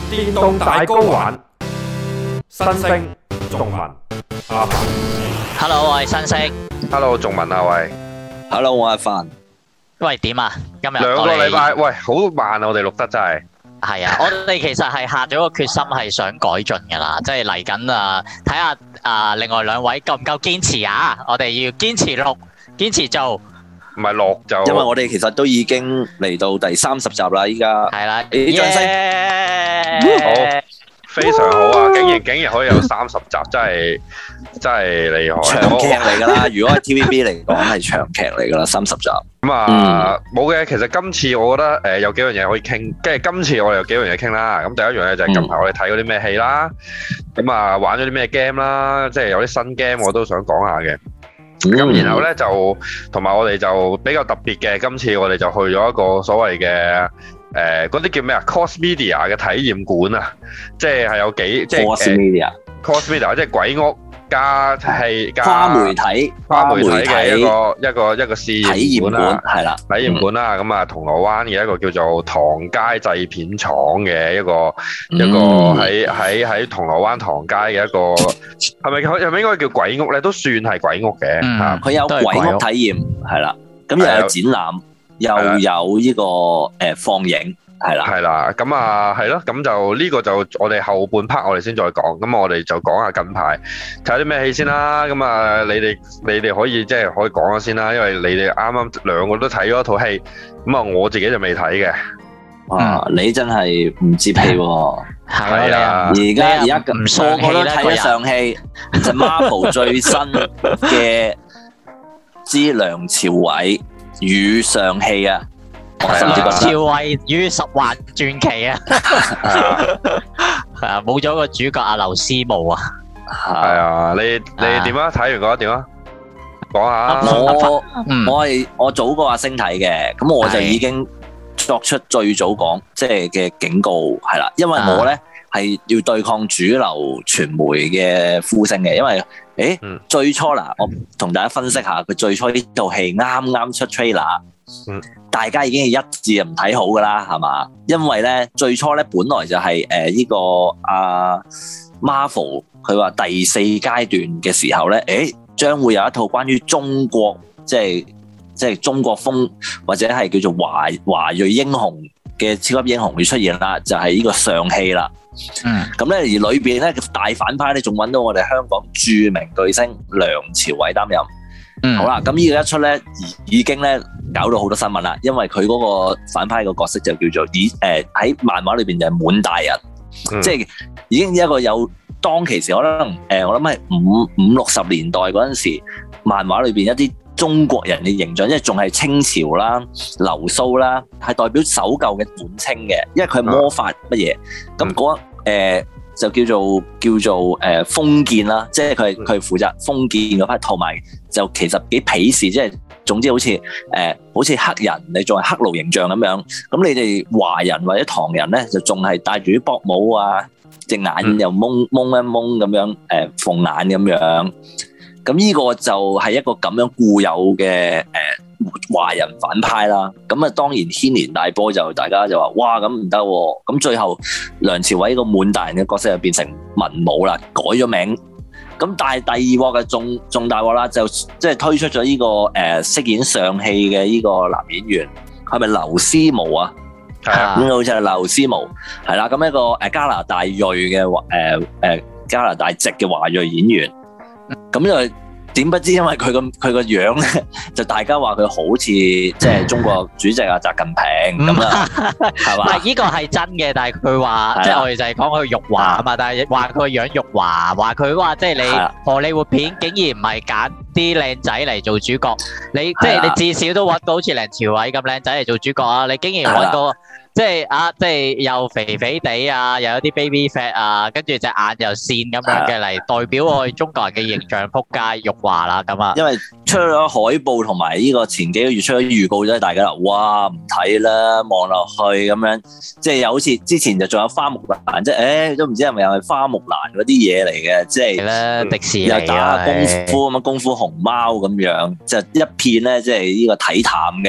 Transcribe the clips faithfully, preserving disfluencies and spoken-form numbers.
電動大 GO 玩，新星仲文阿凡。 Hello， 我係新星。 Hello， 仲文啊喂。 Hello， 我係凡。 喂，點啊？今日兩個禮拜，喂，好慢啊！我哋錄得真係。係啊，我哋其實係下咗個決心，係想改進噶啦，即係嚟緊啊，睇下啊，另外兩位夠唔夠堅持啊？我哋要堅持錄，堅持做。唔係錄就， 因為我哋其實都已經嚟到第三十集啦，依家係啦，啲掌聲， 好，非常好啊！竟然竟然可以有三十集，真係真係厲害， 長劇嚟噶啦！如果係 T V B 嚟講係長劇嚟噶啦，三十集。 咁啊，冇嘅。其實今次我覺得誒有幾樣嘢可以傾，跟住今次我哋有幾樣嘢傾啦。咁第一樣嘢就係近排我哋睇嗰啲咩戲啦，咁啊玩咗啲咩 game 啦，即係有啲新 game 我都想講下嘅。咁、嗯、然後咧就同埋我哋就比較特別嘅，今次我哋就去咗一個所謂嘅誒嗰啲叫咩啊 Cos Media 嘅體驗館啊，即係係有幾即係 Cos Media Cos Media 即係鬼屋加戲加跨媒體跨媒體嘅一個一個一個試驗館啦， 係啦， 體驗館啦。咁啊銅鑼灣嘅一個叫做唐街製片廠嘅一個、嗯、一個喺喺喺銅鑼灣唐街嘅一個係咪係咪應該叫鬼屋咧？都算係鬼屋嘅。 嗯，佢有鬼屋體驗係啦，咁又有展覽，又有呢個誒放映。係啦， 係啦，咁啊，係咯，咁就呢個就我哋後半 part 我哋先再講，咁我哋就講下近排睇下啲咩戲先啦。咁啊，你哋你哋可以即係可以講下先啦，因為你哋啱啱兩個都睇咗一套戲，咁啊我自己就未睇嘅。 哇，你真係唔接戲喎！ 係啊， 而家而家個個都睇咗上戲，就 Marvel 最新嘅之梁朝偉與上戲啊！ 梁朝偉與十環傳奇啊，係啊，冇咗個主角阿劉思慕啊， 係啊，你你點啊？睇完覺得點啊？講下。 我我係我早過阿星睇嘅，咁我就已經作出最早講即係嘅警告係啦，因為我咧係要對抗主流傳媒嘅呼聲嘅，因為誒、嗯、最初嗱，我同大家分析下佢最初呢套戲啱啱出 trailer。嗯，大家已經係一致唔睇好噶啦，係嘛？因為咧最初咧本來就係誒呢個阿、啊、Marvel 佢話第四階段嘅時候咧，誒將會有一套關於中國即係即係中國風或者係叫做華華裔英雄嘅超級英雄會出現啦，就係、是、呢個上戲啦。嗯，咁咧而裏邊咧大反派咧仲揾到我哋香港著名巨星梁朝偉擔任。嗯，好啦，咁呢個一出咧，已經咧搞到好多新聞啦，因為佢嗰個反派個角色就叫做以誒喺漫畫裏邊就係滿大人，嗯、即係已經一個有當其時可能誒、呃，我諗係五五六十年代嗰陣時，漫畫裏邊一啲中國人嘅形象，即係仲係清朝啦、流蘇啦，係代表守舊嘅滿清嘅，因為佢係魔法乜嘢，咁嗰誒。就叫做叫做誒封建啦，即係佢係佢係負責封建嗰批，同埋就其實幾鄙視，即係總之好似誒、呃、好似黑人，你仲係黑奴形象咁樣。咁你哋華人或者唐人咧，就仲係戴住啲薄帽啊，隻眼又蒙蒙一蒙咁樣，誒鳳眼咁樣。咁呢個就係一個咁樣固有嘅誒華人反派啦。咁啊當然牽連大波，就大家就話哇咁唔得喎。咁最後梁朝偉個滿大人嘅角色就變成文武啦，改咗名。咁但係第二鑊嘅仲仲大鑊啦，就即係推出咗呢、這個誒飾、呃、演上戲嘅呢個男演員，係咪劉思慕啊？係啊，咁好似係劉思慕，係啦。咁一個誒加拿大裔嘅誒誒加拿大籍嘅華裔演員。咁就點不知，因為佢個佢個樣咧，就大家話佢好似即係中國主席啊習近平咁啊，係嘛？唔係呢個係真嘅，但係佢話即係我哋就係講佢辱華啊嘛，但係話佢個樣辱華，話佢話即係你荷里活片竟然唔係揀啲靚仔嚟做主角，你即係你至少都揾到好似梁朝偉咁靚仔嚟做主角啊！你竟然揾個即係啊，即係又肥肥地啊，又有啲 baby fat 啊，跟住隻眼又線咁樣嘅嚟代表我哋中國人嘅形象，撲街辱華啦咁啊！因為出咗海報同埋呢個前幾個月出咗預告啫，大家話哇唔睇啦，望落去咁樣，即係又好似之前就仲有花木蘭，即係誒都唔知係咪又係花木蘭嗰啲嘢嚟嘅，即係咧迪士尼又打下功夫咁啊，功夫熊貓咁樣，就一片咧即係呢個睇淡嘅。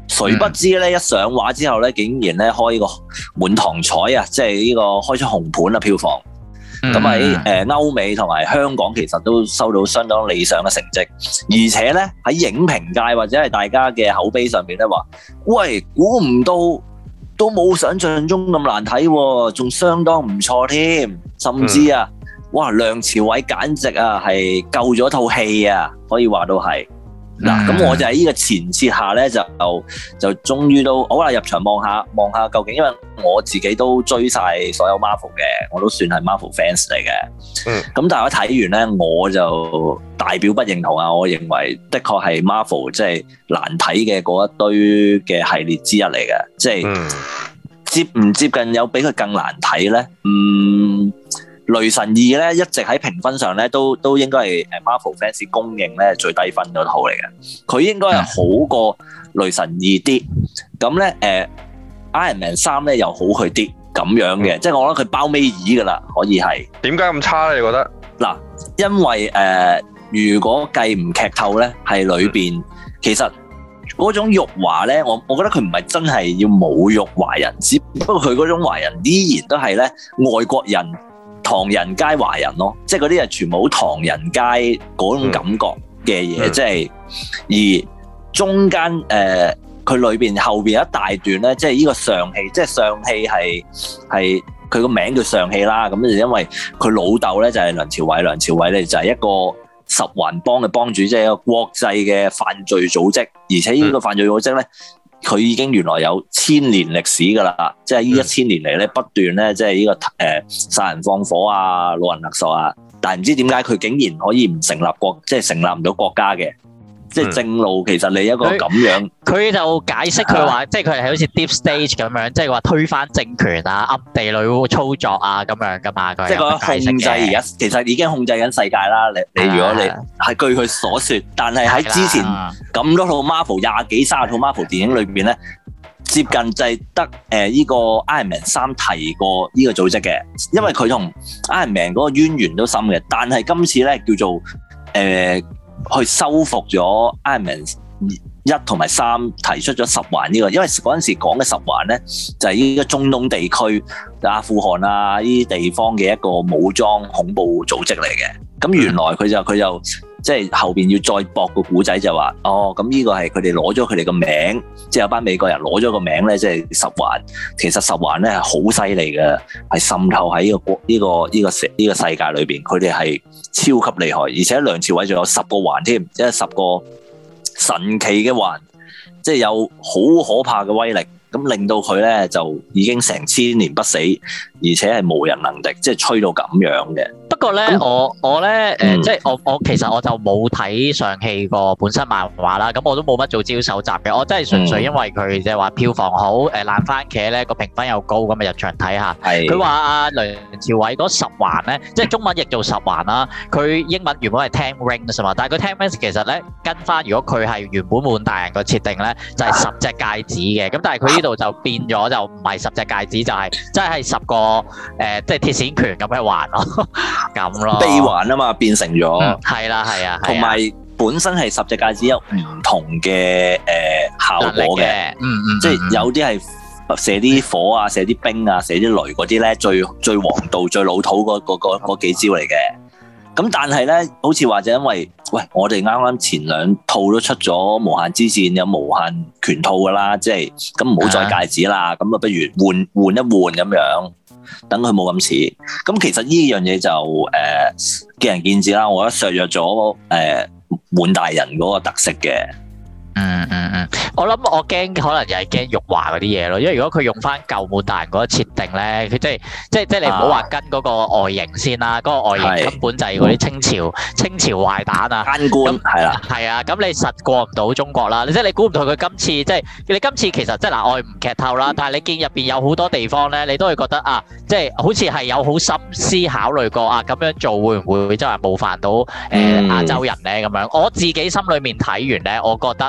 誰不知咧，一上畫之後咧，竟然咧開個滿堂彩啊！即係呢個開出紅盤啊，票房。咁喺誒歐美同埋香港其實都收到相當理想嘅成績，而且咧喺影評界或者係大家嘅口碑上面咧話，喂，估唔到都冇想象中咁難睇喎，仲相當唔錯添，甚至啊，哇，梁朝偉簡直啊係救咗套戲啊，可以話到係。嗱，咁我就喺呢個前設下咧，就就終於都好啦，入場望下望下究竟，因為我自己都追晒所有 Marvel 嘅，我都算係 Marvel fans 嚟嘅。嗯。咁但係我睇完咧，我就大表不認同啊！我認為的確係 Marvel 即係難睇嘅嗰一堆嘅系列之一嚟嘅，即係、嗯、接唔接近有比佢更難睇咧？嗯。雷神二咧一直喺評分上咧都都應該係誒 Marvel fans 公認咧最低分嗰套嚟嘅，佢應該係好過雷神二啲，咁咧誒 Iron Man 三咧又好佢啲咁樣嘅，嗯、即係我覺得佢包尾二噶啦，可以係。點解咁差咧？你覺得？嗱，因為誒、呃、如果計唔劇透咧，係裏邊、嗯、其實嗰種辱華咧，我我覺得佢唔係真係要侮辱華人，只不過佢嗰種華人依然都係咧外國人。唐人街華人咯，即係嗰啲係全部好唐人街嗰種感覺嘅嘢，即係、嗯、而中間誒佢裏邊後邊一大段咧，即係呢個上戲，即係上戲係係佢個名叫上戲啦，咁就因為佢老豆咧就係梁朝偉，梁朝偉咧就係一個十環幫嘅幫主，即係一個國際嘅犯罪組織，而且呢個犯罪組織咧。佢已經原來有千年歷史㗎啦，即係呢一千年嚟咧不斷咧，即係呢個誒殺人放火啊、老人勒索啊，但係唔知點解佢竟然可以唔成立國，即係成立唔到國家嘅。即係正路，其實你一個咁樣，佢就解釋佢話，即係佢係好似 deep stage 咁樣，即係話推翻政權啊、暗地裏操作啊咁樣噶嘛。即係個控制而家其實已經控制緊世界啦。你你如果你係據佢所説，但係喺之前咁多套 Marvel 廿幾三十套 Marvel 電影裏邊咧，接近就係得誒依個 Iron Man 三提過呢個組織嘅，因為佢同 Iron Man 嗰個淵源都深嘅。但係今次咧叫做誒。呃去收復咗 Iron Man 一同埋三提出咗十環呢個，因為嗰陣時講嘅十環咧就係呢個中東地區、阿富汗啊呢啲地方嘅一個武裝恐怖組織嚟嘅。咁原來佢就佢就即係後邊要再駁個古仔就話，哦咁呢個係佢哋攞咗佢哋個名，即係有班美國人攞咗個名咧，即係十環。其實十環咧係好犀利嘅，係滲透喺呢個國呢個呢個世呢個世界裏邊，佢哋係超級厲害，而且梁朝偉仲有十個環添，即係十個神奇嘅環，即係有好可怕嘅威力，咁令到佢咧就已經成千年不死，而且係無人能敵，即係吹到咁樣嘅。不過咧，我我咧誒，嗯、即係我我其實我就冇睇上戲個本身漫畫啦，咁我都冇乜做資料搜集嘅，我真係純粹因為佢即係話票房好，誒爛番茄咧個評分又高，咁啊入場睇下。係。佢話阿梁朝偉嗰十環咧，即係中文譯做十環啦，佢英文原本係 Ten Rings 嘛，但係佢 Ten Rings 其實咧跟翻，如果佢係原本滿大人個設定咧，就係十隻戒指嘅，咁但係佢呢度就變咗就唔係十隻戒指，就係即係十個誒，即係鐵線拳咁嘅環咯。咁咯，臂環啊嘛，變成咗，係啦係啊，同埋本身係十隻戒指有唔同嘅誒效果嘅，嗯嗯，即係有啲係射啲火啊，射啲冰啊，射啲雷嗰啲咧，最最王道、最老土嗰嗰嗰嗰幾招嚟嘅。咁但係咧，好似話就因為，喂，我哋啱啱前兩套都出咗無限之戰，有無限拳套噶啦，即係咁唔好再戒指啦，咁啊不如換換一換咁樣。等佢冇咁似，咁其實呢樣嘢就誒、呃、見仁見智啦。我覺得削弱咗誒滿大人嗰個特色嘅。嗯嗯嗯，我諗我驚可能又係驚辱華嗰啲嘢咯，因為如果佢用翻舊滿大人嗰個設定咧，佢即係即係即係你唔好話跟嗰個外形先啦，嗰、嗰個外形根本就係嗰啲清朝清朝壞蛋啊，奸官係啦，係啊，咁你實過唔到中國啦，即係你估唔到佢今次即係你今次其實即係嗱，我唔劇透啦，但係你見入邊有好多地方咧，你都會覺得啊，即係好似係有好心思考慮過啊，咁樣做會唔會真係冒犯到誒亞洲人咧咁樣？我自己心裏面睇完咧，我覺得。誒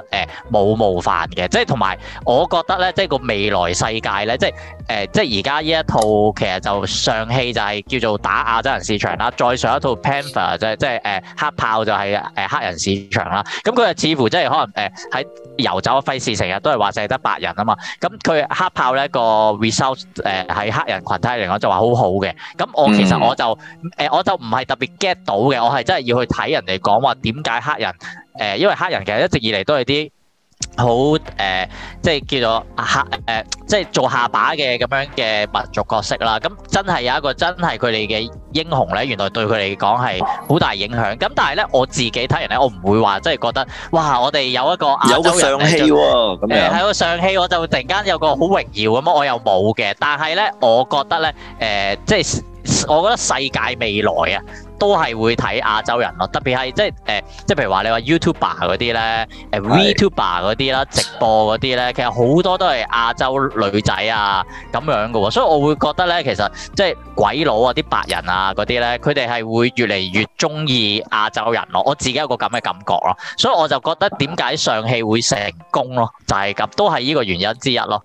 冇冒犯嘅。即係同埋我覺得咧，即係個未來世界咧，即係誒、呃，即係而家呢一套其實就上戲就係叫做打亞洲人市場啦，再上一套 Panther 就係即係誒黑豹就係誒黑人市場啦。咁佢就似乎即係可能誒喺遊走嘅費事成日都係話淨係得白人啊嘛。咁佢黑豹咧個 result 誒喺黑人群體嚟講就話好好嘅。咁我其實我就誒、呃、我就唔係特別 get 到嘅，我係真係要去睇人哋講話點解黑人誒、呃，因為黑人其實一直以嚟都係啲好誒，即係叫做黑誒、呃，即係做下巴嘅咁樣嘅民族角色啦。咁真係有一個真係佢哋嘅英雄咧，原來對佢嚟講係好大影響。咁但係咧，我自己睇人咧，我唔會話即係覺得哇，我哋有一個亞洲人有個上戲喎，咁樣喺個上戲我就突然間有個好榮耀咁，我又冇嘅。但係咧，我覺得咧，誒、呃，即係我覺得世界未來啊，都係會睇亞洲人咯，特別係即係誒，即係譬如話你話 YouTuber 嗰啲咧，誒 VTuber 嗰啲啦，直播嗰啲咧，其實好多都係亞洲女仔啊咁樣嘅喎，所以我會覺得咧，其實即係鬼佬啊、啲白人啊嗰啲咧，佢哋係會越嚟越中意亞洲人咯，我自己有個咁嘅感覺咯，所以我就覺得點解上戲會成功咯，就係咁，都係呢個原因之一咯。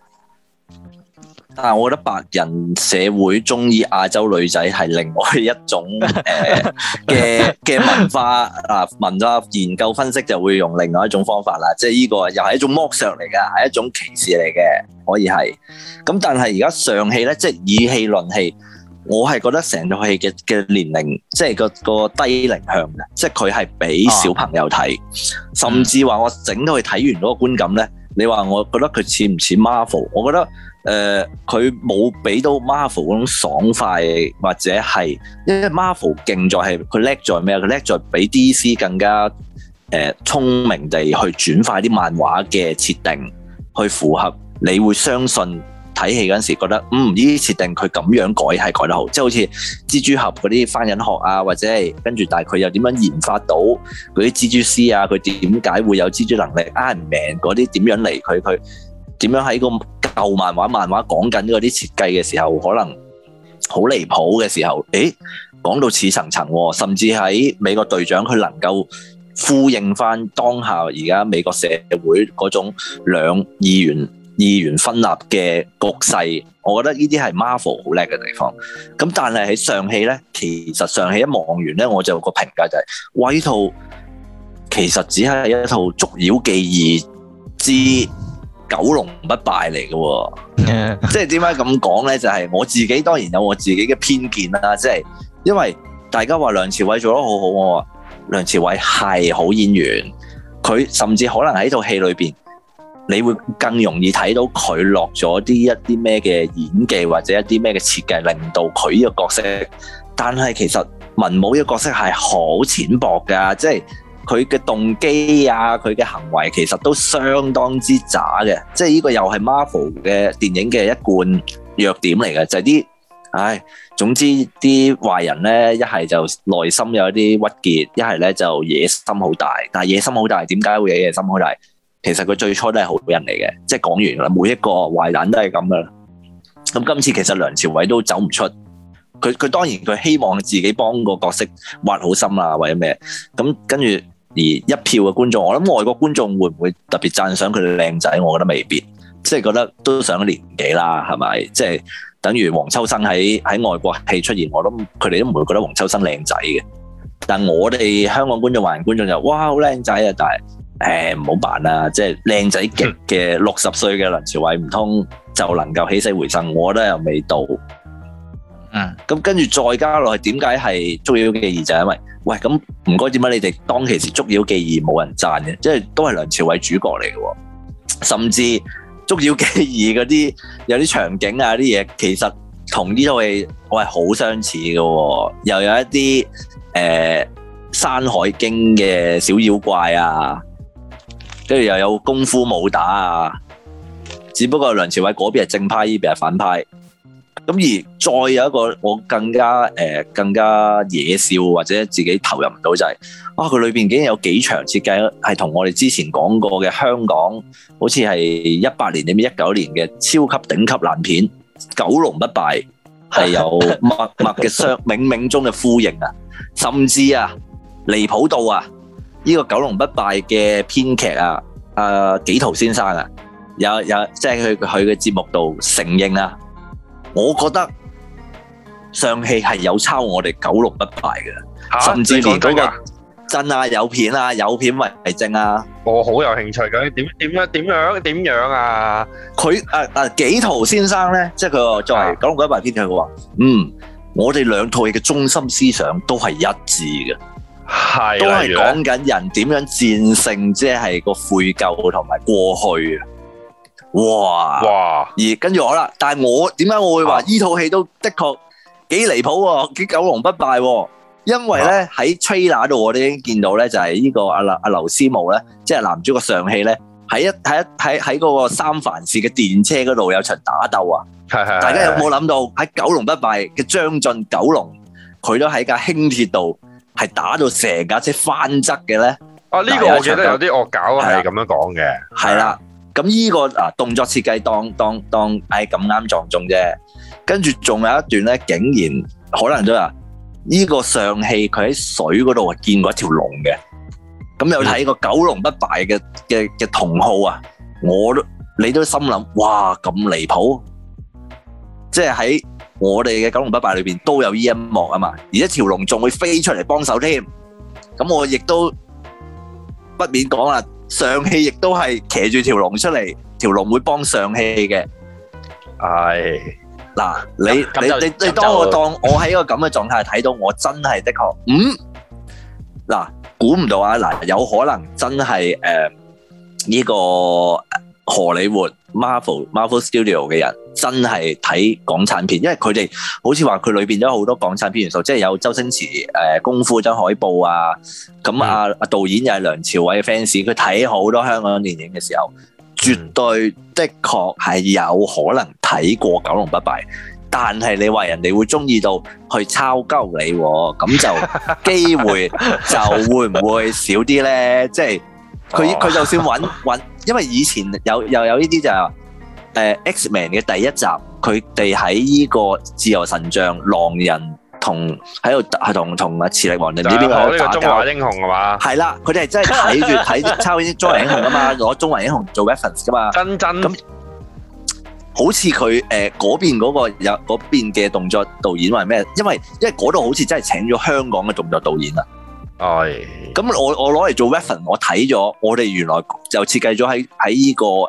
但係我覺得白人社會中意亞洲女仔係另外一種誒嘅嘅文化啊，文化研究分析就會用另外一種方法啦，即係呢個又係一種剝削嚟㗎，係一種歧視嚟嘅，可以係。咁但係而家上戲咧，即係以戲論戲，我係覺得成套戲嘅嘅年齡，即係個個低齡向嘅，即係佢係俾小朋友睇，啊、甚至話我整到去睇完嗰個觀感咧，你話我覺得佢似唔似 Marvel？ 我覺得。誒佢冇俾到 Marvel 嗰種爽快，或者係因為 Marvel 勁在係佢叻在咩啊？佢叻在比 D C 更加誒、呃、聰明地去轉化啲漫畫嘅設定，去符合你會相信睇戲嗰陣時覺得嗯，呢啲設定佢咁樣改係改得好，即係好似蜘蛛俠嗰啲翻緊學啊，或者係跟住但係佢又點樣研發到嗰啲蜘蛛絲啊？佢點解會有蜘蛛能力 Iron Man 嗰啲點樣嚟？佢佢點樣喺個舊漫畫漫畫講緊嗰啲設計嘅時候，可能好離譜嘅時候，誒講到似層層，甚至喺美國隊長佢能夠呼應翻當下而家美國社會嗰種兩二元二元分立嘅局勢，我覺得呢啲係 Marvel 好叻嘅地方。咁但係喺上戲咧，其實上戲一望完咧，我就有個評價就係、是，哇！呢套其實只係一套捉妖記二之九龍不敗嚟嘅，即係點解咁講咧？就係、是、我自己當然有我自己嘅偏見啦，即、就、係、是、因為大家話梁朝偉做得好好，我話梁朝偉係好演員，佢甚至可能喺套戲裏邊，你會更容易睇到佢落咗啲一啲咩嘅演技或者一啲咩嘅設計，令到佢呢個角色。但係其實文武呢個角色係好淺薄噶，即係。佢嘅動機啊，佢嘅行為其實都相當之渣嘅，即係呢個又係 Marvel 嘅電影嘅一貫弱點嚟嘅，就係、是、啲，唉，總之啲壞人咧，一係就內心有一啲鬱結，一係咧就野心好大。但係野心好大，點解會有野心好大？其實佢最初都係好人嚟嘅，即係講完啦，每一個壞蛋都係咁噶啦。咁今次其實梁朝偉都走唔出，佢佢當然佢希望自己幫個角色挖好心啊，或者咩，咁跟住。而一票嘅觀眾，我諗外國觀眾會唔會特別讚賞佢哋靚仔？我覺得未必，即係覺得都上咗年紀啦，係咪？即係等於黃秋生喺喺外國戲出現，我諗佢哋都唔會覺得黃秋生靚仔嘅。但我哋香港觀眾、華人觀眾就哇好靚仔啊！但係誒唔好扮啦，即係靚仔極嘅六十歲嘅梁朝偉唔通就能夠起死回生？我覺得又未到。嗯，咁跟住再加落去，點解係捉妖記二？就係因為喂，咁唔該點解你哋當其時捉妖記二冇人讚嘅？即係都係梁朝偉主角嚟嘅，甚至捉妖記二嗰啲有啲場景啊啲嘢，其實同呢套戲我係好相似嘅，又有一啲誒、呃《山海經》嘅小妖怪啊，跟住又有功夫武打啊，只不過梁朝偉嗰邊係正派，呢邊係反派。咁而再有一個我更加誒、呃、更加野笑或者自己投入唔到就係、是、啊佢裏邊竟然有幾場設計係同我哋之前講過嘅香港好似係一八年定一九年嘅超級頂級爛片《九龍不敗》係有密密嘅相冥冥中嘅呼應啊，甚至啊離譜到啊呢、這個《九龍不敗》嘅編劇啊阿紀陶先生啊，有有即係佢佢嘅節目度承認啊，我覺得上戲係有抄我哋九龍不敗嘅，甚至連嗰個真啊有片啊有片為證啊。 我好有興趣嘅，點點樣點樣點樣啊？ 佢誒誒紀陶先生咧，即係佢作為九龍不敗編劇嘅話，嗯，我哋兩套戲嘅中心思想都係一致嘅。係，都係講緊人點樣戰勝，即係個悔疚同埋過去啊！哇哇！而跟住我啦，但係我點解我會話呢套戲都的確幾離譜喎，幾九龍不敗喎？因為咧喺 trailer 度我哋已經見到咧，就係呢個阿阿劉思慕咧，即係男主角上戲咧，喺一喺一喺喺嗰個三藩市嘅電車嗰度有場打鬥啊！係係，大家有冇諗到喺九龍不敗嘅將進九龍，佢都喺架輕鐵度？係打到成架車翻側嘅咧？啊，呢個我記得有啲惡搞係咁樣講嘅。係啦，咁呢個啊動作設計當當當，唉咁啱撞中啫。跟住仲有一段咧，竟然可能都話呢個上戲佢喺水嗰度見過一條龍嘅。咁有睇過九龍不敗嘅嘅嘅同號啊？我都你都心諗，哇咁離譜！即係喺我哋嘅九龍不敗裏邊都有呢一幕啊嘛，而一條龍仲會飛出嚟幫手添，咁我亦都不免講啦，上戲亦都係騎住條龍出嚟，條龍會幫上戲嘅。係嗱，你你你你當我當我喺一個咁嘅狀態睇到，我真係的確，嗯，嗱，估唔到啊，嗱，有可能真係誒呢個荷里活 Marvel Marvel Studio 嘅人。真係睇港產片，因為佢哋好似話佢裏邊都有好多港產片元素，即係有周星馳誒、呃、功夫張海報啊，咁啊啊導演又係梁朝偉嘅 fans，佢睇好多香港電影嘅時候，絕對的確係有可能睇過九龍不敗，但係你話人哋會中意到去抄鳩你，咁就機會就會唔會少啲咧？即係佢佢就算揾揾，因為以前有又有呢啲就係、是。誒 X-Men 嘅第一集，佢哋喺呢個自由神像狼人同喺度係同同阿磁力王定唔知邊個喺度打交。中華英雄係嘛？係啦，佢哋係真係睇住睇抄啲中華英雄噶嘛，攞中華英雄做 reference 噶嘛。真真咁，好似佢誒嗰邊嗰個有嗰邊嘅動作導演話咩？因為因為嗰度好似真係請咗香港嘅動作導演啊。係。咁我我攞嚟做 reference，我睇咗，我哋原來就設計咗喺喺呢個誒。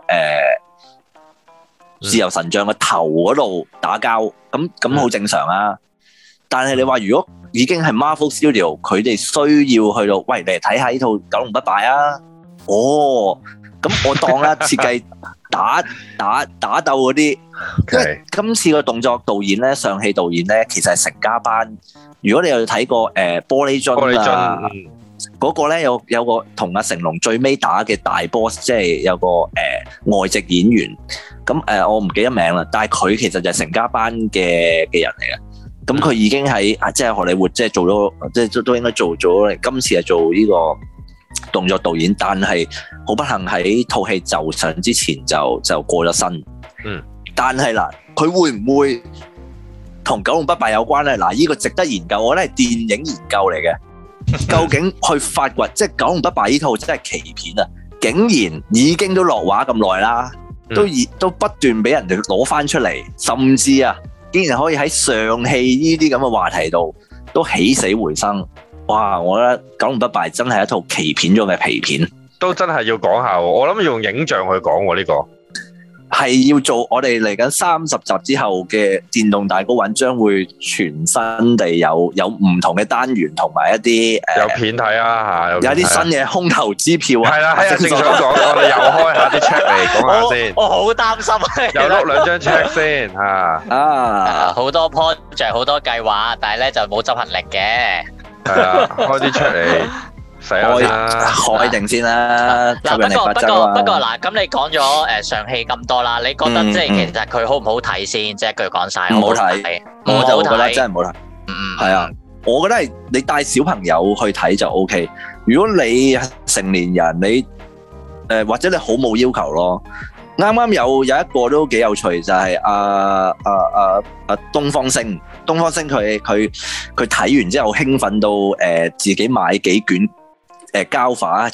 自由神像嘅頭嗰度打交，咁咁好正常啊。但係你話如果已經係 Marvel Studio，佢哋需要去到，喂，你嚟睇下呢套九龍不敗啊。哦，咁我當啦，設計打打打鬥嗰啲，因為今次個動作導演咧，上戲導演咧，其實係成家班。如果你有睇過誒、呃、玻璃樽啊。嗰個咧有有個同阿成龍最尾打嘅大 boss， 即係有個誒、呃、外籍演員，咁誒、呃、我唔記得名啦，但係佢其實就係成家班嘅嘅人嚟嘅，咁佢已經喺即係荷里活即係做咗，即係都都應該做咗，今次係做呢個動作導演，但係好不幸喺套戲就上之前就就過咗身。嗯，但係嗱，佢會唔會同九龍不敗有關咧？嗱，呢個值得研究，我覺得係電影研究嚟嘅。究竟去發掘，即係九龍不敗呢套真係奇片啊！竟然已經都落畫咁耐啦，都已都不斷俾人哋攞翻出嚟，甚至啊，竟然可以喺上戲呢啲咁嘅話題度都起死回生。哇！我覺得九龍不敗真係一套奇片中嘅皮片，都真係要講下。我諗要用影像去講喎呢個。係要做我哋嚟緊三十集之後嘅電動大 GO 玩，將會全新地有有唔同嘅單元同埋一啲誒有片睇啊嚇，有啲新嘅空頭支票啊，係啦，係啊，正想講，我哋又開下啲 check 嚟講下先。我好擔心啊，又碌兩張 check 先嚇啊！好多 project 好多計劃，但係咧就冇執行力嘅。係啊，開啲 check 嚟。開開定先啦。嗱，不過不過不過嗱，咁你講咗誒上戲咁多啦，你覺得即係其實佢好唔好睇先？即係一句講晒，唔好睇，我就覺得真係唔好睇。嗯嗯，係啊，我覺得係你帶小朋友去睇就 O K。如果你成年人，你誒或者你好冇要求咯。啱啱有有一個都幾有趣，就係阿阿阿阿東方星，東方星佢佢佢睇完之後興奮到誒自己買幾卷。誒膠畫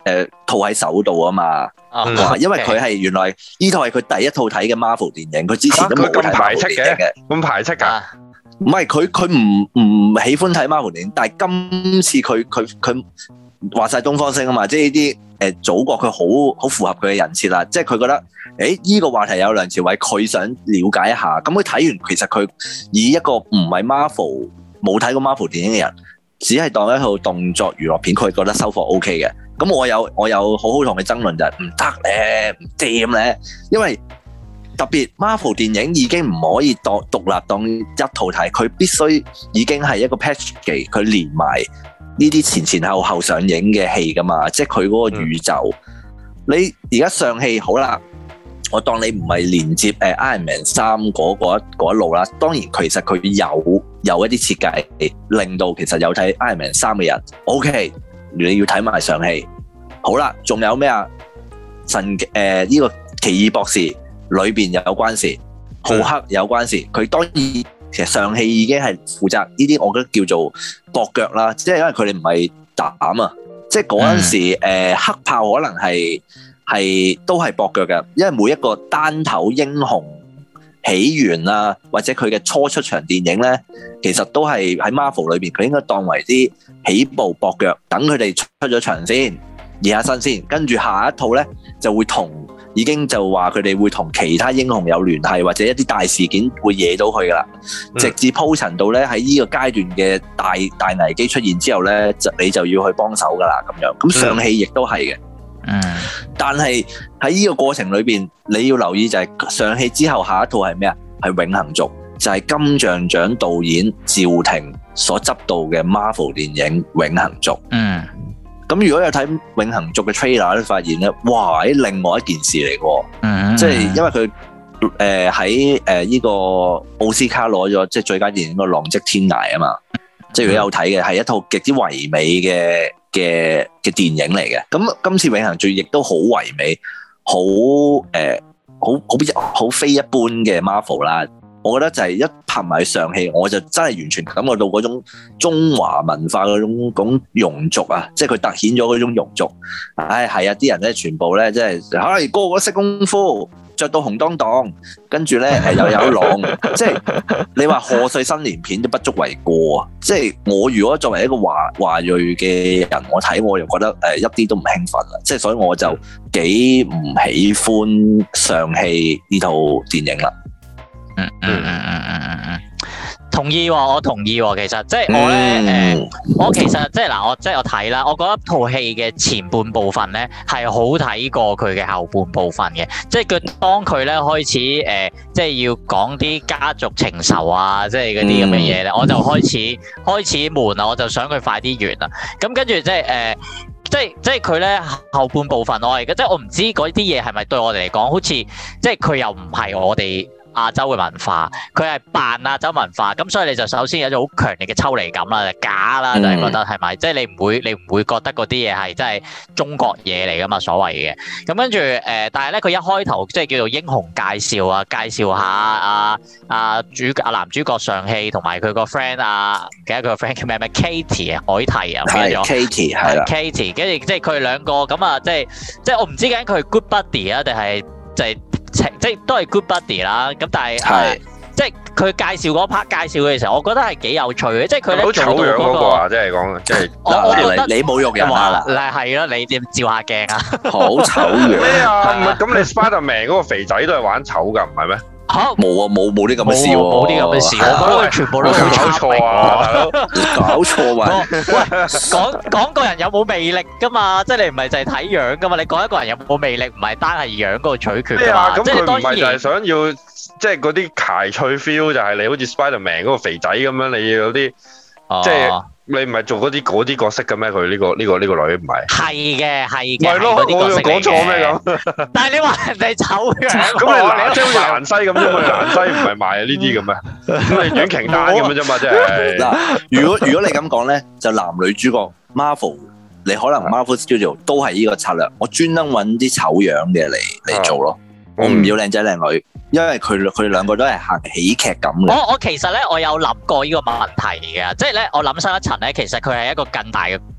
誒套喺手度啊嘛。 嗯、 因為佢係原來呢套係佢第一套睇嘅 Marvel 電影，佢之前都冇睇 Marvel 電影嘅。 咁排斥㗎？ 唔係佢佢唔唔喜歡睇 Marvel 電影，但係今次佢佢佢話晒東方星啊嘛，即係呢啲誒祖國佢好好符合佢嘅人設啦，即係佢覺得誒依、這個話題有梁朝偉，佢想了解一下，咁佢睇完其實佢以一個唔係 Marvel 冇睇過 Marvel 電影嘅人，只係當一套動作娛樂片，佢覺得收貨 O K 嘅。咁我有我有好好同佢爭論就係唔得咧，唔掂咧，因為特別 Marvel 電影已經唔可以當獨立當一套睇，佢必須已經係一個 package，佢連埋呢啲前前後後上映嘅戲噶嘛，即係佢嗰個宇宙。嗯、你而家上戲好啦，我當你唔係連接誒 Iron Man 三嗰一路啦，當然其實佢有有一啲設計令到其實有睇 Iron Man 三嘅人 OK。你要睇埋上戲，好啦，仲有咩啊？神誒呢、呃這個奇異博士裏邊有關事，浩克有關事，佢當然其實上戲已經係負責呢啲，我覺得叫做駁腳啦，即係因為佢哋唔係膽啊，即係嗰陣時誒、呃、黑豹可能係係都係駁腳嘅，因為每一個單頭英雄起源啊，或者佢嘅初出場電影咧，其實都係喺 Marvel 裏邊，佢應該當為啲起步駁腳，等佢哋出咗場先，熱下身先，跟住下一套咧就會同已經就話佢哋會同其他英雄有聯繫，或者一啲大事件會惹到佢噶啦，嗯、直至鋪陳到咧喺呢個階段嘅大大危機出現之後咧，就你就要去幫手噶啦咁樣。咁上戲亦都係嘅，嗯，但係喺呢個過程裏邊，你要留意就係上戲之後下一套係咩啊？係永恆族，就係、是、金像獎導演趙婷所執導嘅 Marvel 電影《永恆族》。嗯，咁如果有睇《永恆族》嘅 trailer 咧，發現咧，哇！喺另外一件事嚟嘅，嗯，即係因為佢誒喺誒呢個奧斯卡攞咗即係最佳電影個《浪跡天涯》啊嘛，即係如果有睇嘅係一套極之唯美嘅嘅嘅電影嚟嘅。咁今次《永恆族》亦都好唯美，好誒。呃好好好非一般嘅 Marvel 啦，我覺得就係一拍埋上戲，我就真係完全感覺到嗰種中華文化嗰種嗰種庸俗啊，即係佢凸顯咗嗰種庸俗。唉，係啊，啲人咧全部咧即係，唉，個個識功夫，着到紅當當，跟住咧誒又有狼，即係你話賀歲新年片都不足為過啊！即係我如果作為一個華華裔嘅人，我睇我又覺得誒一啲都唔興奮啦，即係所以我就幾唔喜歡上戲呢套電影啦。 嗯嗯嗯嗯嗯嗯嗯。同意喎、哦，我同意喎、哦。其實即係我咧，誒、嗯呃，我其實即係嗱，我即係我睇啦。我覺得套戲嘅前半部分咧係好睇過佢嘅後半部分嘅。即係佢當佢咧開始誒、呃，即係要講啲家族情仇啊，即係嗰啲咁嘅嘢咧，嗯、我就開始開始悶啦。我就想佢快啲完啦。咁跟住即係誒、呃，即係即係佢咧後半部分我而家即係我唔知嗰啲嘢係咪對我哋嚟講好似即係佢又唔係我哋亞洲嘅文化，佢係扮亞洲文化，咁所以你就首先有一種好強烈嘅抽離感啦，就假啦，就係覺得係咪？即係你唔會，你唔會覺得嗰啲嘢係真係中國嘢嚟噶嘛？所謂嘅，咁跟住誒，但係咧佢一開頭即係叫做英雄介紹啊，介紹下啊啊主啊男主角上戲同埋佢個 friend 啊，唔記得佢個 friend 叫咩咩 Katie 啊，海蒂啊， 係 Katie 係啦 ，Katie 跟住即係佢哋兩個咁啊，即係即係我唔知究竟佢係 good buddy 啊，定係就係。即係都係 good buddy 啦，咁但係係即係佢介紹嗰 part 介紹嘅時候，我覺得係幾有趣嘅，即係佢咧做到嗰、嗰個啊， 即係講即係我我覺得你侮辱人啊， 嗱係咯，你點照下鏡啊？ 好醜樣咩啊？咁你 Spider-Man 嗰個肥仔都係玩醜㗎，唔係咩？ 嚇冇啊冇冇啲咁嘅事喎， 冇啲咁嘅事，我覺得佢全部都搞錯啊，大佬搞錯啊！ 喂，講講個人有冇魅力㗎嘛？即係你唔係就係睇樣㗎嘛？你講一個人有冇魅力，唔係單係樣嗰個取決㗎嘛？ 咁佢唔係就係想要即係嗰啲諧趣 feel，就係你好似 Spider-Man 嗰個肥仔咁樣，你要有啲即係。你唔係做嗰啲嗰啲角色嘅咩？佢呢個呢個呢個女唔係。係嘅，係嘅。係咯，我又講錯咩咁？ 但係你話人哋醜樣， 咁你蘭即係好似蘭西咁啫嘛？蘭西唔係賣呢啲嘅咩？咁你阮瓊丹咁樣啫嘛？即係。嗱， 如果如果你咁講咧，就男女主角 Marvel，你可能 Marvel Studio 都係呢個策略，我專登揾啲醜樣嘅嚟嚟做咯。我唔要靚仔靚女，因為佢佢哋兩個都係行喜劇感嘅。 我我其實咧，我有諗過呢個問題嘅，即係咧，我諗深一層咧，其實佢係一個更大嘅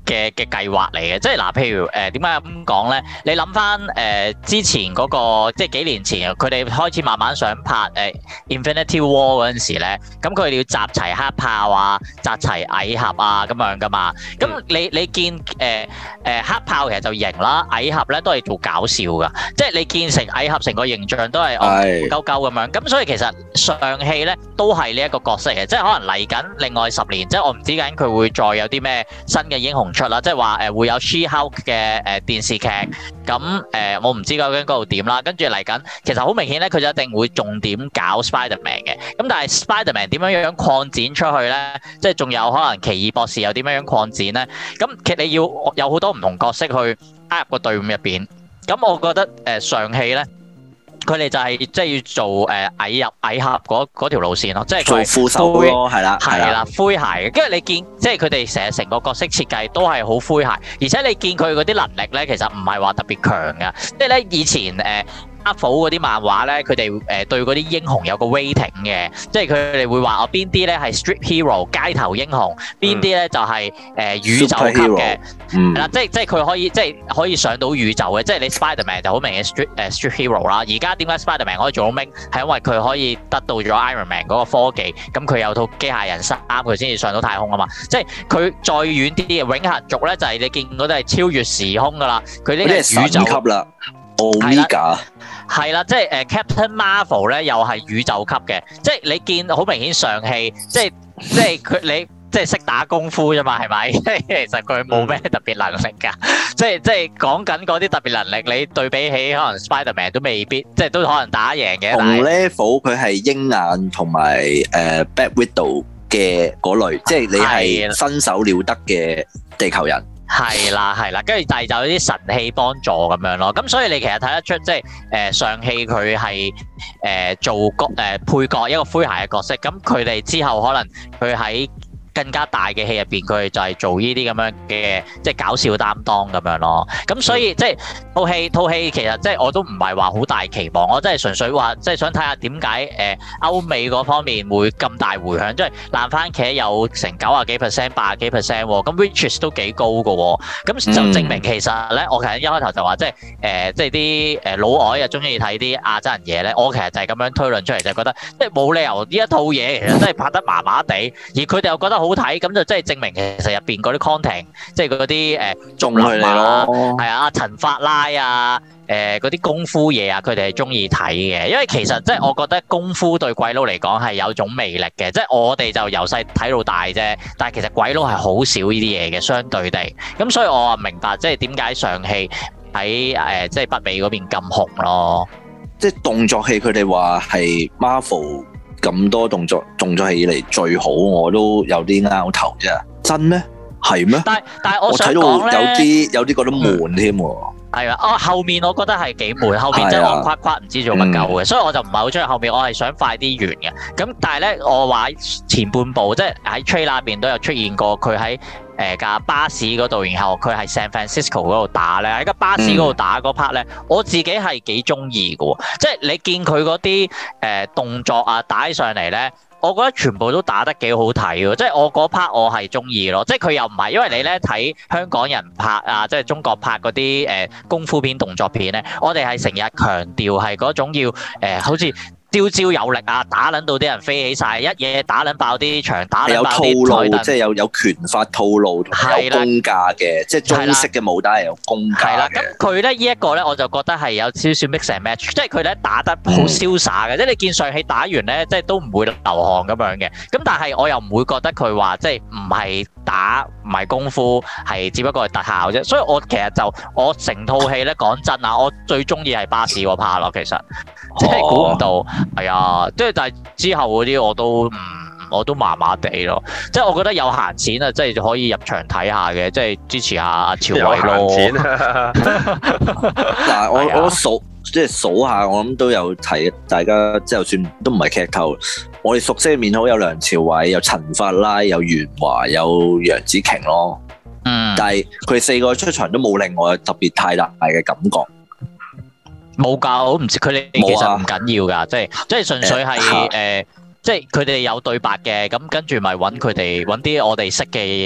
嘅嘅計劃嚟嘅，即係嗱，譬如誒點解咁講咧？你諗翻誒之前嗰、那個，即係幾年前佢哋開始慢慢想拍誒、呃、Infinity War 嗰陣時咧，咁佢哋要集齊黑豹啊，集齊蟻俠啊咁樣噶嘛。咁你你見誒誒、呃呃、黑豹其實就型啦，蟻俠咧都係做搞笑噶，即係你見成蟻俠成個形象都係戇鳩鳩咁樣。咁所以其實上戲咧都係呢一個角色嘅，即係可能嚟緊另外十年，即係我唔知緊佢會再有啲咩新嘅英雄出啦，即係話誒會有 She-Hulk 嘅誒電視劇，咁誒、呃、我唔知究竟嗰度點啦。跟住嚟緊，其實好明顯咧，佢就一定會重點搞 Spider-Man 嘅。咁但係 Spider-Man 點樣樣擴展出去咧？即係仲有可能奇異博士又點樣樣擴展咧？咁其實你要有好多唔同角色去加入個隊伍入邊。咁我覺得誒、呃、上戲咧。佢哋就係即係要做誒蟻入蟻俠嗰嗰條路線咯，即係做副手咯，係啦， 係啦，詼諧嘅。跟住你見，即係佢哋成日成個角色設計都係好詼諧，而且你見佢嗰啲能力咧，其實唔係話特別強噶。即係咧以前誒Marvel嗰啲漫畫咧，佢哋誒對嗰啲英雄有個 rating 嘅，即係佢哋會話我邊啲咧係 street hero 街頭英雄，邊啲咧就係誒宇宙級嘅，係啦，即係即係佢可以即係可以上到宇宙嘅，即係你 Spider-Man 就好明顯 street 誒 street hero 啦。而家點解 Spider-Man 可以做到明？係因為佢可以得到咗 Iron Man 嗰個科技，咁佢有套機械人衫，佢先至上到太空啊嘛。即係佢再遠啲嘅永恆族咧，就係你見嗰啲係超越時空噶啦，佢呢個宇宙級啦。Omega 係啦，即係誒 Captain Marvel 咧，又係宇宙級嘅，即係你見好明顯上戲，即係即係佢你即係識打功夫啫嘛，係咪？即係其實佢冇咩特別能力㗎，即係即係講緊嗰啲特別能力，你對比起可能 Spider-Man 都未必，即係都可能打贏嘅。 同 level 佢係鷹眼同埋誒 Black Widow 嘅嗰類，即係你係身手了得嘅地球人。 係啦，係啦，跟住但係就有啲神器幫助咁樣咯，咁所以你其實睇得出即係誒上戲佢係誒做角誒配角一個詼諧嘅角色，咁佢哋之後可能佢喺更加大嘅戲入邊，佢哋就係做呢啲咁樣嘅即係搞笑擔當咁樣咯。咁所以即係套戲套戲其實即係我都唔係話好大期望，我真係純粹話即係想睇下點解誒歐美嗰方面會咁大迴響，即係爛番茄有成九啊幾 percent、八啊幾 percent 喎，咁 which is 都幾高㗎喎。咁就證明其實咧，我其實一開頭就話即係誒即係啲誒老外又中意睇啲亞洲人嘢咧，我其實就係咁樣推論出嚟，就係覺得即係冇理由呢一套嘢其實真係拍得麻麻地，而佢哋又覺得好睇，咁就真係證明其實入邊嗰啲 content， 即係嗰啲誒仲林啊，係啊，陳法拉啊，誒嗰啲功夫嘢啊，佢哋係中意睇嘅，因為其實即係我覺得功夫對鬼佬嚟講係有種魅力嘅，即係我哋就由細睇到大啫，但係其實鬼佬係好少呢啲嘢嘅，相對地，咁所以我啊明白即係點解上戲喺誒即係北美嗰邊咁紅咯， 即係動作戲佢哋話係 Marvel。咁多動作動作戲以嚟最好，我都有啲拗頭啫。真咩？係咩？但係但係我想講咧，有啲有啲覺得悶添喎。係啊，哦後面我覺得係幾悶，後面真係戇夸夸唔知做乜鳩嘅，嗯、所以我就唔係好中意後面，我係想快啲完嘅。咁但係咧，我話前半部即係喺 trailer 入邊都有出現過，佢喺誒架巴士嗰度，然後佢係 San Francisco 嗰度打咧，喺架巴士嗰度打嗰 part 咧，我自己係幾中意嘅喎，即係你見佢嗰啲誒動作啊打起上嚟咧。我覺得全部都打得幾好睇喎，即係我嗰 part 我係中意咯，即係佢又唔係，因為你咧睇香港人拍啊，即係中國拍嗰啲誒功夫片、動作片咧，我哋係成日強調係嗰種要誒、呃，好似招招有力啊，打撚到啲人飛起晒，一嘢打撚爆啲牆，打撚爆啲台凳， 即係有有拳法套路同有功架嘅，即係中式嘅武打係有功架嘅。係啦， 咁佢咧呢一個咧，我就覺得係有少少 mix and match，即係佢咧打得好瀟灑嘅，嗯、即係你見上戲打完咧，即係都唔會流汗咁樣嘅。咁但係我又唔會覺得佢話即係唔係打唔係功夫，係只不過係特效啫。所以我其實就我成套戲咧講真啊，我最中意係巴士嗰 part 咯，其實即係估唔到。係啊，即係但係之後嗰啲我都唔，我都麻麻地咯。即係我覺得有閒錢啊，即係可以入場睇下嘅，即係支持下阿朝偉咯。有閒錢啊！ 嗱，我我數即係數下，我諗都有睇。大家即係就算都唔係劇透，我哋熟悉嘅面孔有梁朝偉、有陳法拉、有袁華、有楊紫瓊咯。嗯。但係佢哋四個出場都冇令我特別太大嘅感覺。 冇㗎，我唔知佢哋其實唔緊要㗎，即係即係純粹係誒、呃，即係佢哋有對白嘅，咁跟住咪揾佢哋揾啲我哋識嘅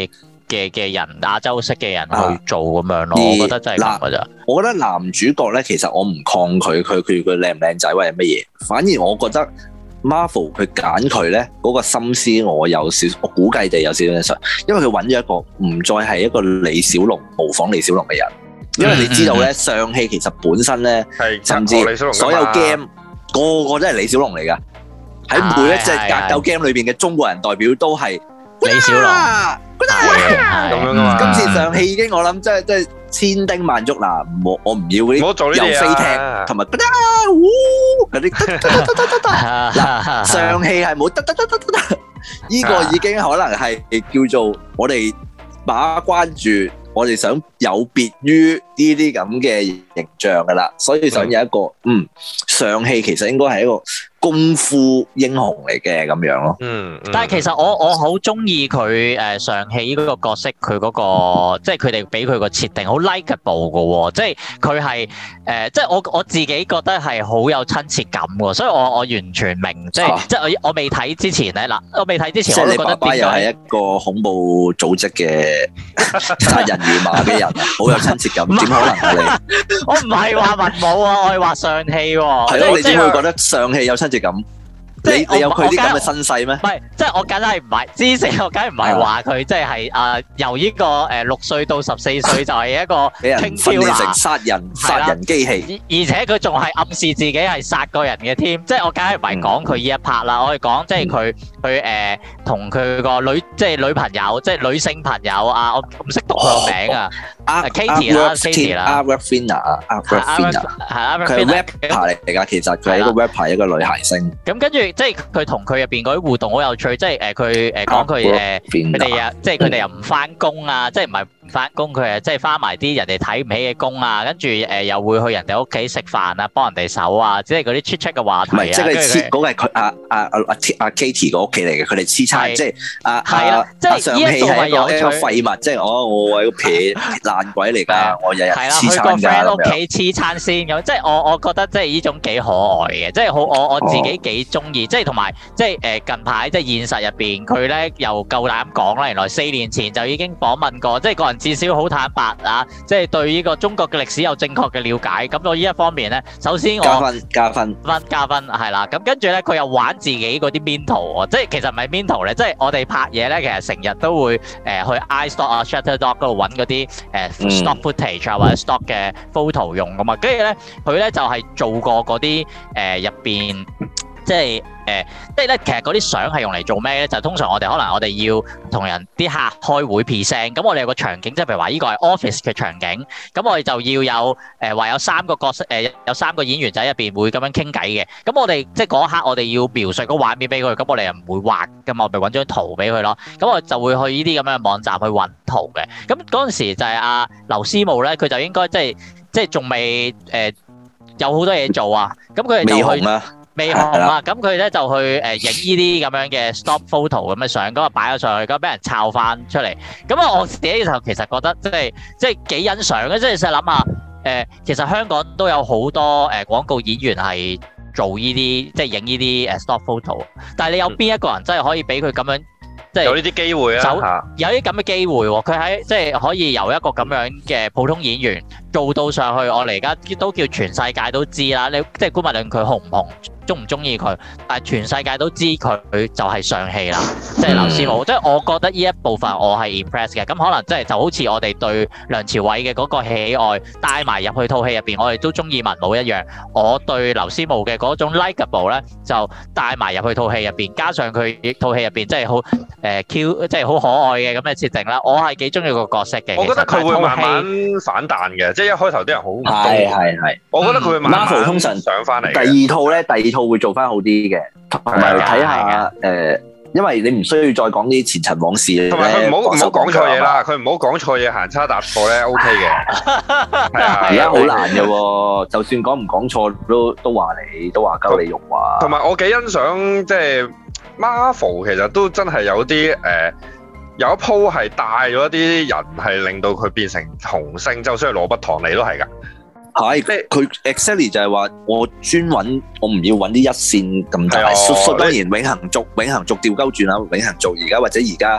嘅嘅人，亞洲式嘅人去做咁樣咯。我覺得真係咁噶咋。 我覺得男主角咧，其實我唔抗拒佢佢佢靚唔靚仔或者乜嘢，反而我覺得 Marvel 佢揀佢咧嗰個心思，我有少我估計地有少少印象，因為佢揾咗一個唔再係一個李小龍模仿李小龍嘅人，因為你知道咧，上戲其實本身咧，甚至所有 game 個個都係李小龍嚟噶。喺每一隻格鬥 game 裏邊嘅中國人代表都係李小龍， 咁樣噶嘛。 今次上戲已經我諗，即係即係千叮萬囑嗱，我我唔要嗰啲又飛踢同埋嗰啲得得得得得得嗱，上戲係冇得得得得得得，呢個已經可能係叫做我哋把關住，我哋想有別於呢啲咁嘅形象噶啦，所以想有一個嗯上戲其實應該係一個功夫英雄嚟嘅咁樣咯， 嗯， 但係其實我我好中意佢誒上戲呢個角色，佢嗰個即係佢哋俾佢個設定好 likeable 嘅喎，即係佢係誒即係我我自己覺得係好有親切感喎，所以我我完全明即係即係我我未睇之前咧嗱，我未睇之前我都覺得點解又係一個恐怖組織嘅殺人如麻嘅人，好有親切感，點可能啊你？ 我唔係話文武啊，我係話上戲喎。 係咯，你點會覺得上戲有親切感？你你有佢啲咁嘅身世咩？ 唔係，即係我梗係唔係之前，我梗係唔係話佢即係誒由呢個誒六歲到十四歲就係一個俾人訓練成殺人殺人機器， 而且佢仲係暗示自己係殺過人嘅添。即係我梗係唔係講佢呢一 part 啦，我係講即係佢佢誒同佢個女即係女朋友，即係女性朋友啊，我唔識讀佢個名啊。Katie 啦 ，Katie 啦 ，Awkwafina 啊 ，Awkwafina 係啊，佢係 rapper 嚟㗎，其實佢係一個 rapper，一個女諧星。 咁跟住即係佢同佢入邊嗰啲互動好有趣，即係誒佢誒講佢誒佢哋啊，即係佢哋又唔翻工啊，即係唔係唔翻工，佢誒即係翻埋啲人哋睇唔起嘅工啊，跟住誒又會去人哋屋企食飯啊，幫人哋手啊，即係嗰啲 chit chat 嘅話題啊。唔係，即係黐嗰個係佢阿阿阿阿 Katie 個屋企嚟嘅，佢哋黐餐，即係阿阿阿上戲係一個一個廢物，即係我我係個撇爛鬼嚟㗎，我日日黐餐㗎咁樣。係啦，去個 friend 屋企黐餐先咁，即係我我覺得即係呢種幾可愛嘅，即係好我我自己幾中意，即係同埋即係誒近排即係現實入邊佢咧又夠膽講啦，原來四年前就已經訪問過，即係個人至少好坦白啊，即係對呢個中國嘅歷史有正確嘅了解。咁我呢一方面咧，首先我加分加分分加分係啦，咁跟住咧佢又玩自己嗰啲 mental 喎，即係其實唔係 mental 咧，即係我哋拍嘢咧，其實成日都會誒去 iStock 啊 Shutterstock 嗰度揾嗰啲誒 stock footage 啊或者 stock 嘅 photo 用噶嘛，跟住咧佢咧就係做過嗰啲誒入邊。即係誒、呃，即係咧，其實嗰啲相係用嚟做咩咧？就係、通常我哋可能我哋要同人啲客開會 present，咁我哋有個場景，即係譬如話呢個係 office 嘅場景，咁我哋就要有誒話、呃、有三個角色誒、呃，有三個演員仔入邊會咁樣傾偈嘅。咁我哋即係嗰一刻我哋要描述個畫面俾佢，咁我哋又唔會畫噶嘛，我咪揾張圖俾佢咯。咁我就會去呢啲咁樣嘅網站去揾圖嘅。咁嗰陣時就係阿劉思慕咧，佢就應該即係即係仲未誒有好多嘢做啊。咁佢哋就去。未紅啊！咁佢咧就去誒影呢啲咁樣嘅 stop photo 咁嘅相，咁啊擺咗上去，咁俾人抄翻出嚟。咁啊，我自己就其實覺得即係即係幾欣賞嘅，即係實諗下誒，其實香港都有好多誒廣告演員係做呢啲即係影呢啲誒 stop photo，但係你有邊一個人真係可以俾佢咁樣？即係有呢啲機會啊！ 有啲咁嘅機會喎，佢喺即係可以由一個咁樣嘅普通演員做到上去，我哋而家都叫全世界都知啦。你即係姑勿論佢紅唔紅，中唔中意佢，但係全世界都知佢就係上戲啦，即係劉思慕。即係我覺得呢一部分我係 impress 嘅。咁可能即係就好似我哋對梁朝偉嘅嗰個喜愛帶埋入去套戲入邊，我哋都中意文武一樣。我對劉思慕嘅嗰種 likeable 咧，就帶埋入去套戲入邊，加上佢套戲入邊即係好誒 Q，即係好可愛嘅咁嘅設定啦。我係幾中意個角色嘅。 我覺得佢會慢慢反彈嘅，即係一開頭啲人好唔中意。 係係係。 我覺得佢會慢慢 Marvel 通常上翻嚟。 第二套咧，第二套會做翻好啲嘅，同埋睇下誒，因為你唔需要再講啲前塵往事咧。 同埋佢唔好唔好講錯嘢啦，佢唔好講錯嘢，行差踏錯咧 OK 嘅。係啊， 而家好難嘅喎，就算講唔講錯都都話你都話鳩你用話。同埋我幾欣賞即係 Marvel，其實都真係有啲誒。有一鋪係帶咗一啲人係令到佢變成紅星，就算係羅拔唐尼都係㗎。 係，即係佢 exactly 就係話我專揾，我唔要揾啲一線咁大。當然永恆族、永恆族調鳩轉啦，永恆族而家或者而家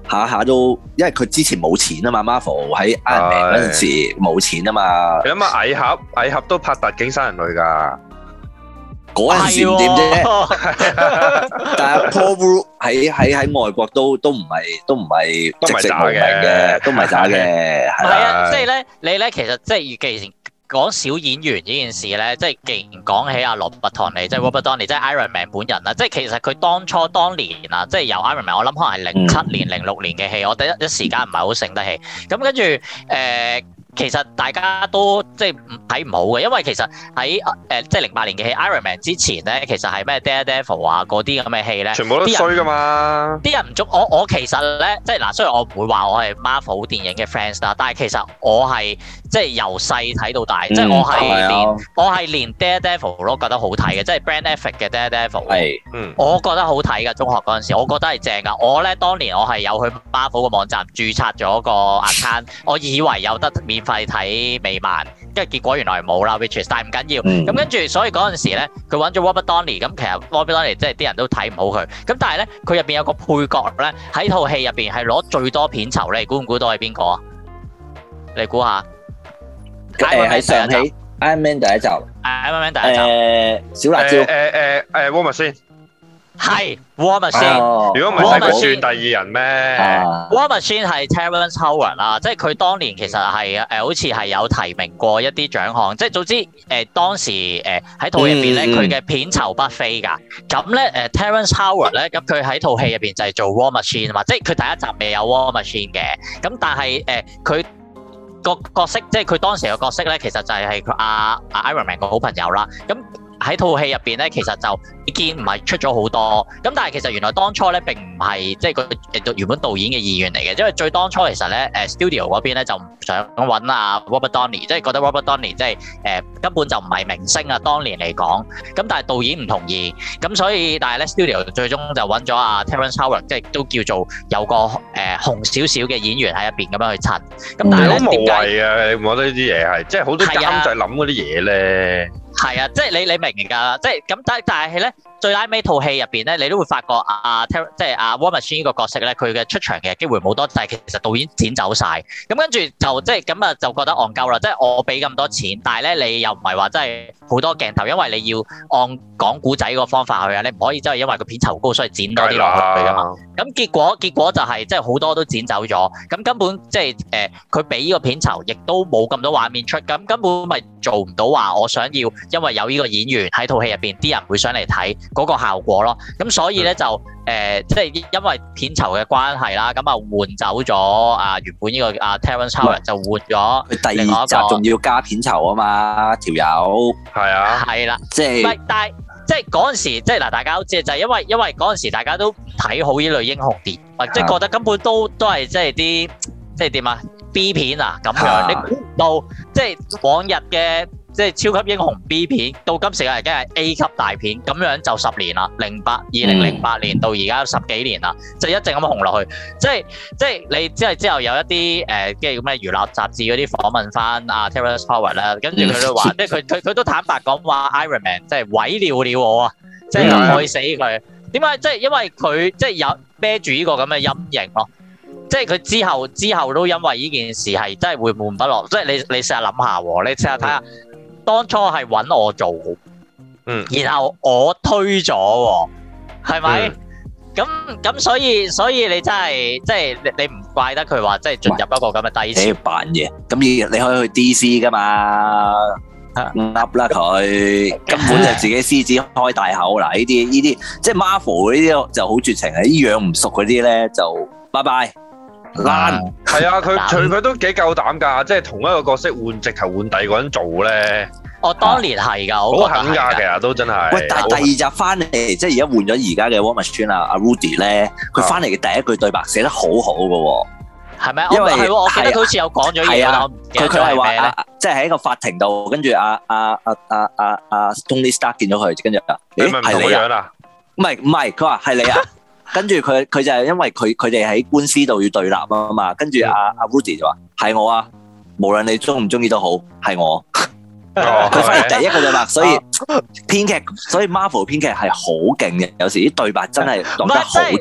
下下都，因為佢之前冇錢啊嘛 ，Marvel 喺 Iron Man 嗰陣時冇錢啊嘛。 你諗下蟻俠，蟻俠都拍特警殺人類㗎。 嗰陣時唔掂啫，但係 Paul Rudd 喺喺喺外國都都唔係都唔係籍籍無名嘅，都唔係渣嘅，係啊，即係咧，你咧其實即係既然講小演員呢件事咧，即係既然講起阿羅拔唐尼，即係 Robert Downey，即係 Iron Man 本人啦，即係其實佢當初當年啊，即係由 Iron Man，我諗可能係零七年、零六年嘅戲，我第一一時間唔係好醒得起，咁跟住誒。呃其實大家都即係睇唔好嘅，因為其實喺誒、呃、即係零八年嘅戲 Iron Man 之前咧，其實係咩 Daredevil 啊嗰啲咁嘅戲咧， 全部都衰噶嘛。啲人唔中我我其實咧，即係嗱，雖然我唔會話我係 Marvel 電影嘅 fans 啦，但係其實我係即係由細睇到大，嗯、即係我係連、啊、我係連 Daredevil 都覺得好睇嘅，即係 Ben Affleck 嘅 Daredevil，係，嗯，我覺得好睇㗎。中學嗰陣時，我覺得係正㗎。我咧當年我係有去 Marvel 個網站註冊咗個 account，我以為有得免費睇美漫，跟住結果原來冇啦 which is 但係唔緊要。咁跟住，所以嗰陣時咧，佢揾咗 Robert Downey，咁其實 Robert Downey 即係啲人都睇唔好佢。咁但係咧，佢入邊有個配角咧，喺套戲入邊係攞最多片酬咧，你估唔估到係邊個啊？你估下？ 誒喺上戲 Iron Man 第一集 ，Iron Man 第一集， 誒小辣椒，誒誒誒 War Machine。 係 War Machine， 如果唔係佢算第二人咩 ？War Machine 係 Terrence Howard 啦，即係佢當年其實係誒、呃、好似係有提名過一啲獎項，即係總之誒、呃、當時誒喺套入邊咧，佢嘅、嗯、片酬不菲㗎。咁咧誒 Terrence Howard 咧，咁佢喺套戲入邊就係做 War Machine 啊嘛，即係佢第一集未有 War Machine 嘅。咁但係誒佢個角色，即係佢當時嘅角色咧，其實就係佢阿阿 Iron Man 個好朋友啦。咁喺套戲入邊咧，其實就已經唔係出咗好多，咁但係其實原來當初咧並唔係即係佢原本導演嘅意願嚟嘅，因為最當初其實咧誒 studio 嗰邊咧就唔想揾阿 Robert Downey，即係覺得 Robert Downey 即係誒根本就唔係明星啊，當年嚟講，咁但係導演唔同意，咁所以但係咧 studio 最終就揾咗阿 Terrence Howard，即係都叫做有個誒紅少少嘅演員喺入邊咁樣去襯，咁但係咧點解？好無謂啊！你唔覺得呢啲嘢係即係好多監製諗嗰啲嘢咧？係啊，即係你你明㗎，即係咁，但但係咧，最拉尾套戲入邊咧，你都會發覺阿 Ter 即係阿 War Machine 呢個角色咧，佢嘅出場嘅機會冇多，但係其實導演剪走晒，咁跟住就即係咁啊，就覺得戇鳩啦，即係我俾咁多錢，但係咧你又唔係話真係好多鏡頭，因為你要按講古仔個方法去啊，你唔可以真係因為個片酬高所以剪多啲落去㗎嘛。咁結果結果就係、是、即係好多都剪走咗，咁根本即係誒佢俾呢個片酬，亦都冇咁多畫面出，咁根本咪做唔到話我想要。因為有呢個演員喺套戲入邊，啲人會想嚟睇嗰個效果咯。咁所以咧就誒、呃，即係因為片酬嘅關係啦，咁啊換走咗啊原本呢、這個啊 Terrence Howard 就換咗。佢第二集仲要加片酬啊嘛，條友係啊，係啦，即係唔係？但係即係嗰陣時，即係嗱，大家都知就係因為因為嗰陣時大家都唔睇好呢類英雄電，或即係覺得根本都都係即係啲即係點啊 B 片啊咁樣，你估唔到即係往日嘅。即係超級英雄 B 片，到今時已經係 A 級大片，咁樣就十年啦，零八二零零八年到而家十幾年啦，就一直咁紅落去。即係即係你即係之後有一啲誒，即係咁嘅娛樂雜誌嗰啲訪問翻阿 Terrence Howard 啦，跟住佢都話，即係佢佢佢都坦白講話 Iron Man 即係毀了了我啊，即係害死佢。點解？即係因為佢即係有孭住呢個咁嘅陰影咯。即係佢之後之後都因為呢件事係真係會悶不樂。即係你你試下諗下喎，你試下睇下。當初係揾我做，嗯，然後我推咗喎，係咪？咁咁、嗯、所以所以你真係即係你你唔怪得佢話即係進入一個咁嘅低潮。你扮嘢，咁你你可以去 D C 噶嘛？噏啦佢，根本就自己獅子開大口啦！呢啲呢啲即係 Marvel 呢啲就好絕情啊！啲養唔熟嗰啲咧就拜拜。爛係啊，佢佢佢都幾夠膽㗎，即係同一個角色換直頭換第二個人做咧。 我當年係㗎， 好狠㗎，其實都真係。 喂，但係第二集翻嚟，即係而家換咗而家嘅 War Machine 啊，阿 Rudy 咧，佢翻嚟嘅第一句對白寫得好好㗎喎。係咪？因為係我記得佢好似有講咗嘢啦。佢佢係話，即係喺一個法庭度，跟住阿阿阿阿阿阿 Tony Stark 見咗佢，跟住啊，誒係你啊？唔係唔係，佢話係你啊。跟住佢佢就係因為佢佢哋喺官司度要對立啊嘛，跟住阿阿 Rudy 就話係我啊，無論你中唔中意都好，係我。佢反而第一個對白，所以編劇，所以 Marvel 編劇係好勁嘅，有時啲對白真係講得好絕。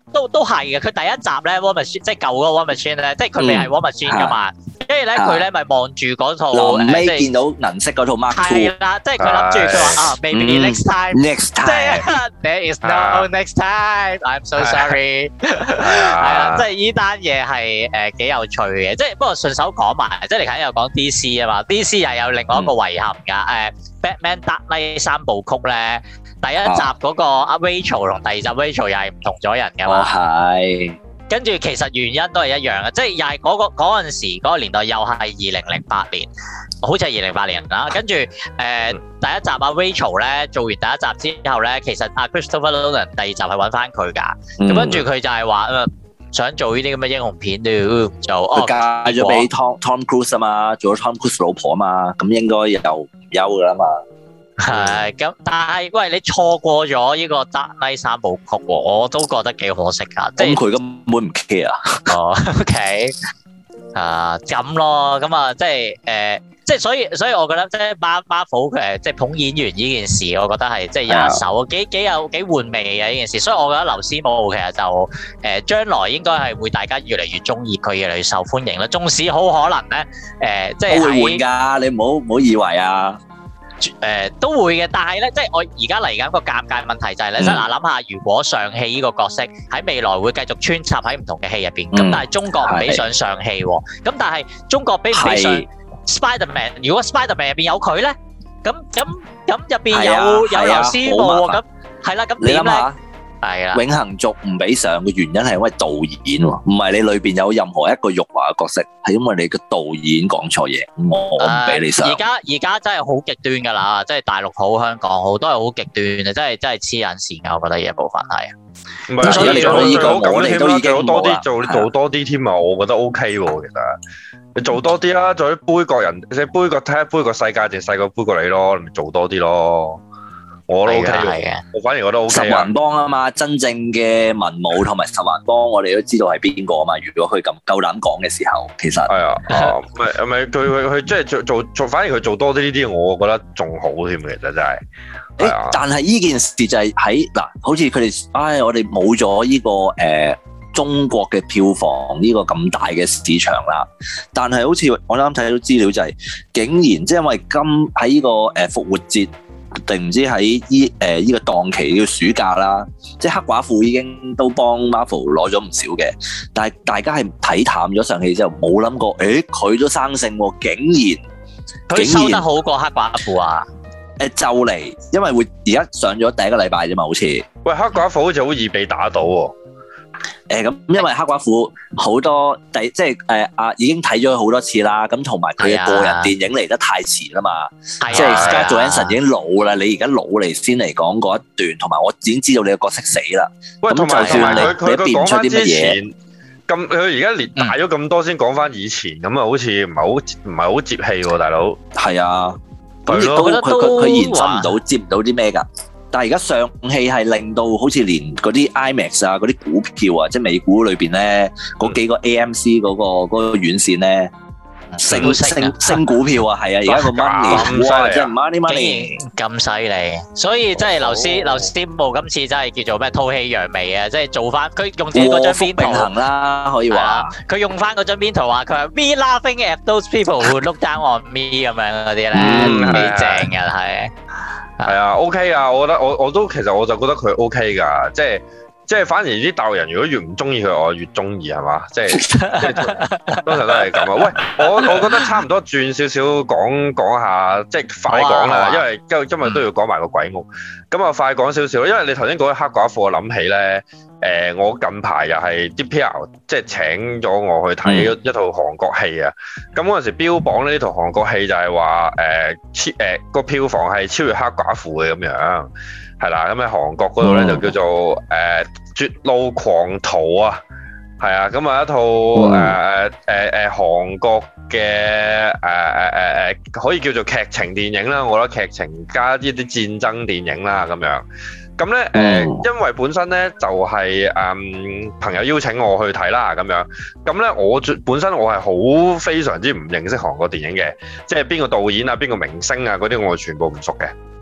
都都係嘅。佢第一集咧 War Machine 即係舊嗰個 War Machine 咧，即係佢未係 War Machine 噶嘛。跟住咧佢咧咪望住嗰套， 臨尾見到銀色嗰套 Mark Two。 係啦，即係佢諗住佢話啊 ，maybe next time，next time，there is no next time，I'm so sorry。係啊，即係呢單嘢係誒幾有趣嘅。即係不過順手講埋，即係你頭先又講 D C 啊嘛 ，D C 又有另外一個遺憾㗎。誒 Batman Dark Knight 三部曲咧。第一集嗰個阿 Rachel 同第二集 Rachel 又係唔同咗人㗎嘛，係。跟住其實原因都係一樣嘅，即係又係嗰個嗰陣時嗰個年代又係二零零八年，好似係二零零八年啦。跟住誒第一集阿 Rachel 咧做完第一集之後咧，其實阿 Christopher Nolan 第二集係揾翻佢㗎，咁跟住佢就係話誒想做呢啲咁嘅英雄片都就哦嫁咗俾 Tom Tom Cruise 啊嘛，做咗 Tom Cruise 老婆啊嘛，咁應該又唔憂㗎啦嘛。係咁，但係喂，你錯過咗呢個 Dark Knight 三部曲喎，我都覺得幾可惜噶。即係佢根本唔 care 啊。哦，OK，啊咁咯，咁啊，即係誒，即係所以，所以我覺得即係 Marvel 誒，即係捧演員呢件事，我覺得係即係有一手，幾幾有幾玩味嘅呢件事。所以我覺得劉思慕其實就誒將來應該係會大家越嚟越中意佢，越嚟越受歡迎啦。縱使好可能咧，誒即係會換㗎，你唔好唔好以為啊。誒、呃、都會嘅，但係咧，即係我而家嚟緊個尷尬問題就係咧，即係嗱諗下，如果上戲呢個角色喺未來會繼續穿插喺唔同嘅戲入邊，咁、嗯、但係中國唔俾上上戲喎，咁但係中國俾唔俾上 Spiderman？ 如果 Spiderman 入邊有佢咧，咁咁咁入邊有、啊、有劉思慕喎，咁係啦，咁點咧？係啊，永恆族唔俾上嘅原因係因為導演喎，唔係你裏邊有任何一個辱華嘅角色，係因為你個導演講錯嘢，我唔俾你上。而家而家真係好極端㗎啦，即係大陸好、香港好，都係好極端嘅，真係真係黐緊線㗎，我覺得呢一部分係。唔係，所以你做呢個，我哋都已經多啲做做多啲添啊，我覺得 OK 喎，其實你做多啲啦，做啲杯葛人，即係杯葛睇下杯葛世界定細個杯葛你咯，你咪做多啲咯。我都 OK 嘅，我反而覺得 OK 啊！十環幫啊嘛，真正嘅文武同埋十環幫，我哋都知道係邊個啊嘛。如果佢咁夠膽講嘅時候，其實係啊，唔係唔係佢佢佢即係做做做，反而佢做多啲呢啲，我覺得仲好添。其實真係，誒，但係呢件事就係喺嗱，好似佢哋，唉，我哋冇咗呢個誒、呃、中國嘅票房呢個咁大嘅市場啦。但係好似我啱啱睇到資料就係、是，竟然即係因為今喺呢個誒復活節。定唔知喺依誒依個檔期嘅暑假啦，即係黑寡婦已經都幫 Marvel 攞咗唔少嘅，但係大家係睇淡咗上戲之後，冇諗過，誒佢都生性喎，竟然佢收得好過黑寡婦啊！誒就嚟，因為會而家上咗第一個禮拜啫嘛，好似喂黑寡婦好似好易被打到喎。誒咁，因為黑寡婦好多第即係誒啊，已經睇咗好多次啦。咁同埋佢嘅個人電影嚟得太遲啦嘛，即係 Scarlett Johansson已經老啦。你而家老嚟先嚟講嗰一段，同埋我已經知道你個角色死啦。喂，同埋同埋佢佢佢講翻之前咁，佢而家連大咗咁多先講翻以前，咁啊好似唔係好唔係好接戲喎，大佬。係啊，咁亦都佢佢佢延伸唔到，接唔到啲咩㗎？但係而家上戲係令到好似連嗰啲 IMAX 啊、嗰啲股票啊，即係美股裏邊咧嗰幾個 A M C 嗰個嗰個院線咧升升升股票啊，係啊！而家個 money 哇，即係 money money 咁犀利，所以真係劉思劉思慕今次真係叫做咩吐氣揚眉啊！即係做翻佢用自己嗰張邊圖行啦，可以話佢用翻嗰張邊圖話佢話 We laughing at those people who look down on me 咁樣嗰啲咧幾正嘅係。係啊 ，OK 啊，我覺得我我都其實我就覺得佢 OK 噶，即係即係反而啲大陸人如果越唔中意佢，我越中意係嘛，即係即係通常都係咁啊。喂，我我覺得差唔多轉少少講講下，即係快講啦，啊、因為今今日都要講埋個鬼屋，咁啊快講少少，因為你頭先講黑寡婦，我諗起咧。誒、呃，我近排又係啲 P R 即係請咗我去睇一套韓國戲啊！咁嗰陣時標榜呢套韓國戲就係話誒超誒個票房係超越黑寡婦嘅咁樣，係啦。咁喺韓國嗰度咧就叫做誒、呃、絕路狂逃啊，係啊！咁啊一套誒誒誒誒韓國嘅誒誒誒誒可以叫做劇情電影啦，我覺得劇情加一啲戰爭電影啦咁樣。咁咧，誒、呃，因為本身咧就係、是、誒、嗯、朋友邀請我去睇啦，咁樣，咁咧我本身我係好非常之唔認識韓國電影嘅，即係邊個導演啊、邊個明星啊嗰啲我全部唔熟嘅。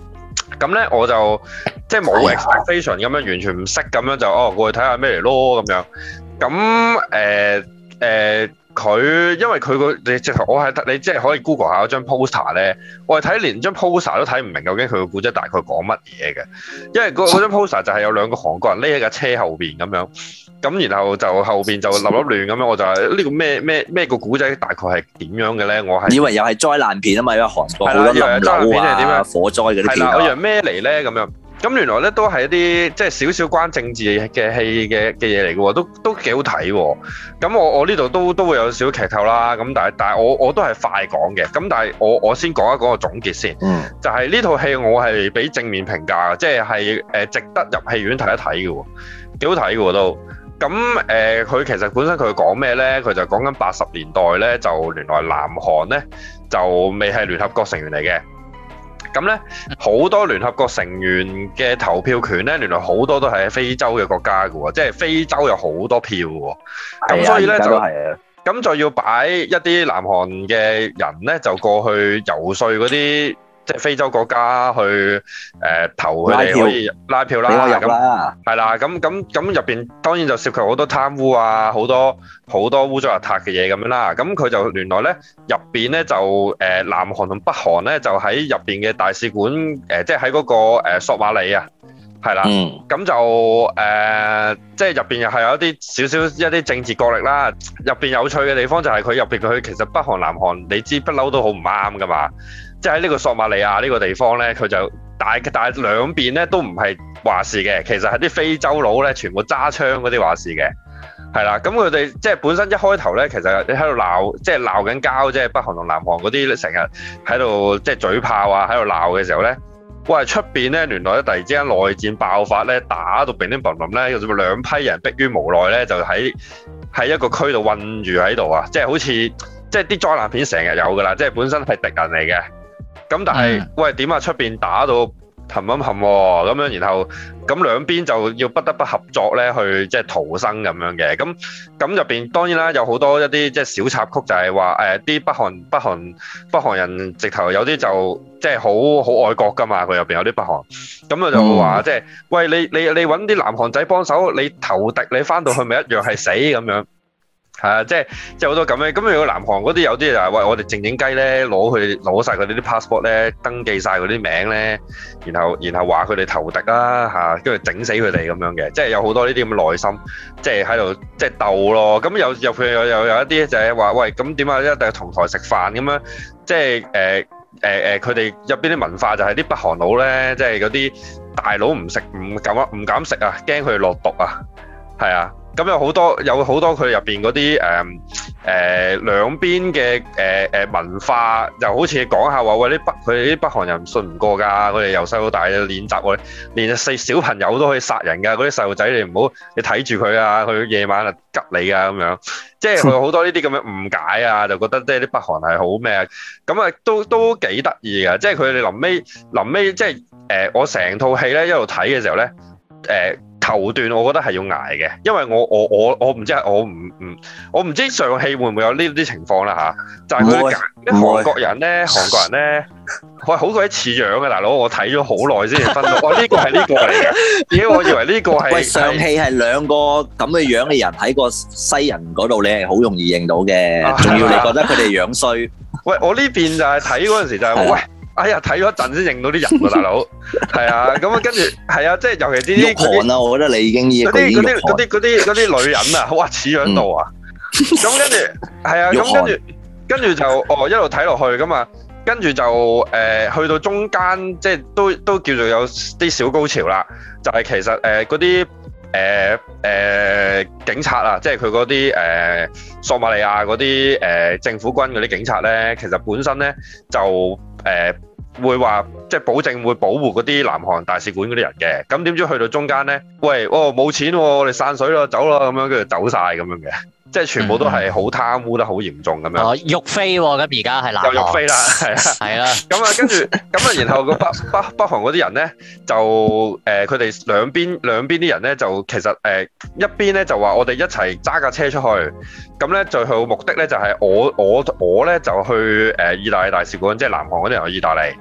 咁咧我就即係冇 expectation 咁樣，完全唔識咁樣就哦過去睇下咩嚟咯咁樣。咁誒誒佢因為佢個你直頭我係你即係可以 Google 下嗰張 poster 咧，我係睇連張 poster 都睇唔明究竟佢個故仔大概講乜嘢嘅，因為嗰嗰張 poster 就係有兩個韓國人匿喺架車後邊咁樣。咁然後就後邊就立立亂咁樣，我就係呢個咩咩咩個古仔大概係點樣嘅咧？我係以為又係災難片啊嘛，因為韓國好多冧樓啊、火災嗰啲片啊。 我以為咩嚟咧咁樣？咁原來咧都係一啲即係少少關政治嘅戲嘅嘅嘢嚟嘅喎，都都幾好睇喎。咁我我呢度都都會有少少劇透啦。咁但係但係我我都係快講嘅。咁但係我我先講一講個總結先。嗯。就係呢套戲我係俾正面評價嘅，即係係誒值得入戲院睇一睇嘅喎，幾好睇嘅喎都。咁誒，佢、呃、其實本身佢講咩咧？佢就講緊八十年代咧，就原來南韓咧就未係聯合國成員嚟嘅。咁咧好多聯合國成員嘅投票權咧，原來好多都係喺非洲嘅國家嘅喎，即係非洲有好多票喎。咁所以咧就咁就要擺一啲南韓嘅人咧，就過去游說嗰啲。即係非洲國家去誒、呃、投佢哋可以拉票啦，咁係啦，咁咁咁入邊當然就涉及好多貪污啊，好多好多污糟邋遢嘅嘢咁樣啦。咁佢就原來咧入邊咧就誒、呃、南韓同北韓咧就喺入邊嘅大使館誒、呃，即係喺嗰個、呃、索馬里啊，係啦，咁、嗯、就誒、呃、即係入邊又係有一啲少少一啲政治角力啦。入邊有趣嘅地方就係佢入邊佢其實北韓南韓你知不嬲都好唔啱噶嘛。即係喺呢個索馬利亞呢個地方咧，佢就大但係兩邊咧都唔係話事嘅，其實係啲非洲佬咧全部揸槍嗰啲話事嘅，係啦。咁佢哋即係本身一開頭咧，其實你喺度鬧，即係鬧緊交，即係北韓同南韓嗰啲成日喺度即係嘴炮啊，喺度鬧嘅時候咧，哇！出邊咧原來咧突然之間內戰爆發咧，打到乒乒乓乓咧，有咗兩批人迫於無奈咧，就喺喺一個區度困住喺度啊！即係好似即係啲災難片成日有噶啦，即係本身係敵人嚟嘅。咁但係，嗯、喂點啊？出邊打到冚冚冚喎，咁樣然後咁兩邊就要不得不合作咧，去即係逃生咁樣嘅。咁咁入邊當然啦，有好多一啲即係小插曲就，就係話誒啲北韓北韓北韓人直頭有啲就即係好好愛國㗎嘛。佢入邊有啲北韓，咁啊就話即係喂你你你揾啲南韓仔幫手，你投敵你翻到去咪一樣係死咁樣。係啊，即係即係好多咁樣。咁如果南韓嗰啲有啲就係喂，我哋靜靜雞咧，攞佢攞曬佢哋啲 passport 咧，登記曬佢啲名咧，然後然後話佢哋投敵啦嚇，跟住整死佢哋咁樣嘅，即係有好多呢啲咁嘅內心，即係喺度即係鬥咯。咁有有佢有有有一啲就係話喂，咁點啊？一定同台食飯咁樣，即係誒誒誒，佢哋入邊啲文化就係啲北韓佬咧，即係嗰啲大佬唔食唔敢唔敢食啊，驚佢哋落毒啊，係啊。咁有好多有好多佢入邊嗰啲誒誒兩邊嘅誒誒文化，就好似講下話喂啲北佢哋啲北韓人信唔過㗎，佢哋由細到大練習喎，連細小朋友都可以殺人㗎，嗰啲細路仔你唔好你睇住佢啊，佢夜晚啊吉你啊咁樣，即係佢有好多呢啲咁嘅誤解啊，就覺得即係啲北韓係好咩啊，咁啊都都幾得意㗎，即係佢哋臨尾臨尾即係誒、呃、我成套戲咧一路睇嘅時候咧誒。呃頭段我覺得係要捱嘅，因為我我我我唔知我唔唔我唔知上戲會唔會有呢啲情況啦嚇，就係佢啲韓國人咧，韓國人咧，喂好鬼似樣嘅大佬，我睇咗好耐先至分到，哇呢個係呢個嚟嘅，點解我以為呢個係？喂上戲係兩個咁嘅樣嘅人喺個西人嗰度，你係好容易認到嘅，仲要你覺得佢哋樣衰。喂我呢邊就係睇嗰陣時就係喂。哎呀，睇咗一陣先認到啲人喎，大佬。係啊，咁啊，跟住係啊，即係尤其啲啲韓啊，我覺得你已經依嗰啲嗰啲嗰啲嗰啲嗰啲女人啊，哇似樣到啊！咁跟住係啊，咁跟住跟住就哦一路睇落去咁啊，跟住就誒去到中間，即係都都叫做有啲小高潮啦。就係其實誒嗰啲誒誒警察啊，即係佢嗰啲誒索馬利亞嗰啲誒政府軍嗰啲警察咧，其實本身咧就誒。會話即係保證會保護嗰啲南韓大使館嗰啲人嘅，咁點知去到中間咧，喂，哦冇錢喎，我哋散水咯，走咯，咁樣跟住走晒咁樣嘅，即係全部都係好貪污得好嚴重咁樣。哦，玉飛喎，咁而家係南韓。又玉飛啦，係啊，係啦。咁啊，跟住咁啊，然後個北北北韓嗰啲人咧，就誒佢哋兩邊兩邊啲人咧，就其實誒一邊咧就話我哋一齊揸架車出去，咁咧最後目的咧就係我我我咧就去誒意大利大使館，即係南韓嗰啲人去意大利。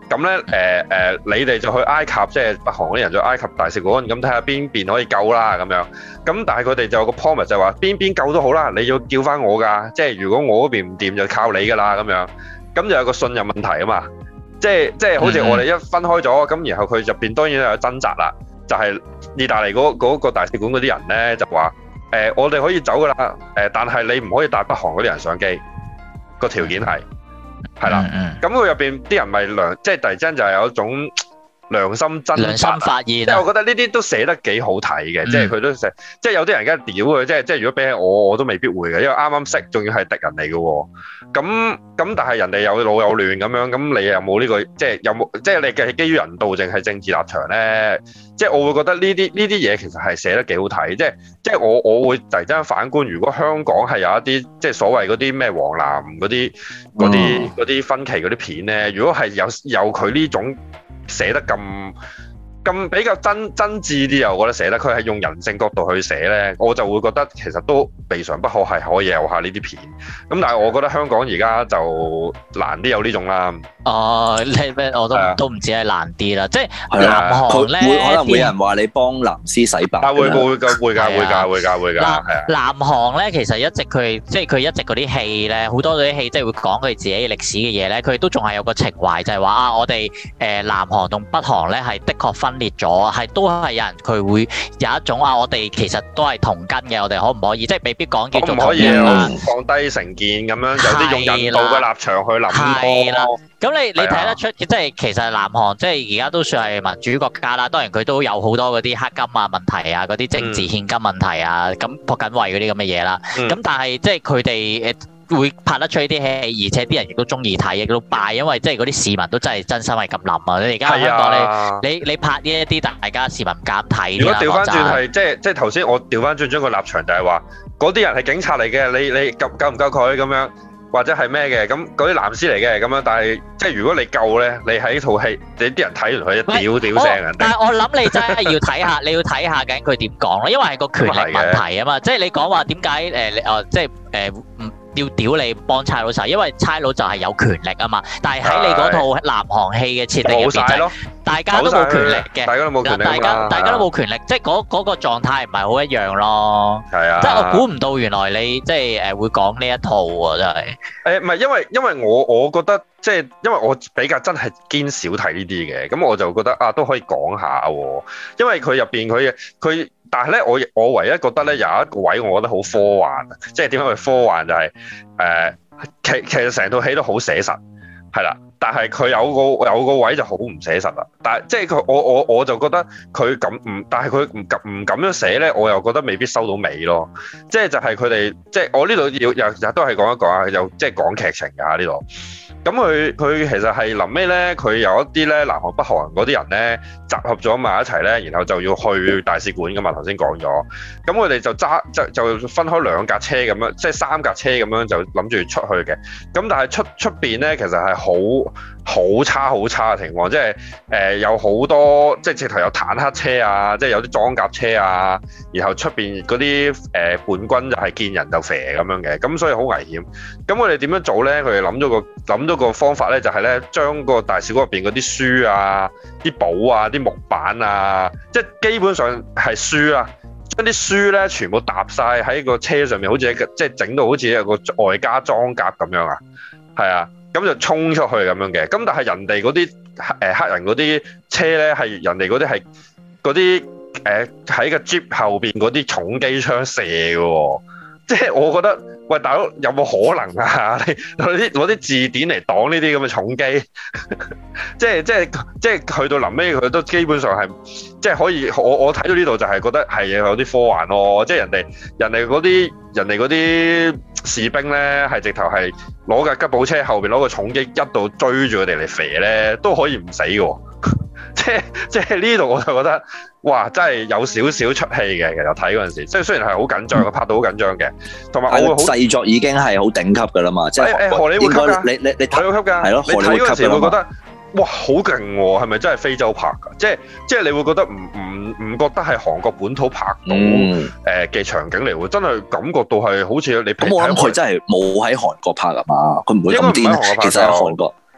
咁咧誒誒，你哋就去埃及，即係北韓嗰啲人去埃及大使館，咁睇下邊邊可以救啦咁樣。咁但係佢哋就有個 promise 就話邊邊救都好啦，你要叫翻我㗎，即係如果我嗰邊唔掂就靠你㗎啦咁樣。咁就有個信任問題啊嘛，即係即係好似我哋一分開咗，咁、嗯、然後佢入邊當然有掙扎啦，就係、是、意大利嗰嗰個大使館嗰啲人咧就話誒、呃，我哋可以走㗎啦，誒、呃，但係你唔可以帶北韓嗰啲人上機，個條件係。係啦，咁佢入邊啲人咪良，即係突然之間就係有一種良心真良心發現，即係我覺得呢啲都寫得幾好睇嘅，嗯、即係佢都寫，即係有啲人梗係屌嘅，即係即係如果比起我，我都未必會嘅，因為啱啱識，仲要係敵人嚟嘅，咁咁但係人哋有老有亂咁樣，咁你有冇呢、這個，即係有冇，即係你嘅基於人道定係政治立場咧？即係我會覺得呢啲呢啲嘢其實係寫得幾好睇，即係即係我我會突然之間反觀，如果香港係有一啲即係所謂嗰啲咩黃藍嗰啲嗰啲嗰啲分歧嗰啲片咧，如果係有有佢呢種寫得咁咁比較真真摯啲啊，我覺得寫得佢係用人性角度去寫咧，我就會覺得其實都未嘗不可係可以有下呢啲片。咁但係我覺得香港而家就難啲有呢種啦。哦， 你咩我都都唔止係難啲啦，即係南韓咧， 會可能會有人話你幫藍絲洗白。 啊會會會㗎會㗎會㗎會㗎會㗎。 南南韓咧其實一直佢即係佢一直嗰啲戲咧，好多嗰啲戲即係會講佢自己歷史嘅嘢咧，佢都仲係有個情懷，就係話啊，我哋誒南韓同北韓咧係的確分裂咗，係都係有人佢會有一種啊，我哋其實都係同根嘅，我哋可唔可以即係未必講叫做同根啦， 放低成見咁樣，有啲用人道嘅立場去諗。 係啦。咁你你睇得出，即係其實南韓即係而家都算係民主國家啦。當然佢都有好多嗰啲黑金啊問題啊，嗰啲政治獻金問題啊，咁朴槿惠嗰啲咁嘅嘢啦。咁、嗯、但係即係佢哋誒會拍得出呢啲戲，而且啲人亦都中意睇，亦都拜，因為即係嗰啲市民都真係真心係咁諗啊！你而家香港你你你拍呢一啲，大家市民唔敢睇。 如果調翻轉係即係即係頭先我調翻轉將個立場就係話，嗰啲人係警察嚟嘅，你你救救唔救佢咁樣？或者係咩嘅咁嗰啲藍絲嚟嘅咁樣，但係即係如果你夠咧，你喺套戲，你啲人睇完佢一屌屌聲人。 但係我諗你真係要睇下，你要睇下緊佢點講咯，因為係個權力問題啊嘛。即係你講話點解誒誒，即係誒唔要屌你幫差佬手，因為差佬就係有權力啊嘛。但係喺你嗰套南韓戲嘅設定入邊就係大家都冇權力嘅， 大家都冇權力， 大家大家都冇權力，即係嗰嗰個狀態唔係好一樣咯。 係啊， 即係我估唔到原來你即係誒會講呢一套喎，真係。 誒唔係因為因為我我覺得即係因為我比較真係堅少睇呢啲嘅，咁我就覺得啊都可以講下喎。因為佢入邊佢佢，但係咧我我唯一覺得咧有一個位我覺得好科幻，即係點解佢科幻就係、是、誒、呃、其其實成套戲都好寫實，係啦。但係佢有個有個位就好唔寫實啦，但係即係佢我我我就覺得佢咁唔，但係佢唔咁唔咁樣寫咧，我又覺得未必收到尾咯。即係就係佢哋即係我呢度要又又都係講一講啊，又即係講劇情㗎呢度。咁佢佢其實係臨尾咧，佢有一啲咧南韓北韓嗰啲人咧集合咗埋一齊咧，然後就要去大使館㗎嘛。頭先講咗，咁佢哋就揸就就分開兩架車咁樣，即係三架車咁樣就諗住出去嘅。咁但係出出邊咧，其實係好好差好差嘅情況，即係誒、呃、有好多即係直頭有坦克車啊，即係有啲裝甲車啊，然後出邊嗰啲誒叛軍就係見人就射咁樣嘅，咁所以好危險。咁我哋點樣做咧？佢哋諗咗個諗咗個方法咧，就係咧將個大使館入邊嗰啲書啊、啲簿啊、啲木板啊，即係基本上係書啊，將啲書咧全部搭晒喺個車上面，好似一個即係整到好似一個外加裝甲咁樣啊，係啊。咁就衝出去咁樣嘅，咁但係人哋嗰啲誒黑人嗰啲車咧，係人哋嗰啲係嗰啲誒喺個 Jeep 後邊嗰啲重機槍射嘅喎，即係我覺得喂大佬有冇可能啊？你攞啲攞啲字典嚟擋呢啲咁嘅重機，即係即係即係去到臨尾佢都基本上係即係可以，我我睇到呢度就係覺得係有啲科幻咯，即係人哋人哋嗰啲人哋嗰啲士兵咧係直頭係攞架吉普車後邊攞個重機一度追住佢哋嚟肥咧都可以唔死嘅，即係即係呢度我就覺得哇真係有少少出戲嘅。其實睇嗰陣時，即係雖然係好緊張，拍到好緊張嘅，同埋我會好製作已經係好頂級㗎啦嘛，即係誒荷里活級㗎， 你你你荷里活級㗎， 係咯， 你睇嗰陣時會覺得哇好勁喎，係咪真係非洲拍㗎？即係即係你會覺得唔唔唔覺得係韓國本土拍到誒嘅場景嚟喎，真係感覺到係好似你。 咁我諗佢真係冇喺韓國拍啊嘛，佢唔會咁癲。其實喺韓國，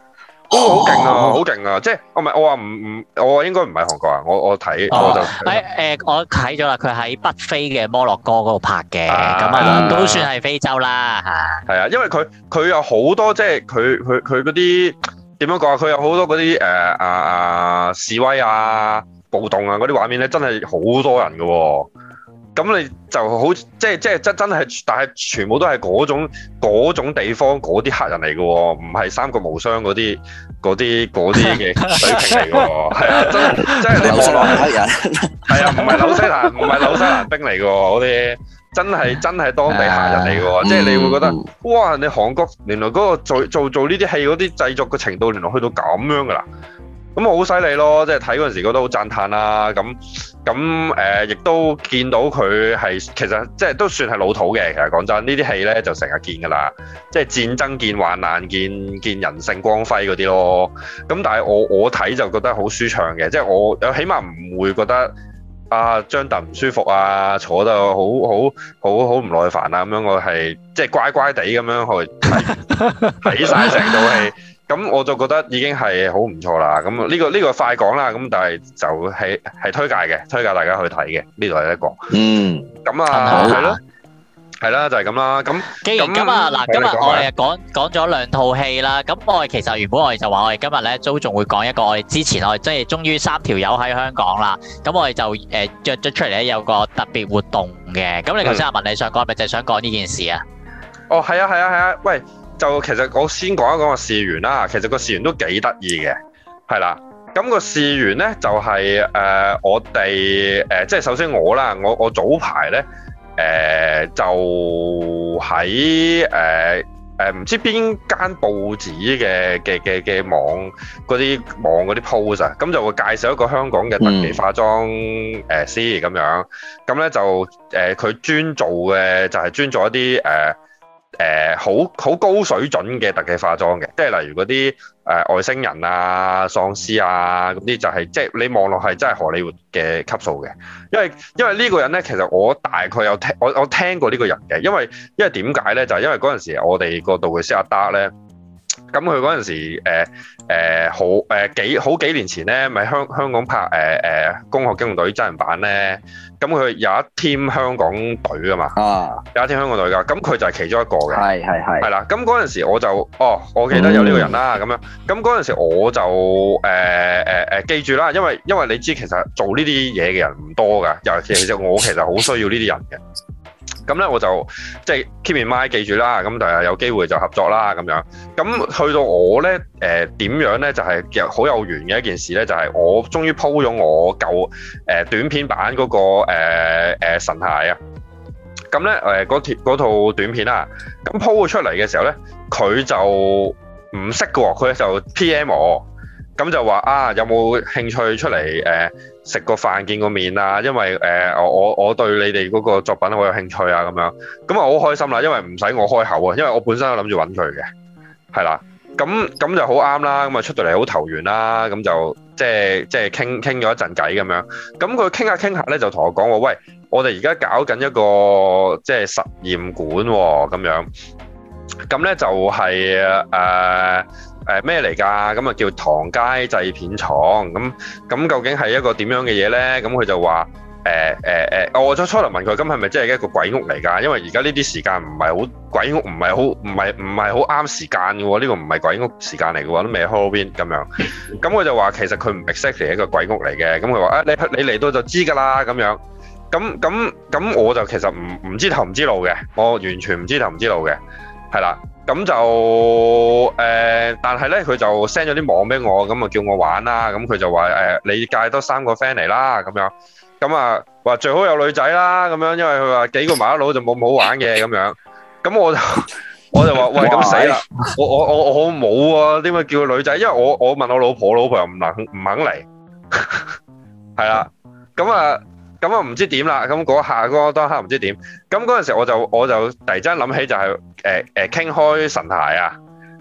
哦，好勁啊，好勁啊！即係我唔係我話唔唔，我應該唔係韓國啊，我我睇我就誒誒，我睇咗啦，佢喺北非嘅摩洛哥嗰度拍嘅，咁啊啊都算係非洲啦嚇。 係啊，因為佢佢有好多即係佢佢佢嗰啲點樣講啊？佢有好多嗰啲誒啊啊示威啊暴動啊嗰啲畫面咧，真係好多人㗎喎。咁你就好即係即係真真係，但係全部都係嗰種嗰種地方嗰啲黑人嚟嘅喎，唔係三國無雙嗰啲嗰啲嗰啲嘅水平嚟嘅喎，係啊，真係真係你望落黑人，係啊，唔係紐西蘭唔係紐西蘭兵嚟嘅喎，嗰啲真係真係當地黑人嚟嘅喎，即係你會覺得哇！你韓國原來嗰個做做做呢啲戲嗰啲製作嘅程度，原來去到咁樣㗎啦。咁好犀利咯！即係睇嗰陣時覺得好讚歎啦。咁咁誒，亦都見到佢係其實即係都算係老土嘅。其實講真，呢啲戲咧就成日見㗎啦。即係戰爭見患難，見見人性光輝嗰啲咯。咁但係我我睇就覺得好舒暢嘅，即係我起碼唔會覺得啊張凳唔舒服啊，坐得好好好好唔耐煩啊咁樣。我係即係乖乖地咁樣去睇睇曬成套戲。咁我就覺得已經係好唔錯啦。咁呢個呢個快講啦。咁但係就係係推介嘅，推介大家去睇嘅。呢度係一個。嗯。咁啊，係咯，係啦，就係咁啦。咁既然咁啊，嗱，今日我哋講講咗兩套戲啦。咁我哋其實原本我哋就話我哋今日咧都仲會講一個我哋之前我哋即係終於三條友喺香港啦。咁我哋就誒約咗出嚟咧有個特別活動嘅。咁你頭先阿文你想講係咪就係想講呢件事啊？ 哦，係啊，係啊，係啊。喂！就其實我先講一講個事緣啦，其實個事緣都幾得意嘅，係啦。咁個事緣咧就係、是、誒、呃、我哋誒、呃、即係首先我啦，我我早排咧誒就喺誒誒唔知邊間報紙嘅嘅嘅嘅網嗰啲網嗰啲 post 啊，咁就會介紹一個香港嘅特技化妝誒師咁樣，咁咧就誒佢、呃、專做嘅就係專做一啲誒。呃誒好好高水準嘅特技化妝嘅，即係例如嗰啲誒外星人啊、喪屍啊嗰啲，就係即係你望落係真係荷里活嘅級數嘅。因為因為呢個人咧，其實我大概有聽我我聽過呢個人嘅，因為因為點解咧？就係、是、因為嗰陣時我哋個道具師阿德咧，咁佢嗰陣時誒誒、呃、好誒、呃、幾好幾年前咧，咪香香港拍誒誒、呃《攻殼機動隊》真人版咧。咁佢有一 team 香港隊啊嘛，啊有一 team 香港隊㗎，咁佢就係其中一個嘅，係係係，係啦。咁嗰陣時我就，哦，我記得有呢個人啦，咁、嗯、樣。咁嗰陣時我就誒誒誒記住啦，因為因為你知其實做呢啲嘢嘅人唔多㗎，尤其其實我其實好需要呢啲人嘅。咁咧我就即係 keep in mind 記住啦，咁但係有機會就合作啦咁樣。咁去到我咧誒點樣咧就係其實好有緣嘅一件事咧，就係、是、我終於 po 咗我舊誒、呃、短片版嗰、那個誒、呃呃、神骸啊。咁咧誒嗰條嗰套短片啦，咁 po 咗出嚟嘅時候咧，佢就唔識嘅喎，佢就 P M 我。咁就話啊，有冇興趣出嚟誒食個飯見個面啊？因為誒、呃、我我對你哋嗰個作品好有興趣啊，咁樣咁啊好開心啦，因為唔使我開口啊，因為我本身都諗住揾佢嘅，係啦，咁咁就好啱啦，咁啊出到嚟好投緣啦，咁就即係即係傾傾咗一陣偈咁樣，咁佢傾下傾下咧就同我講話，喂，我哋而家搞緊一個即係實驗館喎，咁樣，咁咧就係、是、誒。呃誒咩嚟㗎？咁啊叫唐街製片廠，咁咁究竟係一個點樣嘅嘢咧？咁佢就話誒誒誒，我初初嚟問佢，咁係咪真係一個鬼屋嚟㗎？因為而家呢啲時間唔係好鬼屋，唔係好唔係唔係好啱時間嘅喎，呢個唔係鬼屋時間嚟嘅喎，都未 Halloween 咁樣。咁佢就話其實佢唔 exactly 一個鬼屋嚟嘅。咁佢話啊，你你嚟到就知㗎啦咁樣。咁咁咁我就其實唔唔知頭唔知路嘅，我完全唔知頭唔知路嘅，係啦。咁就誒、呃，但係咧佢就 send 咗啲網俾我，咁啊叫我玩啦。咁佢就話誒、呃，你介多三個 friend 嚟啦，咁樣。咁啊話最好有女仔啦，咁樣，因為佢話幾個麻甩佬就冇咁好玩嘅咁樣。咁我就我就話喂，咁死啦！我我我我冇啊，點解叫個女仔？因為我我問我老婆，我老婆又唔能唔肯嚟，係啦。咁啊。咁啊唔知點啦，咁嗰下嗰當刻唔知點，咁嗰陣時我就我就突然間諗起就係誒誒傾開神骸啊，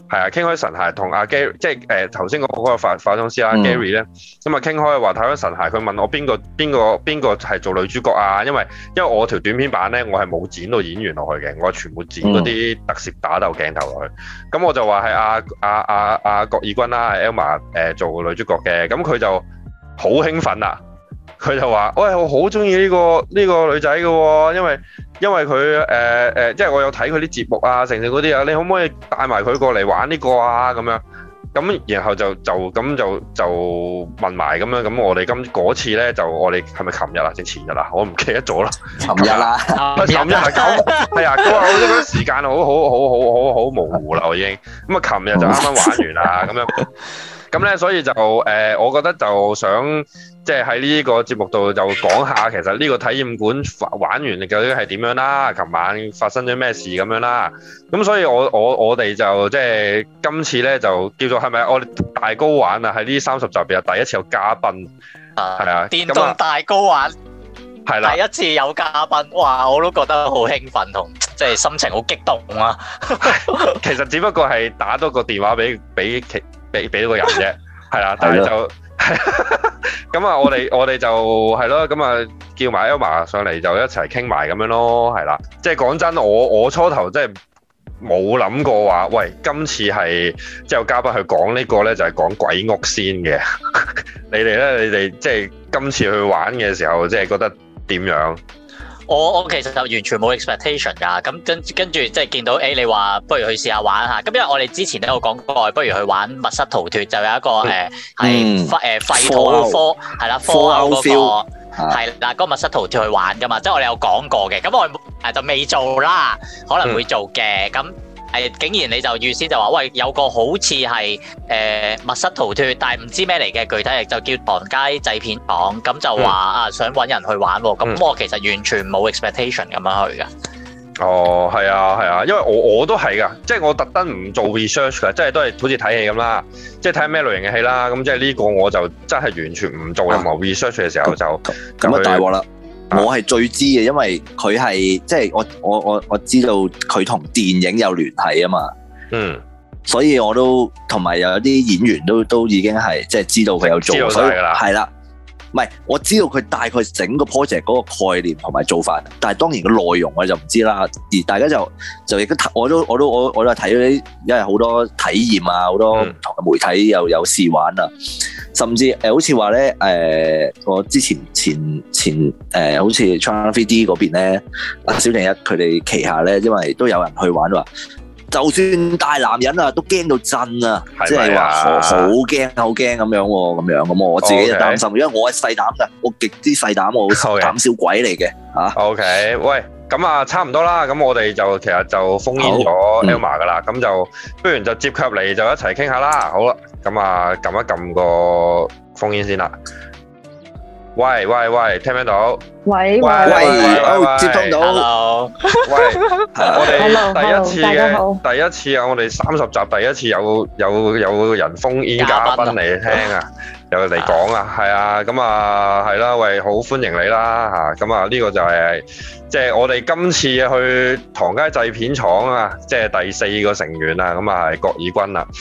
係啊，傾開神骸同阿 Gary，即係誒頭先嗰個化化妝師啦 Gary 咧，咁啊傾開話睇開神骸，佢問我邊個邊個邊個係做女主角啊？因為因為我條短片版咧，我係冇剪到演員落去嘅，我全部剪嗰啲特攝打鬥鏡頭落去。咁、嗯、我就話係阿阿阿阿郭以君啦，係 Elma 誒做女主角嘅，咁佢就好興奮啊！佢就話：喂，我好中意呢個呢、呢個女仔嘅喎，因為因為佢誒誒，即係我有睇佢啲節目啊，成成嗰啲啊，你可唔可以帶埋佢過嚟玩呢個啊？咁樣咁，然後就就咁就就問埋咁樣，咁我哋今嗰次咧就我哋係咪琴日啊定前日啊？我唔記得咗啦。琴日啦，琴日係咁係啊！佢話我覺得時間好好好好好好模糊啦，我已經咁啊！琴日就啱啱玩完啦，咁樣咁咧，所以就誒、呃，我覺得就想。即係喺呢個節目度就講下，其實呢個體驗館玩完究竟係點樣啦？琴晚發生咗咩事咁樣啦？咁所以我我我哋就即係今次咧就叫做係咪我哋大 GO 玩啊？喺呢三十集入邊第一次有嘉賓，係啊， 電動大 GO 玩係啦， 第一次有嘉賓，哇！我都覺得好興奮同即係心情好激動啊！ 其實只不過係打多個電話俾俾其俾俾個人啫，係啦，但係就。咁啊，我哋我哋就係咯，咁啊叫埋 Elma 上嚟就一齊傾埋咁樣咯，係啦。即係講真，我我初頭真係冇諗過話，喂，今次係即係有嘉賓去講呢個咧，就係講鬼屋先嘅。你哋咧，你哋即係今次去玩嘅時候，即係覺得點樣？ 我我其實就完全冇 expectation 㗎，咁跟跟住即係見到誒、欸，你話不如去試下玩下，咁因為我哋之前都有講過，不如去玩密室逃脫，就有一個誒係誒廢土科係啦，科歐嗰個係啦，嗰個密室逃脫去玩㗎嘛，即係我哋有講過嘅，咁我誒就未做啦，可能會做嘅，咁、嗯。係，竟然你就預先就話，喂，有個好似係誒密室逃脫，但係唔知咩嚟嘅，具體就叫唐街製片廠，咁就話、嗯、啊想揾人去玩喎，咁、嗯、我其實完全冇 expectation 咁樣去㗎。 哦，係啊，係啊，因為我我都係㗎，即係我特登唔做 research 㗎，即係都係好似睇戲咁啦，即係睇咩類型嘅戲啦，咁即係呢個我就真係完全唔做任何 research 嘅時候就咁啊大鑊啦！我係最知嘅，因為佢係即係我我我我知道佢同電影有聯繫啊嘛，嗯，所以我都同埋有啲演員都都已經係即係知道佢有做，所以係啦，唔係我知道佢大概整個 project 嗰個概念同埋做法，但係當然個內容我就唔知啦。而大家就就亦都我都我都我我都睇咗啲，因為好多體驗啊，好多唔同嘅媒體又有試玩啊。甚至誒、呃，好似話咧，誒、呃，我之前前前誒、呃，好似 China 三 D 嗰邊咧，阿小定一佢哋旗下咧，因為都有人去玩話，就算大男人啊，都驚到震啊，即係話好驚好驚咁樣喎，咁樣咁我自己就擔心， okay. 因為我係細膽㗎，我極之細膽，我膽小鬼嚟嘅嚇。OK， 喂，咁啊，差唔多啦，咁我哋就其實就封煙咗 Elma 㗎啦，咁、嗯、就不如就接佢入嚟就一齊傾下啦，好啦。咁啊，撳一撳個烽煙先啦。喂喂喂，聽唔聽到？ 喂喂喂，接通到。 Hello。 喂，我哋第一次嘅第一次啊，我哋三十集第一次有有有人烽煙嘉賓嚟聽啊，有嚟講啊，係啊，咁啊係啦，喂，好歡迎你啦嚇，咁啊呢個就係即係我哋今次去唐街製片廠啊，即係第四個成員啊，咁啊係郭以君啊。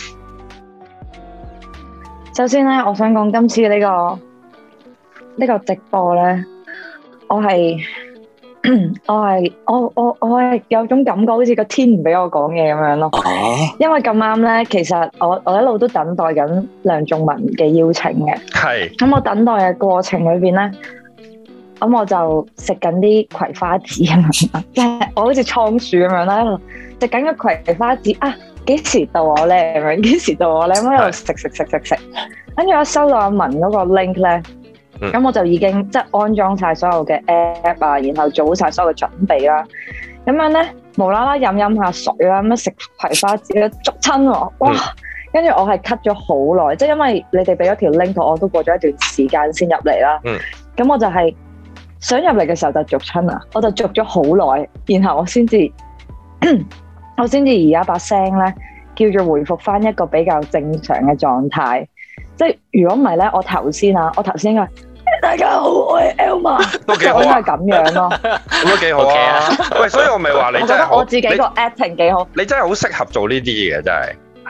首先咧，我想講今次呢、這個呢、這個直播咧，我係我係我我我係有種感覺，好似個天唔俾我講嘢咁樣咯。因為咁啱咧，其實我我一路都等待緊梁仲文嘅邀請嘅。係。咁我等待嘅過程裏邊咧，咁我就食緊啲葵花籽啊嘛，即係我好似倉鼠咁樣啦，食緊個葵花籽啊！幾時到我咧？咁樣幾時到我咧？咁喺度食食食食食，跟住我收到阿文嗰個 link 咧，咁、嗯、我就已經即係安裝晒所有嘅 app 啊，然後做晒所有嘅準備啦。咁樣咧，無啦啦飲飲下水啦，咁樣食葵花籽咧，捉親喎！哇！跟、嗯、住我係 cut 咗好耐，即係因為你哋俾咗條 link 我，都過咗一段時間先入嚟啦。咁、嗯、我就係想入嚟嘅時候就捉親啊，我就捉咗好耐，然後我先至。我先至而家把聲咧，叫做回復翻一個比較正常嘅狀態。即係如果唔係咧，我頭先啊，我頭先應該大家好，我係 Elma， 都幾好啊， 應該係咁樣咯， 咁都幾好啊。喂，所以我咪話你真係好， 我自己個 acting 幾好。 你真係好適合做呢啲嘅，真係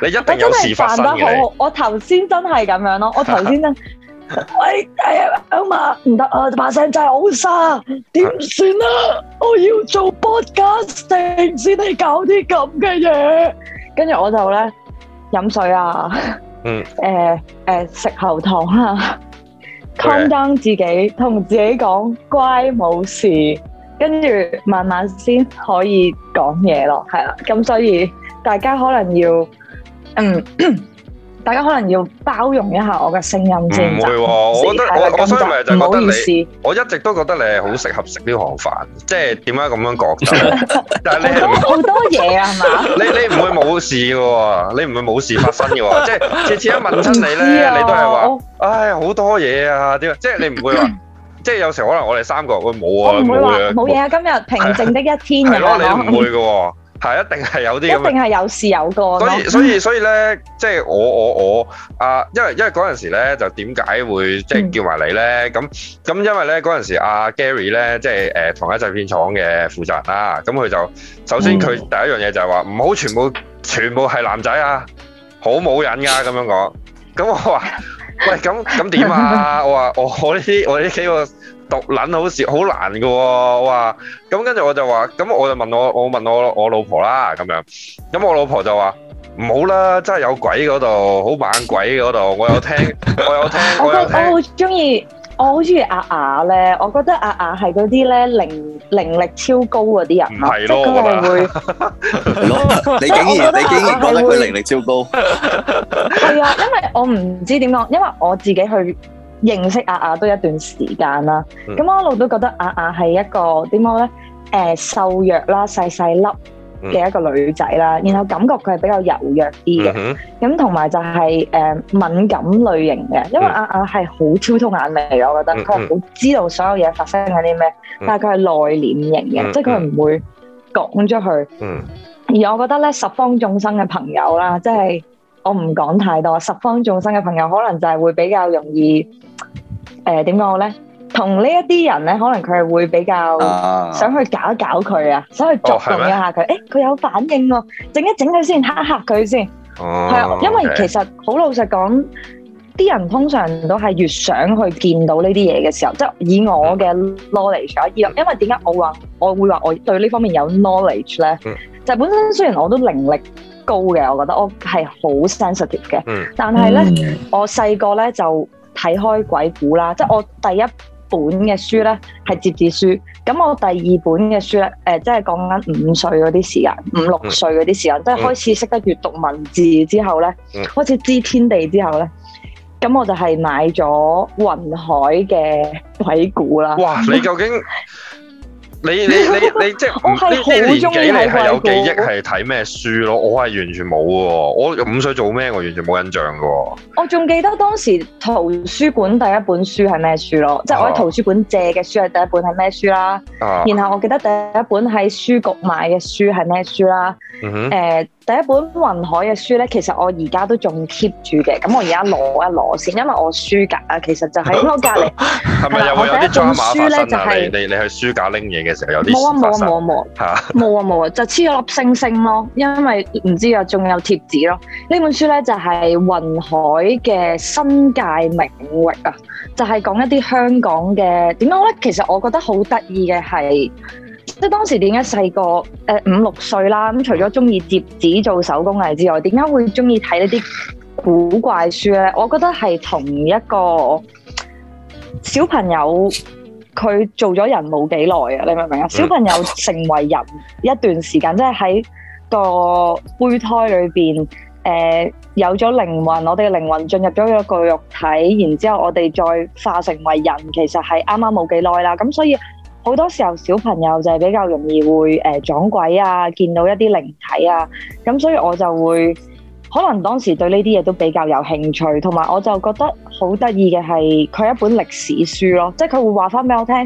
你一定有事發生嘅。 好，我頭先真係咁樣咯，我頭先真。喂，哎呀，阿媽唔得啊，把聲真係好沙，點算啊？我要做 podcasting 先嚟搞啲咁嘅嘢，跟住我就咧飲水啊，嗯，誒誒食喉糖啊 calm down 自己，同自己講乖冇事，跟住慢慢先可以講嘢咯，係啦，咁所以大家可能要嗯。大家可能要包容一下我嘅聲音先。唔會喎， 我覺得我我所以咪就覺得你，我一直都覺得你係好適合食呢行飯，即係點解咁樣覺得？但係你係好多嘢啊，係嘛？ 你你唔會冇事嘅喎，你唔會冇事發生嘅喎，即係次次一問親你咧，你都係話，唉好多嘢啊，點？即係你唔會話，即係有時可能我哋三個會冇啊， 唔會話冇嘢啊，今日平靜的一天咁樣咯。 係咯，你唔會嘅喎。係一定係有啲咁， 一定係有事有過。 所以所以所以咧，即係我我我啊，因為因為嗰陣時咧，就點解會即係叫埋你咧？咁咁因為咧嗰陣時阿 Gary 咧，即係誒同一製片廠嘅負責人啦。咁佢就首先佢第一樣嘢就係話唔好全部全部係男仔啊，好冇癮㗎咁樣講。咁我話喂，咁咁點啊？我話我我呢啲我呢幾個。獨撚好似好難嘅喎，我話咁跟住我就話，咁我就問我我問我我老婆啦咁樣，咁我老婆就話唔好啦，真係有鬼嗰度，好猛鬼嗰度，我有聽我有聽我有聽。我好中意我好中意阿雅咧，我覺得阿雅係嗰啲咧靈靈力超高嗰啲人， 唔係咯， 佢係會你竟然你竟然覺得佢靈力超高？ 係啊，因為我唔知點講，因為我自己去。認識阿雅都一段時間啦，咁、嗯、我一路都覺得阿雅係一個點講咧？誒、呃、瘦弱啦，細細粒嘅一個女仔啦，嗯、然後感覺佢係比較柔弱啲嘅，咁同埋就係、是、誒、呃、敏感類型嘅，因為阿雅係好超通眼眉嘅，我覺得佢係好知道所有嘢發生緊啲咩，嗯、但係佢係內斂型嘅，嗯、即係佢唔會講咗佢。嗯、而我覺得咧，十方眾生嘅朋友啦，即係。我唔講太多，十方眾生嘅朋友可能就係會比較容易，誒點講好咧？同呢一啲人咧，可能佢係會比較想去搞一搞佢啊，想去作動一下佢。誒佢有反應喎，整一整佢先，嚇嚇佢先。哦，係啊，因為其實好老實講，啲人通常都係越想去見到呢啲嘢嘅時候，即係以我嘅 knowledge 啊，因為點解我話我會話我對呢方面有 knowledge 咧？就係本身雖然我都靈力高嘅，我覺得我係好 sensitive 嘅，嗯、但係咧，嗯、我細個咧就睇開鬼故啦，即係我第一本嘅書咧係折紙書，咁我第二本嘅書咧，誒、呃，即係講緊五歲嗰啲時間，五六歲嗰啲時間，嗯、即係開始識得閱讀文字之後咧，嗯、開始知天地之後咧，咁我就係買咗雲海嘅鬼故啦。哇！ 你究竟？你你你你即係呢啲年紀你係有記憶係睇咩書咯？我係完全冇喎，我五歲做咩我完全冇印象嘅喎。 我仲記得當時圖書館第一本書係咩書咯？即係我喺圖書館借嘅書係第一本係咩書啦？啊、然後我記得第一本喺書局買嘅書係咩書啦？誒、嗯哼呃、第一本雲海嘅書咧，其實我而家都仲 keep 住嘅。咁我而家攞一攞先，因為我書架啊，其實就喺我隔離。係咪又會有啲 drama 發生啊？就是、你你你去書架拎嘢嘅時候有啲冇啊冇啊冇啊冇啊冇啊冇啊，就黐咗粒星星咯，因為唔知啊，仲有貼紙咯。呢本書咧就係、是、雲海嘅新界名域啊，就係、是、講一啲香港嘅點講咧。其實我覺得好得意嘅係。即係當時點解細個誒五六歲啦，咁除咗中意摺紙做手工藝之外，點解會中意睇呢啲古怪書咧？我覺得係同一個小朋友佢做咗人冇幾耐啊，你明唔明啊？小朋友成為人一段時間，即係喺個胚胎裏邊誒有咗靈魂，我哋嘅靈魂進入咗一個肉體，然之後我哋再化成為人，其實係啱啱冇幾耐啦。咁所以好多時候小朋友就係比較容易會誒、呃、撞鬼啊，見到一啲靈體啊，咁所以我就會可能當時對呢啲嘢都比較有興趣，同埋我就覺得好得意嘅係佢係一本歷史書咯，即係佢會話翻俾我聽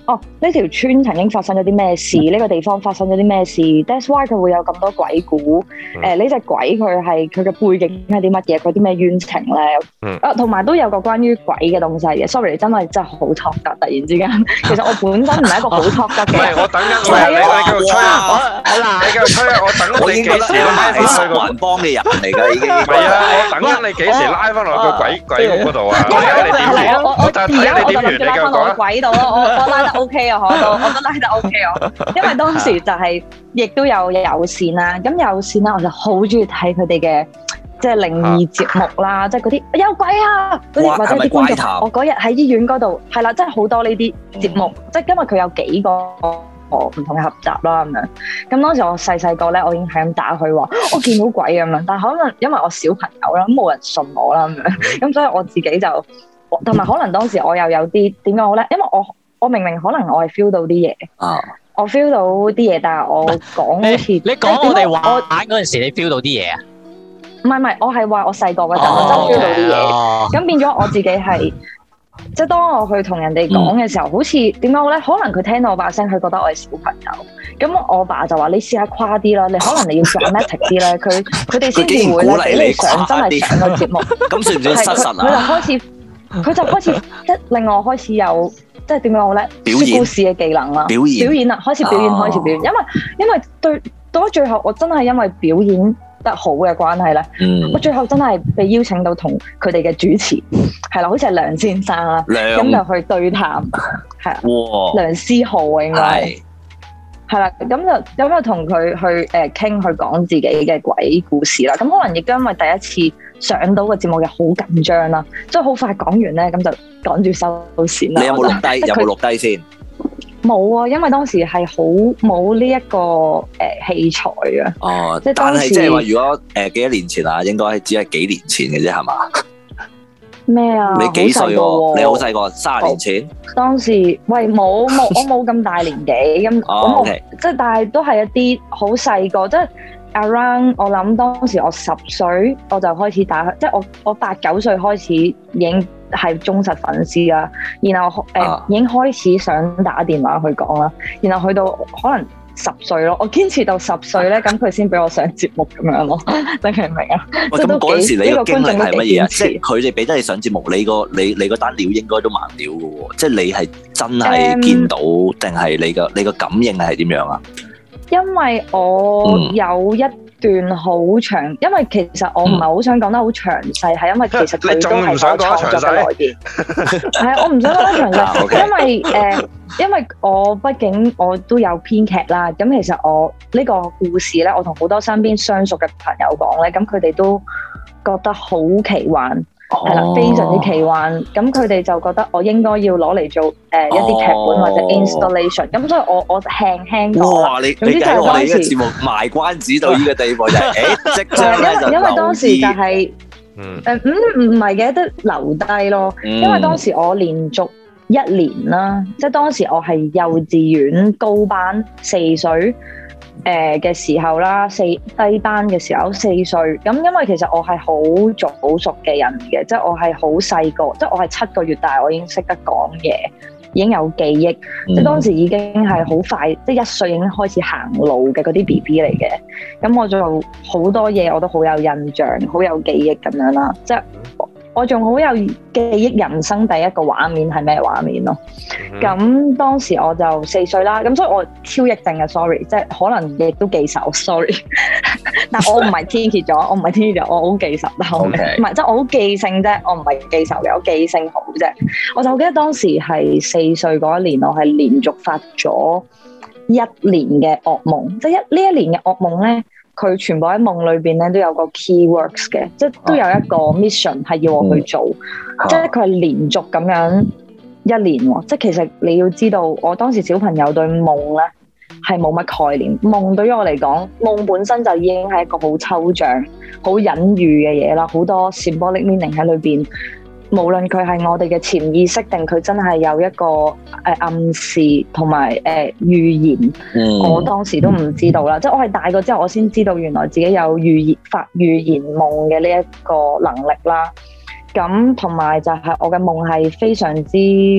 哦，呢條村曾經發生咗啲咩事？呢、這個地方發生咗啲咩事 ？That's why 佢會有咁多鬼故。誒、嗯，呢隻、呃、鬼佢係佢嘅背景係啲乜嘢？佢啲咩冤情咧？嗯、啊，同埋都有個關於鬼嘅東西嘅。Sorry， 真係真係好 talk 㗎！突然之間，其實我本身唔係一個好 talk 得嘅。唔係，我等緊我你你繼續吹啊！你繼續吹啊！我等你幾時拉翻去個環幫嘅人嚟㗎已經。係啊，我等緊你幾時拉翻落個鬼鬼屋嗰度啊！我睇下你點完，我我而家我就諗住拉翻落個鬼度咯。我我拉得 OK 啊，我都我都拉得 OK 啊。因為當時就係亦都有有線啦，咁有線啦，我就好中意睇佢哋嘅即係靈異節目啦，即係嗰啲有鬼啊嗰啲，或者啲觀眾。我嗰日喺醫院嗰度係啦，真係好多呢啲節目，即係因為佢有幾個唔同嘅合集啦咁樣。咁當時我細細個咧，我已經係咁打佢話我見到鬼咁樣，但係可能因為我小朋友啦，咁冇人信我啦咁樣，咁所以我自己就同埋可能當時我又有啲點講好咧，因為我我明明可能我係 feel 到啲嘢，啊、我 feel 到啲嘢，但係我講好似你講我哋玩嗰陣時，你 feel 到啲嘢啊？ 唔係唔係，我係話我細個嗰陣我真 feel 到啲嘢，咁變咗我自己係。即係當我去同人哋講嘅時候，嗯、好似點講好咧？可能佢聽到我把聲，佢覺得我係小朋友。咁我爸就話：你試下誇啲啦，你可能你要 dramatic 啲咧。佢佢哋先至會咧俾你上真係上個節目。咁算唔算失實啊？佢就開始，佢就開始即係令我開始有即係點講好咧？表演故事嘅技能啦，表演表演啦，開始表演，開始表演。因為因為對到咗最後，我真係因為表演得好嘅關係咧，嗯、我最後真係被邀請到同佢哋嘅主持係啦，好似係梁先生啦，咁梁就去對談，係啊，哇梁思浩應該係係啦，咁就咁就同佢去誒傾，去講自己嘅鬼故事啦。咁可能亦都因為第一次上到個節目又好緊張啦，即係好快講完咧，咁就趕住收線啦。你有冇錄低？有冇錄低先？冇啊，因為當時係好冇呢一個誒、呃、器材啊。哦，即係當時但係即係話，如果誒、呃、幾多年前啊，應該只係幾年前嘅啫，係嘛？咩啊？你幾歲喎？你好細個，三十年前。當時喂冇冇，我冇咁大年紀咁，咁、哦、我即係 okay. 但係都係一啲好細個，即係 around 我諗當時我十歲我就開始打，即係我我八九歲開始已經係忠實粉絲啦，然後誒、呃啊、已經開始想打電話去講啦，然後去到可能十歲咯，我堅持到十歲咧，咁佢先俾我上節目咁樣咯，你明唔明啊？即係都幾呢個經歷係乜嘢啊？即係佢哋俾得你上節目，你個你你個單料應該都慢料嘅喎，即係你係真係見到定係、um, 你個你個感應係點樣啊？因為我有一段好長，嗯、因為其實我唔係好想講得好詳細，係、嗯、因為其實佢都係我創作嘅來源。係啊，我唔想講得詳細，因為誒、呃，因為我畢竟我都有編劇啦。咁其實我呢個故事咧，我同好多身邊相熟嘅朋友講咧，咁佢哋都覺得好奇幻。係啦，非常之奇幻，咁佢哋就覺得我應該要攞嚟做誒、呃、一啲劇本或者 installation，咁、哦、所以我我輕輕講。哇！你你睇我哋呢個節目賣關子到呢個地步就係誒即將咧就因為當時就係、是、誒唔唔係嘅，都留低咯。嗯、因為當時我連續一年啦，即係當時我係幼稚園高班四歲。誒嘅時候啦，四低班嘅時候四歲，咁因為其實我係好早熟嘅人嘅，即係我係好細個，即係我係七個月大，我已經識得講嘢，已經有記憶，嗯、即係當時已經係好快，即係一歲已經開始行路嘅嗰啲 B B 嚟嘅，咁我做好多嘢我都好有印象，好有記憶咁樣啦，即係。我仲好有記憶，人生第一個畫面係咩畫面咯？咁、mm hmm. 當時我就四歲啦，咁所以我超憶症嘅 sorry，即係可能亦都記仇 sorry，但我唔係天蠍座，我唔係天蠍座，我好記仇，但係唔係即係我好記性啫，我唔係記仇嘅，我記性好啫。我就記得當時係四歲嗰一年，我係連續發咗一年嘅噩夢，即係一呢一年嘅噩夢咧。佢全部喺夢裏邊咧都有個 keywords 嘅，即係都有一個 mission 係要我去做，嗯、即係佢係連續咁樣一年喎。即係其實你要知道，我當時小朋友對夢咧係冇乜概念，夢對於我嚟講，夢本身就已經係一個好抽象、好隱喻嘅嘢啦，好多 symbolic meaning 喺裏邊。無論佢係我哋嘅潛意識，定佢真係有一個誒、呃、暗示同埋誒預言，嗯、我當時都唔知道啦。即係我係大個之後，我先知道原來自己有預言發預言夢嘅呢一個能力啦。咁同埋就係我嘅夢係非常之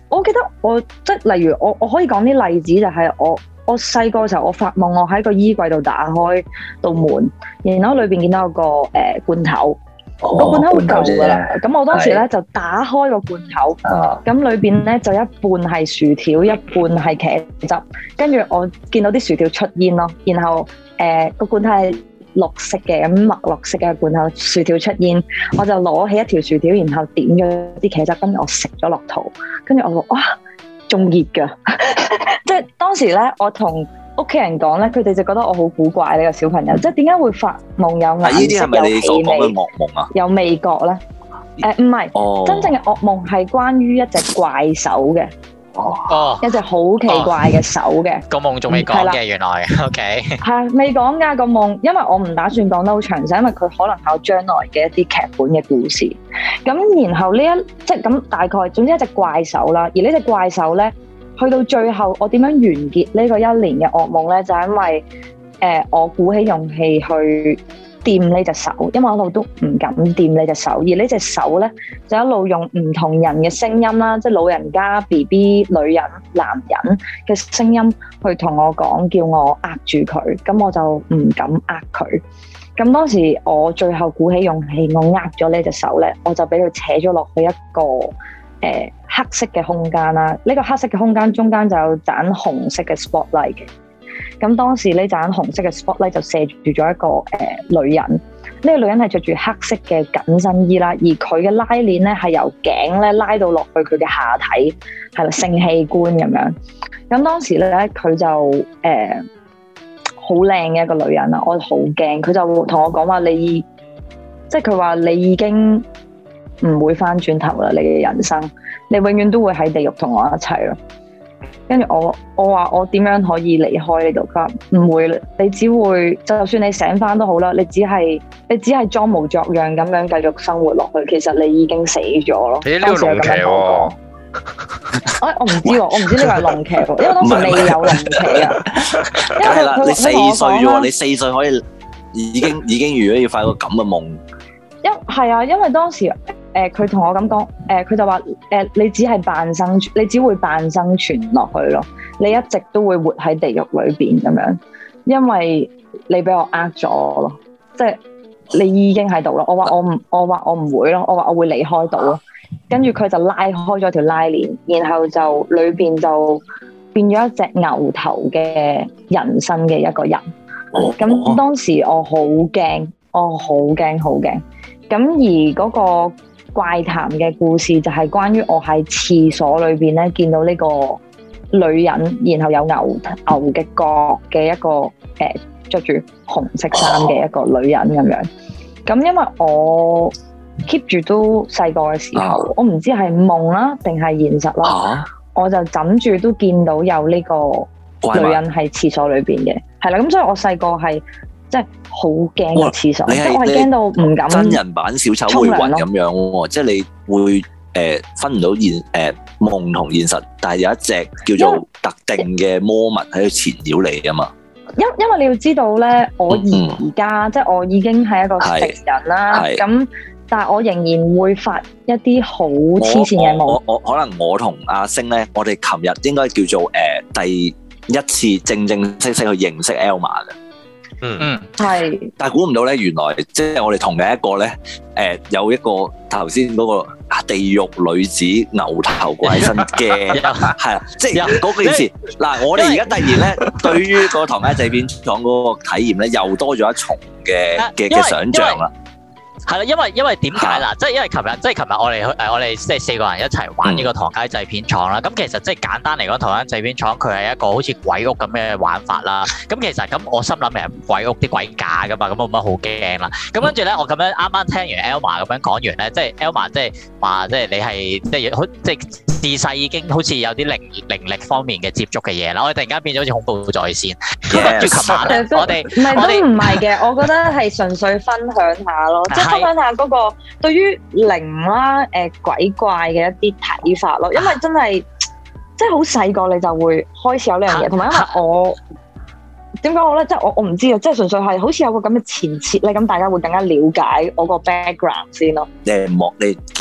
我記得我即係例如我我可以講啲例子，就係我我細個嘅時候，我發夢我喺個衣櫃度打開道門，然後裏邊見到有個誒、呃、罐頭。個、哦、罐頭好舊噶啦，咁我當時咧就打開個罐頭，咁裏邊咧就一半係薯條，一半係茄汁，跟住我見到啲薯條出煙咯，然後誒個、呃、罐頭係綠色嘅，咁墨綠色嘅罐頭，薯條出煙，我就攞起一條薯條，然後點咗啲茄汁，跟住我食咗落肚，跟住我話哇仲熱噶，即係當時咧我同屋企人講咧，佢哋就覺得我好古怪呢、這個小朋友，即係點解會發夢有顏色、有氣味、有味覺咧？誒唔係，哦、真正嘅噩夢係關於一隻怪手嘅，哦，一隻好奇怪嘅手嘅。個夢仲未講嘅，原來 OK 係未講㗎個夢，因為我唔打算講得好詳細，因為佢可能係我將來嘅一啲劇本嘅故事。咁然後呢一即係咁大概，總之一隻怪手啦，而呢隻怪手咧。去到最後，我點樣完結呢個一年嘅噩夢咧？就係因為誒、呃，我鼓起勇氣去掂呢隻手，因為我一路都唔敢掂呢隻手，而呢隻手咧就一路用唔同人嘅聲音啦，即係老人家、B B、女人、男人嘅聲音去同我講，叫我握住佢，咁我就唔敢握佢。咁當時我最後鼓起勇氣，我握咗呢隻手咧，我就俾佢扯咗落去一個誒、呃、黑色嘅空間啦，呢、這個黑色嘅空間中間就有盞紅色嘅 spotlight 嘅。咁當時呢盞紅色嘅 spotlight 就射住咗一個誒、呃、女人，呢、這個女人係着住黑色嘅緊身衣啦，而佢嘅拉鏈咧係由頸咧拉到落去佢嘅下體，係啦，性器官咁樣。咁當時咧佢就誒好靚嘅一個女人啦，我好驚，佢就同我講話你，即係佢話你已經唔會翻轉頭啦，你嘅人生，你永遠都會喺地獄同我一齊咯。跟住我，我話我點樣可以離開呢度？佢話唔會，你只會就算你醒翻都好啦，你只係你只係裝模作樣咁樣繼續生活落去，其實你已經死咗咯。你呢個龍騎喎？哎，我唔知喎，我唔知呢個係龍騎喎，因為當時未有龍騎啊。 梗係啦，你四歲喎，你四歲可以已經已經如果要發個咁嘅夢。 因係啊，因為當時。誒佢同我咁講，誒、呃、佢就話誒、呃、你只係扮生存，你只會扮生存落去咯。你一直都會活喺地獄裏邊咁樣，因為你俾我呃咗咯，即係你已經喺度咯。我話我唔，我話我唔會咯，我話我會離開到咯。跟住佢就拉開咗條拉鏈，然後就裏邊就變咗一隻牛頭嘅人身嘅一個人。咁當時我好驚，我好驚好驚。咁而嗰、那個怪談嘅故事就係關於我喺廁所裏邊咧見到呢個女人，然後有牛牛嘅角嘅一個誒着住紅色衫嘅一個女人咁樣。咁因為我 keep 住都細個嘅時候，我唔知係夢啦定係現實啦，啊、我就枕住都見到有呢個女人喺廁所裏邊嘅，係啦。咁所以我細個係。即係好驚嘅廁所，即係我係驚到唔敢。真人版小丑回魂咁樣喎，即係你會誒、呃、分唔到現誒、呃、夢同現實，但係有一隻叫做特定嘅魔物喺度纏繞你啊嘛。因因為你要知道咧，我而家、嗯、即係我已經係一個成人啦，咁但係我仍然會發一啲好黐線嘅夢。我我，我可能我同阿星咧，我哋琴日應該叫做誒、呃、第一次正正式式去認識 Elma 嘅。嗯嗯，係，但係估唔到咧，原來即係我哋同嘅一個咧，誒、呃，有一個頭先嗰個地獄女子牛頭怪身嘅，係啦，即係嗰件事。嗱，我哋而家突然咧，對於個唐街仔片廠嗰個體驗咧，又多咗一重嘅嘅嘅想像啦。係啦，因為因為點解啦？即係因為琴日，即係琴日我哋去誒，我哋即係四個人一齊玩呢個唐街製片廠啦。咁、嗯、其實即係簡單嚟講，唐街製片廠佢係一個好似鬼屋咁嘅玩法啦。咁其實咁我心諗係鬼屋啲鬼假噶嘛，咁冇乜好驚啦。咁跟住咧，我咁樣啱啱聽完 Elma 咁樣講完咧，即係 Elma 即係話，即係你係即係好即係自細已經好似有啲靈靈力方面嘅接觸嘅嘢啦。我哋突然間變咗好似恐怖在線。跟住琴晚咧，我哋唔係都唔係嘅，我覺得係純粹分享下咯。分享下嗰個對於靈啦、誒、呃、鬼怪嘅一啲睇法咯，因為真係即係好細個你就會開始有呢樣嘢，同埋因為我點講好咧，即係我我唔知啊，即係純粹係好似有個咁嘅前設咧，咁大家會更加了解我個 background 先咯。誒，莫你結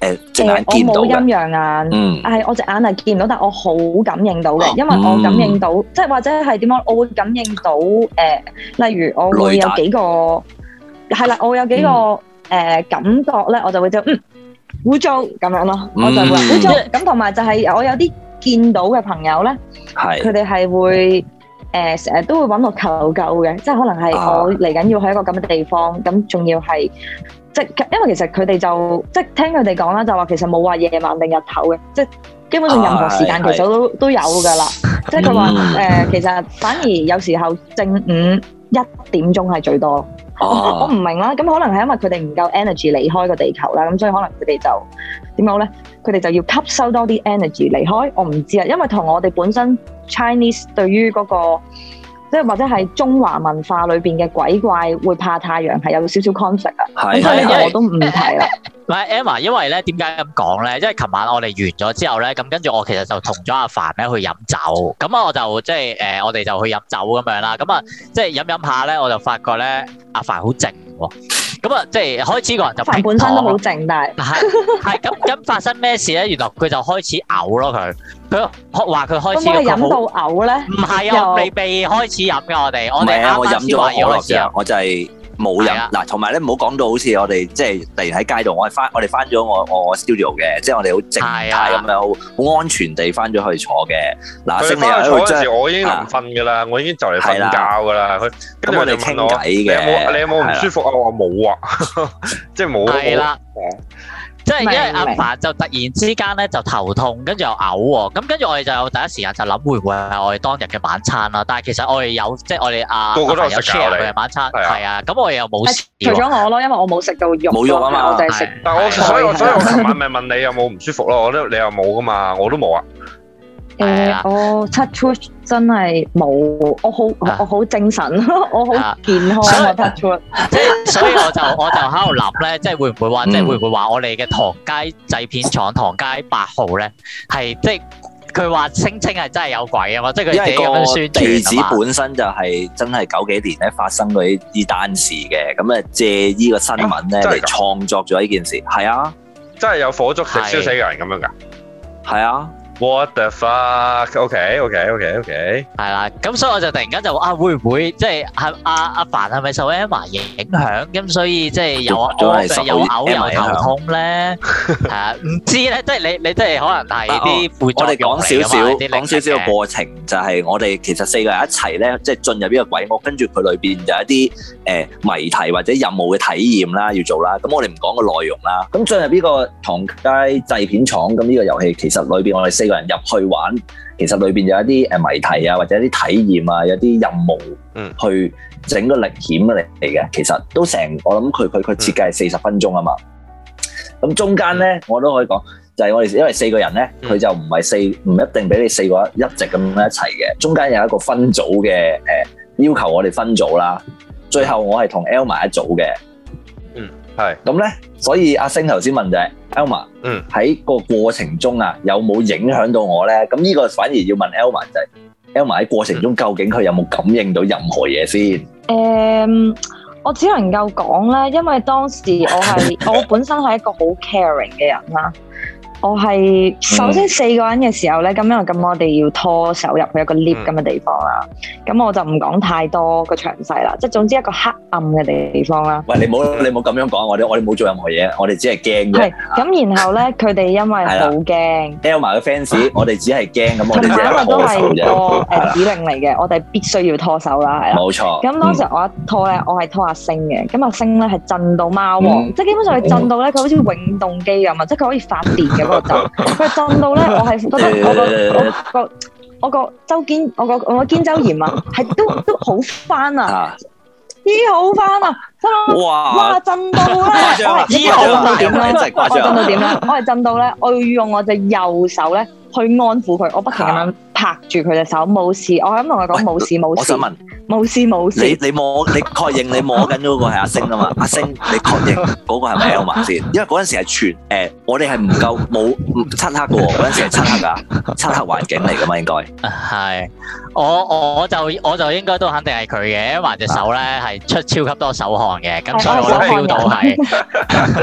誒隻眼見到嘅。 我冇陰陽眼， 嗯， 係我隻眼係見唔到，但我好感應到嘅，因為我感應到，即係或者係點樣，我會感應到誒，例如我會有幾個係啦，我會有幾個誒感覺咧，我就會就嗯污糟咁樣咯，我就會污糟咁，同埋就係我有啲見到嘅朋友咧，佢哋係會。誒成日都會揾我求救嘅，即係可能係我嚟緊要去一個咁嘅地方，咁仲、啊、要係即係因為其實佢哋就即係聽佢哋講啦，就話其實冇話夜晚定日頭嘅，即係基本上任何時間其實都、啊、都有㗎啦。即係佢話誒，其實反而有時候正午一點鐘係最多。啊、我我唔明啦，咁可能係因為佢哋唔夠 energy 離開個地球啦，咁所以可能佢哋就點講咧？佢哋就要吸收多啲 energy 離開。我唔知啊，因為同我哋本身 Chinese 對於嗰個即係或者係中華文化裏邊嘅鬼怪會怕太陽係有少少 conflict 啊。咁所以我都唔提啦。 唔係 Emma，因為咧點解咁講咧？因為琴晚我哋完咗之後咧，咁跟住我其實就同咗阿凡咧去飲酒，咁啊我就即係誒我哋就去飲酒咁樣啦。咁啊即係飲飲下咧，我就發覺咧阿凡好靜喎。咁啊即係開始個人就凡本身都好靜，但係係係咁咁發生咩事咧？原來佢就開始嘔咯，佢佢話佢開始咁我飲到嘔咧？唔係啊，未未開始飲㗎，我哋我哋啱啱先話要開始飲， 我就係。冇飲嗱，同埋咧唔好講到好似我哋即係突然喺街度，我係翻我哋翻咗我我 studio 嘅，即係我哋好靜態咁樣，好安全地翻咗去坐嘅。嗱，星你喺度嗰陣時，我已經臨瞓㗎啦，我已經就嚟瞓覺㗎啦。佢跟住我哋傾偈嘅，你有冇你有冇唔舒服啊？我話冇啊，即係冇。係啦。 即係因為阿凡就突然之間咧就頭痛，跟住又嘔喎，咁跟住我哋就第一時間就諗會唔會係我哋當日嘅晚餐啦？但係其實我哋有即係我哋阿個個都有 share 佢嘅晚餐，係啊，咁我哋又冇事。 除咗我咯，因為我冇食到肉， 冇肉啊嘛， 我就係食。 但係我所以我所以我琴晚咪問你有冇唔舒服咯？我都你又冇噶嘛，我都冇啊。 誒，我 touch wood 真係冇，我好我好精神，我好健康啊 touch wood。 即係所以我就我就喺度諗咧，即係會唔會話，即係會唔會話我哋嘅唐街製片廠唐街八號咧，係即係佢話聲稱係真係有鬼啊嘛，即係佢自己咁樣宣傳啊嘛。地址本身就係真係九幾年咧發生過呢呢單事嘅，咁啊借呢個新聞咧嚟創作咗呢件事，係啊， 真係有火燭食燒死個人咁樣㗎， 係啊。 What the fuck？OK OK OK OK。 係啦，咁所以我就突然間就啊，會唔會即係係阿阿凡係咪受 Emma 影響？咁所以即係有屙有嘔又頭痛咧？係啊，唔知咧，即係你你即係可能係啲副作用嚟㗎嘛？ 我哋講少少講少少個過程，就係我哋其實四個人一齊咧，即係進入呢個鬼屋，跟住佢裏邊就一啲誒謎題或者任務嘅體驗啦，要做啦。咁我哋唔講個內容啦。咁進入呢個唐街製片廠，咁呢個遊戲其實裏邊我哋四個人入去玩，其實裏邊有一啲誒謎題啊，或者一啲體驗啊，有啲任務，嗯，去整個歷險嚟嘅。其實都成，我諗佢佢佢設計係四十分鐘啊嘛。咁中間咧，我都可以講，就係、是、我哋因為四個人咧，佢就唔係四，唔一定俾你四個一直咁樣一齊嘅。中間有一個分組嘅誒、呃，要求我哋分組啦。最後我係同 Elma 一組嘅。 嗯，係。咁咧，所以阿星頭先問就係 Elma，嗯，喺個過程中啊，有冇影響到我咧？咁呢個反而要問 Elma 就係 Elma 喺過程中究竟佢有冇感應到任何嘢先？誒、 嗯，我只能夠講咧，因為當時我係我本身係一個好 caring 嘅人啦。我係首先四個人嘅時候咧，咁、嗯、因為咁我哋要拖手入去一個 lift 咁嘅地方啦，咁、嗯、我就唔講太多個詳細啦，即係總之一個黑暗嘅地方啦。喂，你冇你冇咁樣講，我哋我哋冇做任何嘢，我哋只係驚啫。係咁，然後咧佢哋因為好驚 Elma 嘅 fans，我哋只係驚咁，我哋只係拖手啫。個誒指令嚟嘅，我哋必須要拖手啦，係啦。冇錯。咁當時我一拖咧，我係拖阿星嘅，咁阿星咧係震到貓王，嗯、即係基本上佢震到咧，佢好似永動機咁啊，即係佢可以發電嘅。佢震到咧，我係覺得我個我個我個周肩，我個我個肩周炎啊，係都都好翻啊，醫好翻啊，真係哇哇震到咧，我係醫好到點咧？我震到點咧？我係震到咧，我要用我隻右手咧去安撫佢，我不停咁樣拍住佢隻手，冇事，我係咁同佢講冇事冇事。我想問，冇事冇事。你你摸你確認你摸緊嗰個係阿星啊嘛？阿星，你確認嗰個係咪 Elma 先？因為嗰陣時係全誒，我哋係唔夠冇漆黑嘅喎，嗰陣時係漆黑㗎，漆黑環境嚟㗎嘛應該。係，我我就我就應該都肯定係佢嘅，因為隻手咧係出超級多手汗嘅，咁所以我 feel 到係。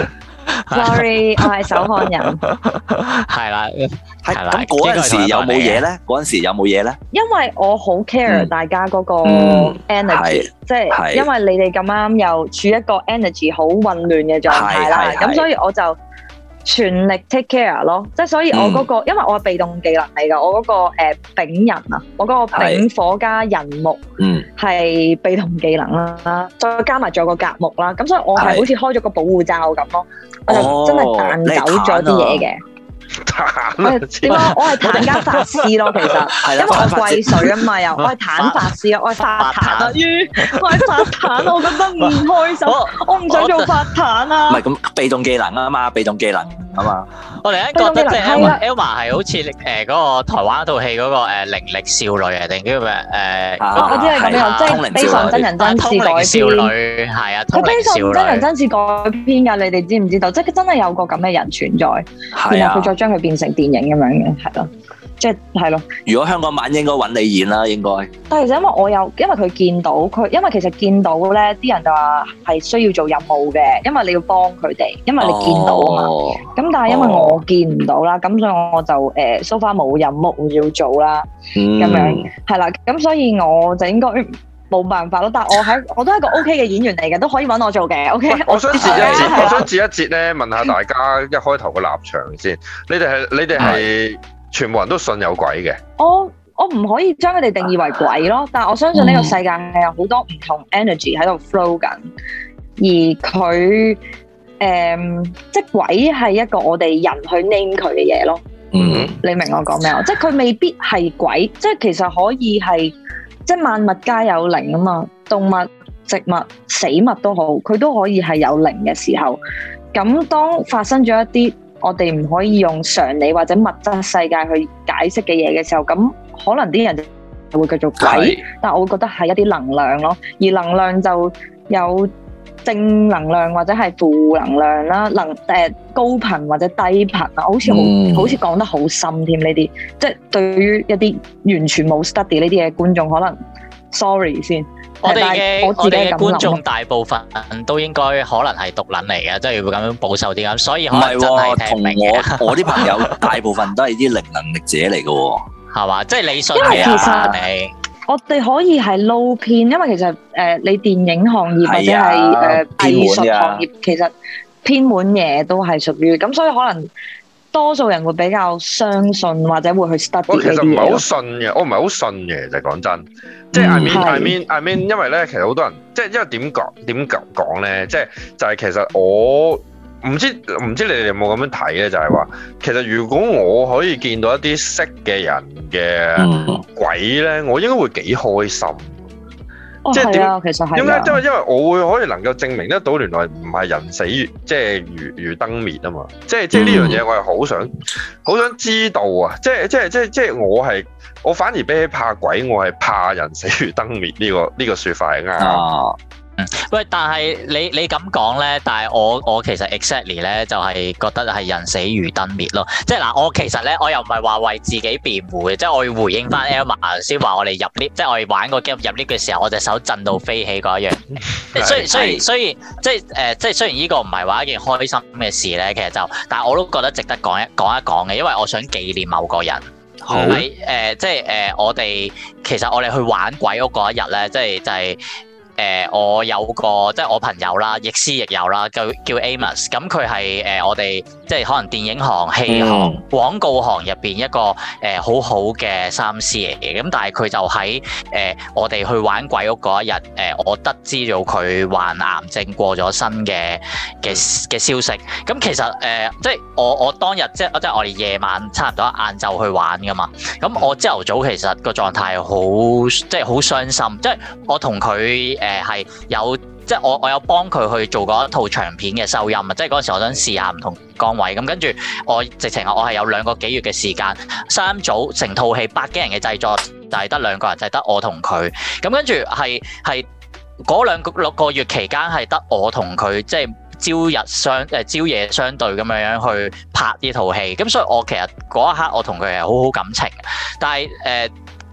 Sorry，我係手汗人。 係啦， 係咁嗰陣時有冇嘢咧？嗰陣時有冇嘢咧？ 因為我好 care 大家嗰個 energy，即係因為你哋咁啱又處一個 energy 好混亂嘅狀態啦，咁所以我就全力 take care 咯。即係所以我嗰個，因為我係被動技能嚟㗎，我嗰個誒丙人啊，我嗰個丙火加人木係被動技能啦，再加埋仲有個甲木啦，咁所以我係好似開咗個保護罩咁咯，我就真係彈走咗啲嘢嘅。彈點解？我係彈加法師咯，其實，因為我貴水啊嘛，又我係彈法師啊，我係法彈啊，於我係法彈，我覺得唔開心，我唔想做法彈啊。 唔係咁被動技能啊嘛，被動技能啊嘛。 我哋覺得即係 Elma Elma 係好似誒嗰個台灣套戲嗰個誒靈力少女啊，定叫咩誒？ 我知係咁樣，即係悲喪真人真事改編。少女係啊，佢悲喪真人真事改編㗎，你哋知唔知道？即係真係有個咁嘅人存在，然後佢再將佢變成電影咁樣嘅，係咯，即係係咯。如果香港版應該揾你演啦，應該。但係其實因為我有，因為佢見到佢，因為其實見到咧，啲人就話係需要做任務嘅，因為你要幫佢哋，因為你見到啊嘛。咁、哦、但係因為我見唔到啦，咁、哦、所以我就誒 so far 冇任務要做啦，咁、嗯、樣係啦，咁所以我就應該冇辦法咯。但係我喺我都係個 O K 嘅演員嚟嘅，都可以揾我做嘅。O K， 我想截一截，我想截一截咧，問下大家一開頭個立場先。你哋係你哋係全部人都信有鬼嘅？我我唔可以將佢哋定義為鬼咯，但係我相信呢個世界係有好多唔同 energy 喺度 flow 緊，而佢誒、嗯、即係鬼係一個我哋人去 name 佢嘅嘢咯。嗯，你明我講咩啊？即係佢未必係鬼，即係其實可以係。即係萬物皆有靈啊嘛，動物、植物、死物都好，佢都可以係有靈嘅時候。咁當發生咗一啲我哋唔可以用常理或者物質世界去解釋嘅嘢嘅時候，咁可能啲人就會繼續鬼，但我會覺得係一啲能量咯。而能量就有正能量或者係負能量啦，能誒、呃、高頻或者低頻啊，好似好、嗯、好似講得好深添呢啲，即係對於一啲完全冇 study 呢啲嘅觀眾，可能 sorry 先。 我哋嘅我哋嘅觀眾大部分都應該可能係毒撚嚟嘅，即係會咁樣保守啲咁，所以可能真係聽唔明嘅。 同我我啲朋友大部分都係啲零能力者嚟嘅，係嘛？即係你信係啊？你我哋可以係撈偏，因為其實誒、呃、你電影行業或者係誒、啊呃、藝術行業，其實偏門嘢都係屬於咁，所以可能多數人會比較相信或者會去 study 呢啲嘢。我其實唔係好信嘅，我唔係好信嘅，就係講真，即係 I mean I mean I mean，因為咧其實好多人即係因為點講點講咧，即係就係、是、其實我。唔知唔知你哋有冇咁樣睇咧？就係話，其實如果我可以見到一啲識嘅人嘅鬼咧，我應該會幾開心。 哦，即係點啊？其實係點解？因為因為我會可以能夠證明得到，原來唔係人死如即係如如燈滅啊嘛！即係即係呢樣嘢，我係好想好想知道啊！即係即係即係即係我係我反而比起怕鬼，我係怕人死如燈滅呢個呢個説法係啱。啊喂，但係你你咁講咧，但係我我其實 exactly 咧就係覺得係人死如燈滅咯，即係嗱，我其實咧我又唔係話為自己辯護嘅，即係我要回應翻 Elma 先話我哋入 lift，即係我哋玩個 game 入 lift 嘅時候，我隻手震到飛起嗰一樣，即係雖雖雖然即係誒，即係雖然呢個唔係話一件開心嘅事咧，其實就，但係我都覺得值得講一講一講嘅，因為我想紀念某個人。好喺誒、呃，即係誒、呃，我哋其實我哋去玩鬼屋嗰一日咧，即係就係、是。誒、呃，我有個即係我朋友啦，亦師亦友啦，叫叫 Amos。咁佢係誒我哋即係可能電影行、戲行、嗯、廣告行入邊一個誒、呃、好好嘅三師嚟嘅。咁但係佢就喺誒、呃、我哋去玩鬼屋嗰一日，誒、呃、我得知咗佢患癌症過咗身嘅嘅嘅消息。咁其實誒、呃、即係我我當日即係即係我哋夜晚差唔多晏晝去玩噶嘛。咁我朝頭早其實個狀態好即係好傷心，即係我同佢誒。誒係有，即係我我有幫佢去做過一套長片嘅收音啊！即係嗰陣時我想試下唔同崗位，咁跟住我直情我係有兩個幾月嘅時間，三組成套戲百幾人嘅製作，就係得兩個人，就係得我同佢。咁跟住係係嗰兩個六個月期間係得我同佢，即係朝日相誒朝夜相對咁樣樣去拍呢套戲。咁所以我其實嗰一刻我同佢係好好感情，但係誒。呃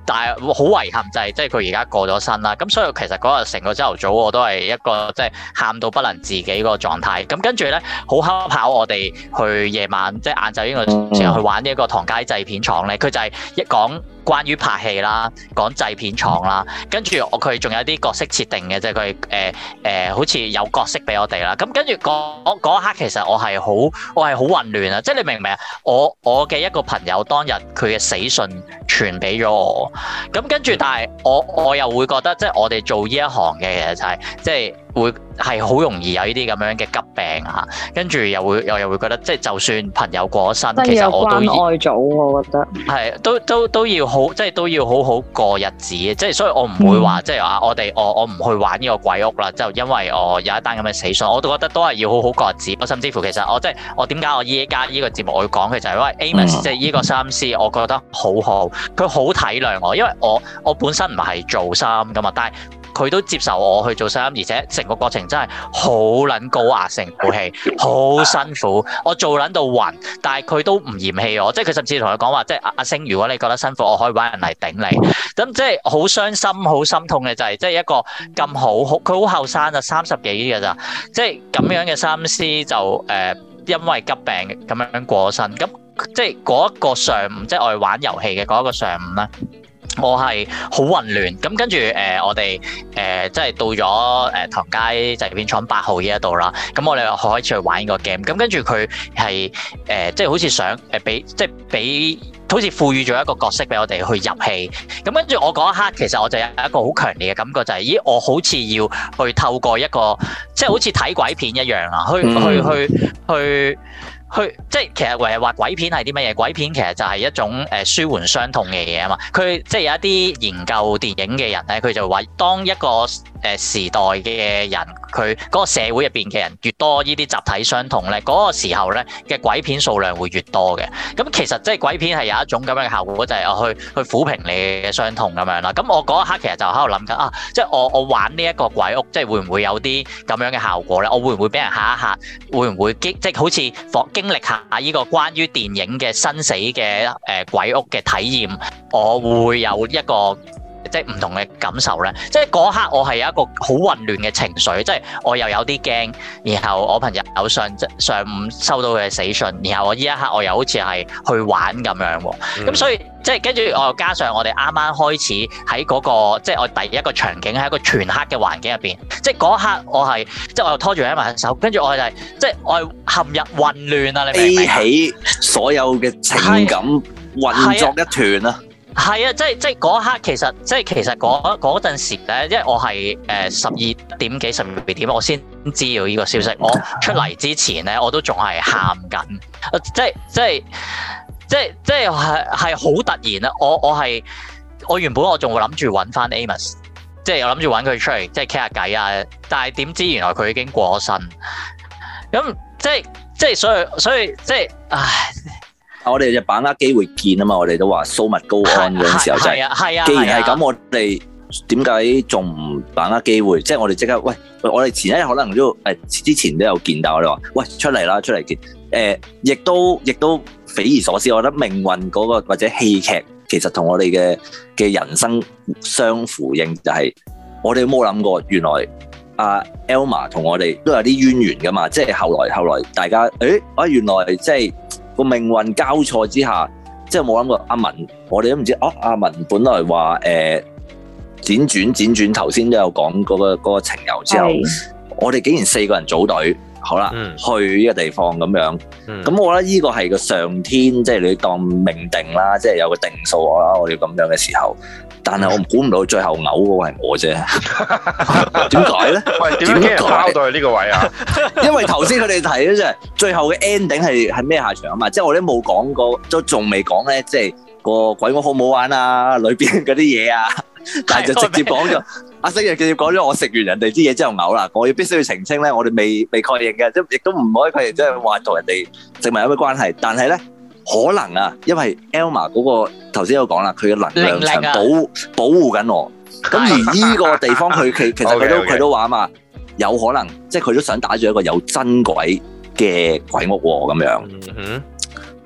但係好遺憾就係即係佢而家過咗身啦。咁所以其實嗰日成個朝頭早我都係一個即係喊到不能自己個狀態。咁跟住咧好恰巧我哋去夜晚即係晏晝呢個時候去玩呢一個唐街製片廠咧，佢就係一講關於拍戲啦，講製片廠啦，跟住我佢仲有啲角色設定嘅，即係佢誒誒好似有角色俾我哋啦。咁跟住嗰嗰一刻其實我係好我係好混亂啊！即係你明唔明啊？我我嘅一個朋友當日佢嘅死訊傳俾咗我，咁跟住但係我我又會覺得即係我哋做呢一行嘅其實就係即係會係好容易有呢啲咁樣嘅急病啊，跟住又會又又會覺得即係就算朋友過咗身，其實我都關愛組，我覺得係都都都要好，即係都要好好過日子嘅，即係所以我唔會話、嗯、即係話我哋我我唔去玩呢個鬼屋啦，就因為我有一單咁嘅死訊，我都覺得都係要好好過日子。我甚至乎其實我即係我點解我依家呢個節目我要講嘅就係因為 Amos、嗯、即係呢個衫師，我覺得好好，佢好體諒我，因為我我本身唔係做衫噶嘛，但係佢都接受我去做衫，而且成個過程真係好撚高壓，成部戲好辛苦，我做撚到暈，但係佢都唔嫌棄我，即係佢甚至同佢講話，即係阿阿星，如果你覺得辛苦，我可以揾人嚟頂你。咁即係好傷心、好心痛嘅就係，即係一個咁好，佢好後生啊，三十幾嘅咋，即係咁樣嘅衫師就誒、呃，因為急病咁樣過身。咁即係嗰一個上午，即係我哋玩遊戲嘅嗰一個上午咧。我係好混亂，咁跟住誒、呃，我哋誒、呃、即係到咗誒、呃、唐街製片廠八號呢一度啦，咁我哋開始去玩呢個 game，咁跟住佢係誒即係好似想誒俾即係俾好似賦予咗一個角色俾我哋去入戲，咁跟住我嗰一刻其實我就有一個好強烈嘅感覺，就係、是、咦我好似要去透過一個即係好似睇鬼片一樣啊，去去去去。去去即係其實誒話鬼片係啲乜嘢？鬼片其實就係一種誒舒緩傷痛嘅嘢啊嘛。佢即係有一啲研究電影嘅人咧，佢就話當一個誒時代嘅人，佢嗰個社會入邊嘅人越多呢啲集體傷痛咧，嗰、那個時候咧嘅鬼片數量會越多嘅。咁其實即係鬼片係有一種咁樣嘅效果，就係、是、我去去撫平你嘅傷痛咁樣啦。咁我嗰一刻其實就喺度諗緊啊，即係我我玩呢一個鬼屋，即係會唔會有啲咁樣嘅效果咧？我會唔會俾人嚇一嚇？會唔會即係好似放經歷下呢個關於電影嘅生死嘅誒鬼屋嘅體驗，我會有一個即係唔同嘅感受咧。即係嗰刻我係有一個好混亂嘅情緒，即係我又有啲驚，然後我朋友有上上午收到佢嘅死訊，然後我呢一刻我又好似係去玩咁樣喎。咁、嗯、所以即係跟住我又加上我哋啱啱開始喺嗰、那個即係我第一個場景喺一個全黑嘅環境入邊，即係嗰一刻我係即係我又拖住佢埋手，跟住我就係、是、即係我係陷入混亂啊！你明唔明？ 起所有嘅情感混作一團啊！ 係啊，即係即係嗰一刻，其實即係其實嗰嗰陣時咧，因為我係誒十二點幾十二點，我先知道呢個消息。我出嚟之前咧，我都仲係喊緊，即係即係即係即係係係好突然啊！我我係我原本我仲會諗住揾翻 Amos， 即係我諗住揾佢出嚟即係傾下偈啊，但係點知原來佢已經過咗身。咁即係即係所以所以即係唉。 我哋就把握機會見啊嘛！我哋都話蘇密高安嗰陣時候就係、是，既然係咁，我哋點解仲唔把握機會？即係我哋即刻喂，我哋前一日可能都誒之前都有見到我哋話，喂出嚟啦，出嚟見誒，亦、呃、都亦都匪夷所思。我覺得命運嗰、那個或者戲劇其實同我哋嘅嘅人生相呼應，就係、是、我哋冇諗過，原來阿 Elma 同我哋都有啲淵源噶嘛。即係後來後來大家誒啊，原來即係。個命運交錯之下，即係冇諗過阿文，我哋都唔知哦。阿文本來話誒、呃、輾轉輾轉，頭先都有講嗰、那個嗰、那個情由之後，是我哋竟然四個人組隊，好啦，嗯、去呢個地方咁樣。咁、嗯、我覺得呢個係個上天，即係你當命定啦，即係有個定數啦。我哋咁樣嘅時候。但係我估唔到最後嘔嗰個係我啫，點解咧？ 喂，點解拋到去呢個位啊？ 因為頭先佢哋提咧，即係最後嘅 ending 係係咩下場啊嘛？即係我哋都冇講過，都仲未講咧，即係個鬼屋好唔好玩啊？裏邊嗰啲嘢啊，但係就直接講咗。阿星就直接講咗，我食完人哋啲嘢之後嘔啦。我要必須要澄清咧，我哋未未確認嘅，即亦都唔可以確認，即係話同人哋食物有咩關係。但係咧。可能啊，因為 Elma 嗰個頭先有講啦，佢嘅能量場保保護緊我。咁而呢個地方佢其其實佢都佢都話嘛，有可能即係佢都想打住一個有真鬼嘅鬼屋喎咁樣。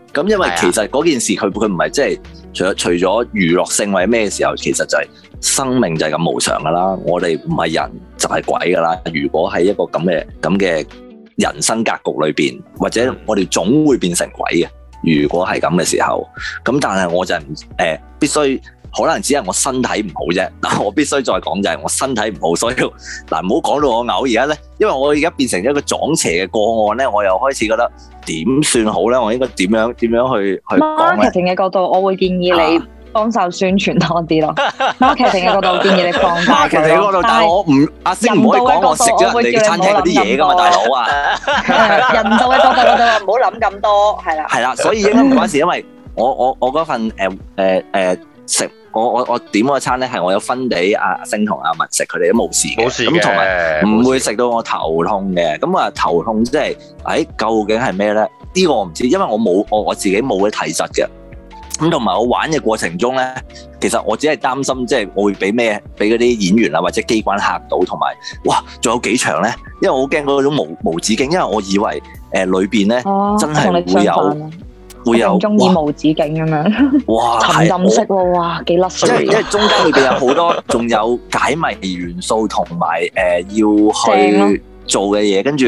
咁因為其實嗰件事佢佢唔係即係除咗除咗娛樂性或者咩時候，其實就係生命就係咁無常噶啦。我哋唔係人就係鬼噶啦。如果喺一個咁嘅咁嘅人生格局裏邊，或者我哋總會變成鬼嘅。如果係咁嘅時候，咁但係我就係唔誒必須。可能只係我身體唔好啫，嗱我必須再講就係我身體唔好，所以嗱唔好講到我嘔而家咧，因為我而家變成咗一個撞邪嘅個案咧，我又開始覺得點算好咧？我應該點樣點樣去去講咧？ marketing 嘅角度，我會建議你幫手宣傳多啲咯。marketing 嘅角度建議你放大佢咯。marketing 嘅角度，但係我唔阿星唔可以講我食咗人哋嘅餐廳嗰啲嘢㗎嘛，大佬啊！ 人道嘅角度我就話唔好諗咁多，係啦。 係啦，所以應該唔關事，因為我我我嗰份誒誒誒食。我我我點嗰餐咧係我有分俾阿星同阿文食，佢哋都冇事嘅， 冇事咁同埋唔會食到我頭痛嘅。咁啊頭痛即係，誒究竟係咩咧？呢個我唔知，因為我冇我我自己冇嘅體質嘅。咁同埋我玩嘅過程中咧，其實我只係擔心即係我會俾咩俾嗰啲演員啊或者機關嚇到，同埋哇仲有幾場咧？因為我好驚嗰種無無止境，因為我以為誒裏邊咧真係會有。會有中意無止境咁樣， 哇！ 沉浸式喎，哇幾甩水！ 因為因為中間裏邊有好多，仲有解謎元素同埋誒要去做嘅嘢，跟住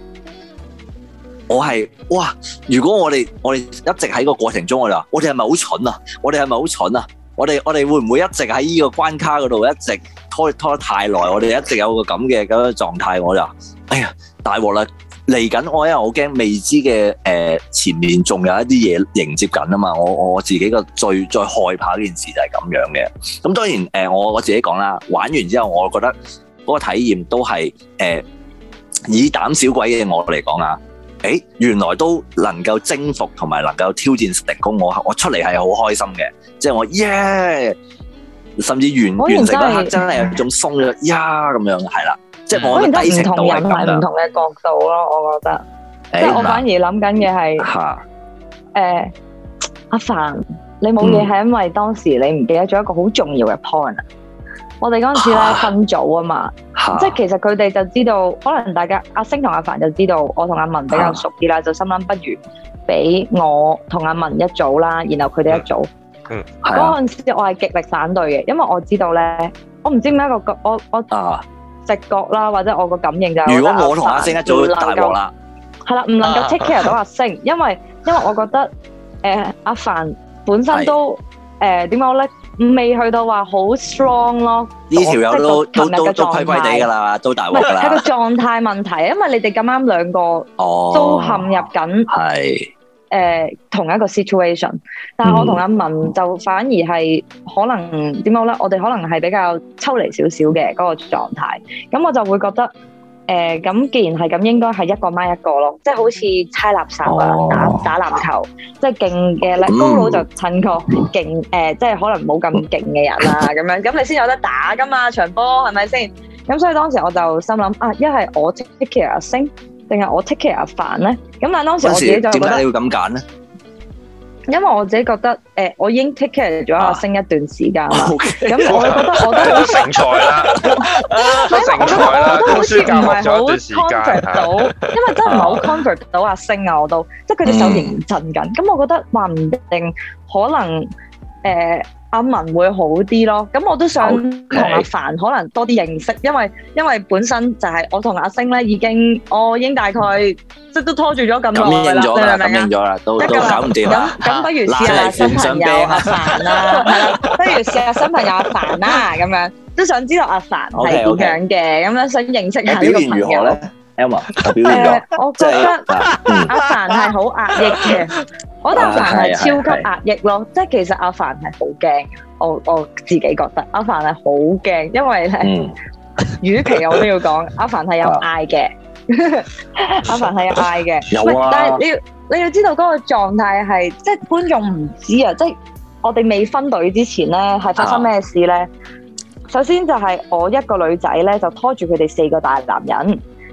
我係哇！如果我哋我哋一直喺個過程中，我哋話我哋係咪好蠢啊？我哋係咪好蠢啊？我哋我哋會唔會一直喺呢個關卡嗰度一直拖拖得太耐？我哋一直有個咁嘅咁嘅狀態，我就哎呀大鑊啦！嚟緊我因為我驚未知嘅誒、呃、前面仲有一啲嘢迎接緊啊嘛，我我自己個最最害怕呢件事就係咁樣嘅。咁當然誒、呃、我我自己講啦，玩完之後我覺得嗰個體驗都係誒、呃、以膽小鬼嘅我嚟講啊，誒原來都能夠征服同埋能夠挑戰成功，我我出嚟係好開心嘅，即係我耶！Yeah! 甚至完完成嗰刻真係有種鬆咗呀咁樣係啦。即係我覺得唔同人係唔同嘅角度咯，我覺得。即係我反而諗緊嘅係，誒阿凡，你冇嘢係因為當時你唔記得咗一個好重要嘅 point 啊！我哋嗰陣時咧分組啊嘛，即係其實佢哋就知道，可能大家阿星同阿凡就知道，我同阿文比較熟啲啦，就心諗不如俾我同阿文一組啦，然後佢哋一組。嗯。嗰陣時我係極力反對嘅，因為我知道咧，我唔知點解個我我。直覺啦，或者我個感應就係，如果我同阿星一組大鑊啦，係啦，唔能夠 take care 到阿星，因為因為我覺得誒阿凡本身都誒點講咧，未去到話好 strong 咯。呢條友都都都都虧虧地㗎啦，都大鑊㗎啦。係個狀態問題，因為你哋咁啱兩個都陷入緊係誒同一個 situation，但係我同阿文就反而係可能點講咧？我哋可能係比較抽離少少嘅嗰個狀態，咁我就會覺得誒咁，既然係咁，應該係一個孖一個咯，即係好似猜垃圾啊、打打籃球，即係勁嘅咧，高佬就襯個勁誒，即係可能冇咁勁嘅人啦，咁樣咁你先有得打㗎嘛，場波係咪先？咁所以當時我就心諗啊，一係我 take care 阿星，定係我 take care 阿凡咧？咁但係當時我自己就覺得點解你要咁揀咧？因為我自己覺得，誒、呃，我已經 take care 咗阿星一段時間啦。咁我覺得我都好成才啦，成才啦，好似唔係好 comfort 到，因為真係唔係好 comfort 到阿星啊，我都，即係佢哋手認真緊。咁、嗯、我覺得話唔定可能，誒、呃。阿文會好啲咯，咁我都想同阿凡可能多啲認識，因為因為本身就係我同阿星咧已經，我已經大概即都拖住咗咁耐啦，你明唔明啊？感應咗啦，都都搞唔掂啦。咁咁不如試下新朋友阿凡啦，係啦，不如試下新朋友阿凡啦，咁樣都想知道阿凡係點樣嘅，咁樣想認識下呢個朋友咧。Emma，誒，我覺得阿凡係好壓抑嘅。我覺得阿凡係超級壓抑咯，即係其實阿凡係好驚，我我自己覺得阿凡係好驚，因為咧，與其我都要講，阿凡係有嗌嘅，阿凡係有嗌嘅，有啊，但係你要你要知道嗰個狀態係，即係觀眾唔知啊，即係我哋未分隊之前咧，係發生咩事咧？首先就係我一個女仔咧，就拖住佢哋四個大男人。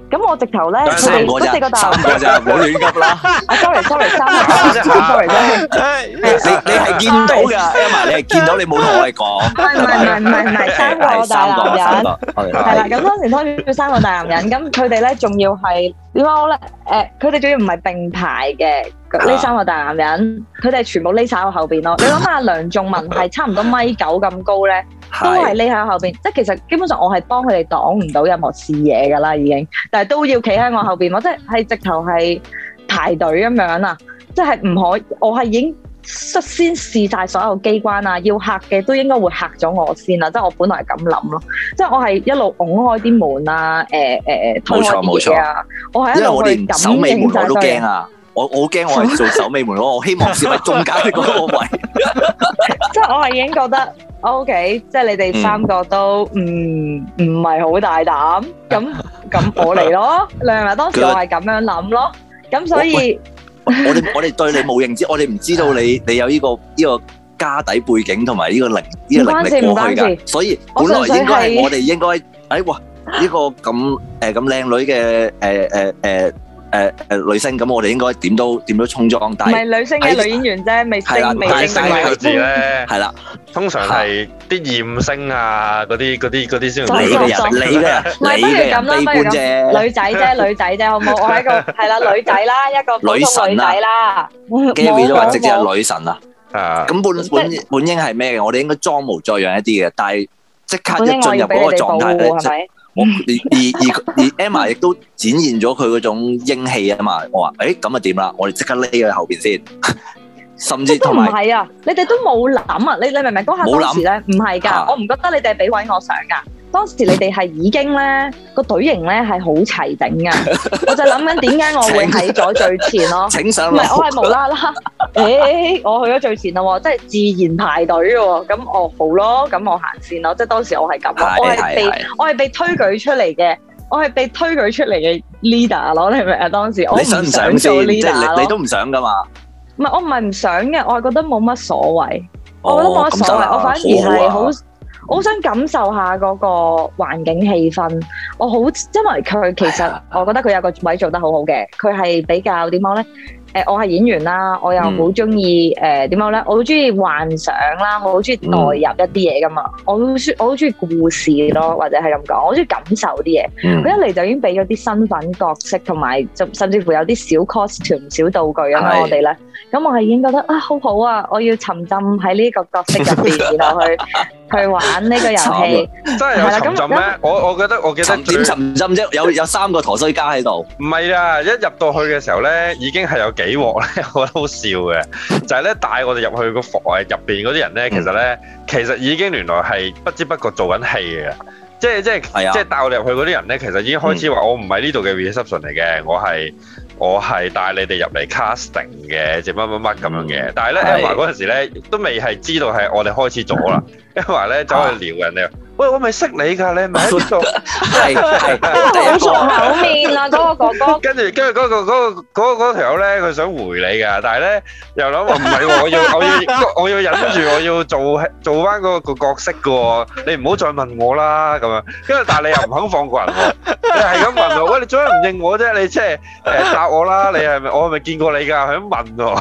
咁我直頭咧，佢三個哋嗰四個啫， 大三個啫，唔好亂急啦。 啊，sorry sorry，三個，sorry sorry。 你你係見到㗎，Emma，你係見到你冇同我哋講。 唔係唔係唔係唔係三個大男人，係啦。咁當時拖住三個大男人，咁佢哋咧仲要係點講咧？誒，佢哋仲要唔係並排嘅，呢三個大男人，佢哋全部匿晒喺我後邊咯。你諗下，梁仲文係差唔多米九咁高咧，都係匿喺後邊。即係其實基本上我係幫佢哋擋唔到任何視野㗎啦，已經。但係都要企喺我後邊，我即係係直頭係排隊咁樣啊！即係唔可以，我係已經率先試晒所有機關啊，要嚇嘅都應該會嚇咗我先啦。即係我本來係咁諗咯，即係我係一路拱開啲門啊，誒誒推開啲嘢啊，我係一路去感守尾門我都驚啊！ 我我好驚我係做守尾門咯，我希望先喺中間嗰個位。 即係我係已經覺得 OK，即係你哋三個都唔唔係好大膽，咁咁我嚟咯。你係咪當時我係咁樣諗咯？咁所以我哋我哋對你冇認知，我哋唔知道你你有呢個呢個家底背景同埋呢個能呢個能力過去㗎，所以本來應該係我哋應該誒哇呢個咁誒咁靚女嘅誒誒誒。誒誒女星咁，我哋應該點都點都衝裝，但係唔係女星嘅女演員啫，未升未升呢個字咧， 係啦， 通常係啲艷星啊，嗰啲嗰啲嗰啲先你嘅人，你嘅人，你嘅人悲觀啫， 女仔啫，女仔啫，好冇？我係一個係啦，女仔啦，一個普通女仔啦 ，Gary 都話直接係女神啊， 啊， 咁本本本應係咩嘅？我哋應該裝模作樣一啲嘅，但係即刻一進入嗰個狀態咧，係咪？我而而而 Emma 亦都展現咗佢嗰種英氣啊嘛！我話誒咁啊點啦？我哋即刻匿喺後邊先，甚至同埋唔係啊！你哋都冇諗啊！你你明唔明嗰下當時咧？唔係㗎，我唔覺得你哋係俾位我上㗎。當時你哋係已經咧個隊形咧係好齊整㗎，我就諗緊點解我會喺咗最前咯。 請上唔係我係無啦啦，誒我去咗最前咯，即係自然排隊嘅喎。咁我好咯，咁我行先咯。即係當時我係咁咯，我係被我係被推舉出嚟嘅，我係被推舉出嚟嘅 leader 咯。你明唔明啊？當時我唔想做 leader 咯， 你都唔想㗎嘛？ 唔係我唔係唔想嘅，我係覺得冇乜所謂，我覺得冇乜所謂，我反而係好。我好想感受下嗰個環境氣氛，我好，因為佢其實我覺得佢有個位做得好好嘅，佢係比較點講咧？誒，我係演員啦，我又好中意誒點講咧？我好中意幻想啦，我好中意代入一啲嘢噶嘛，我好中我好中意故事咯，或者係咁講，我好中意感受啲嘢。佢一嚟就已經俾咗啲身份角色，同埋甚至乎有啲小 costume 小道具咁樣我哋咧。咁我係已經覺得啊，好好啊！我要沉浸喺呢個角色入邊，然後去去玩呢個遊戲。 真係有沉浸咩？我我覺得我記得點沉浸啫？有有三個陀衰家喺度。唔係啊！一入到去嘅時候咧，已經係有幾鑊咧，我覺得好笑嘅。就係咧帶我哋入去個房誒入邊嗰啲人咧，其實咧其實已經原來係不知不覺做緊戲嘅。即係即係即係帶我哋入去嗰啲人咧，其實已經開始話我唔係呢度嘅 reception 嚟嘅，我係。我係帶你哋入嚟 casting 嘅，即乜乜乜咁樣嘅。但係咧，Emma 嗰陣時咧都未係知道係我哋開始咗啦。Emma 咧走去撩人哋，喂，我咪識你㗎，你咪喺邊度？係係， 好熟口面啊，嗰個哥哥。 跟住跟住嗰個嗰個嗰個嗰條友咧，佢想回你㗎，但係咧又諗話唔係喎，我要我要我要忍住，我要做做翻嗰個角色㗎喎。你唔好再問我啦咁樣。跟住但係你又唔肯放過人喎，你係咁問我，喂，你做咩唔認我啫？你即係誒答我啦，你係咪我係咪見過你㗎？係咁問喎。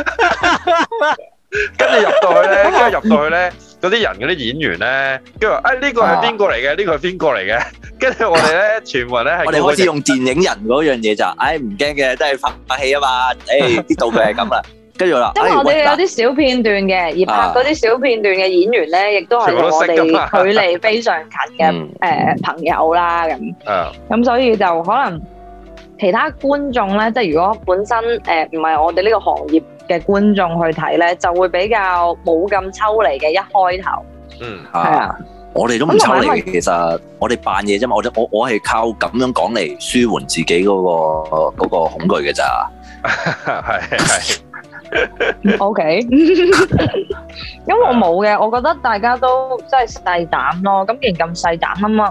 跟住入到去咧，跟住入到去咧，嗰啲人嗰啲演員咧，跟住話：誒呢個係邊個嚟嘅？呢個係邊個嚟嘅？跟住我哋咧，全部人咧係我哋開始用電影人嗰樣嘢就，誒唔驚嘅，都係拍拍戲啊嘛。誒啲道具係咁啦。跟住我啦， 因為我哋有啲小片段嘅，而拍嗰啲小片段嘅演員咧，亦都係我哋距離非常近嘅誒朋友啦咁。咁所以就可能其他觀眾咧，即係如果本身誒唔係我哋呢個行業嘅觀眾去睇咧，就會比較冇咁抽離嘅一開頭。嗯，係啊， 我哋都唔抽離，其實我哋扮嘢啫嘛。我我我係靠咁樣講嚟舒緩自己嗰個嗰個恐懼嘅咋。 係係。 O K，咁我冇嘅，我覺得大家都真係細膽咯。咁既然咁細膽啊嘛，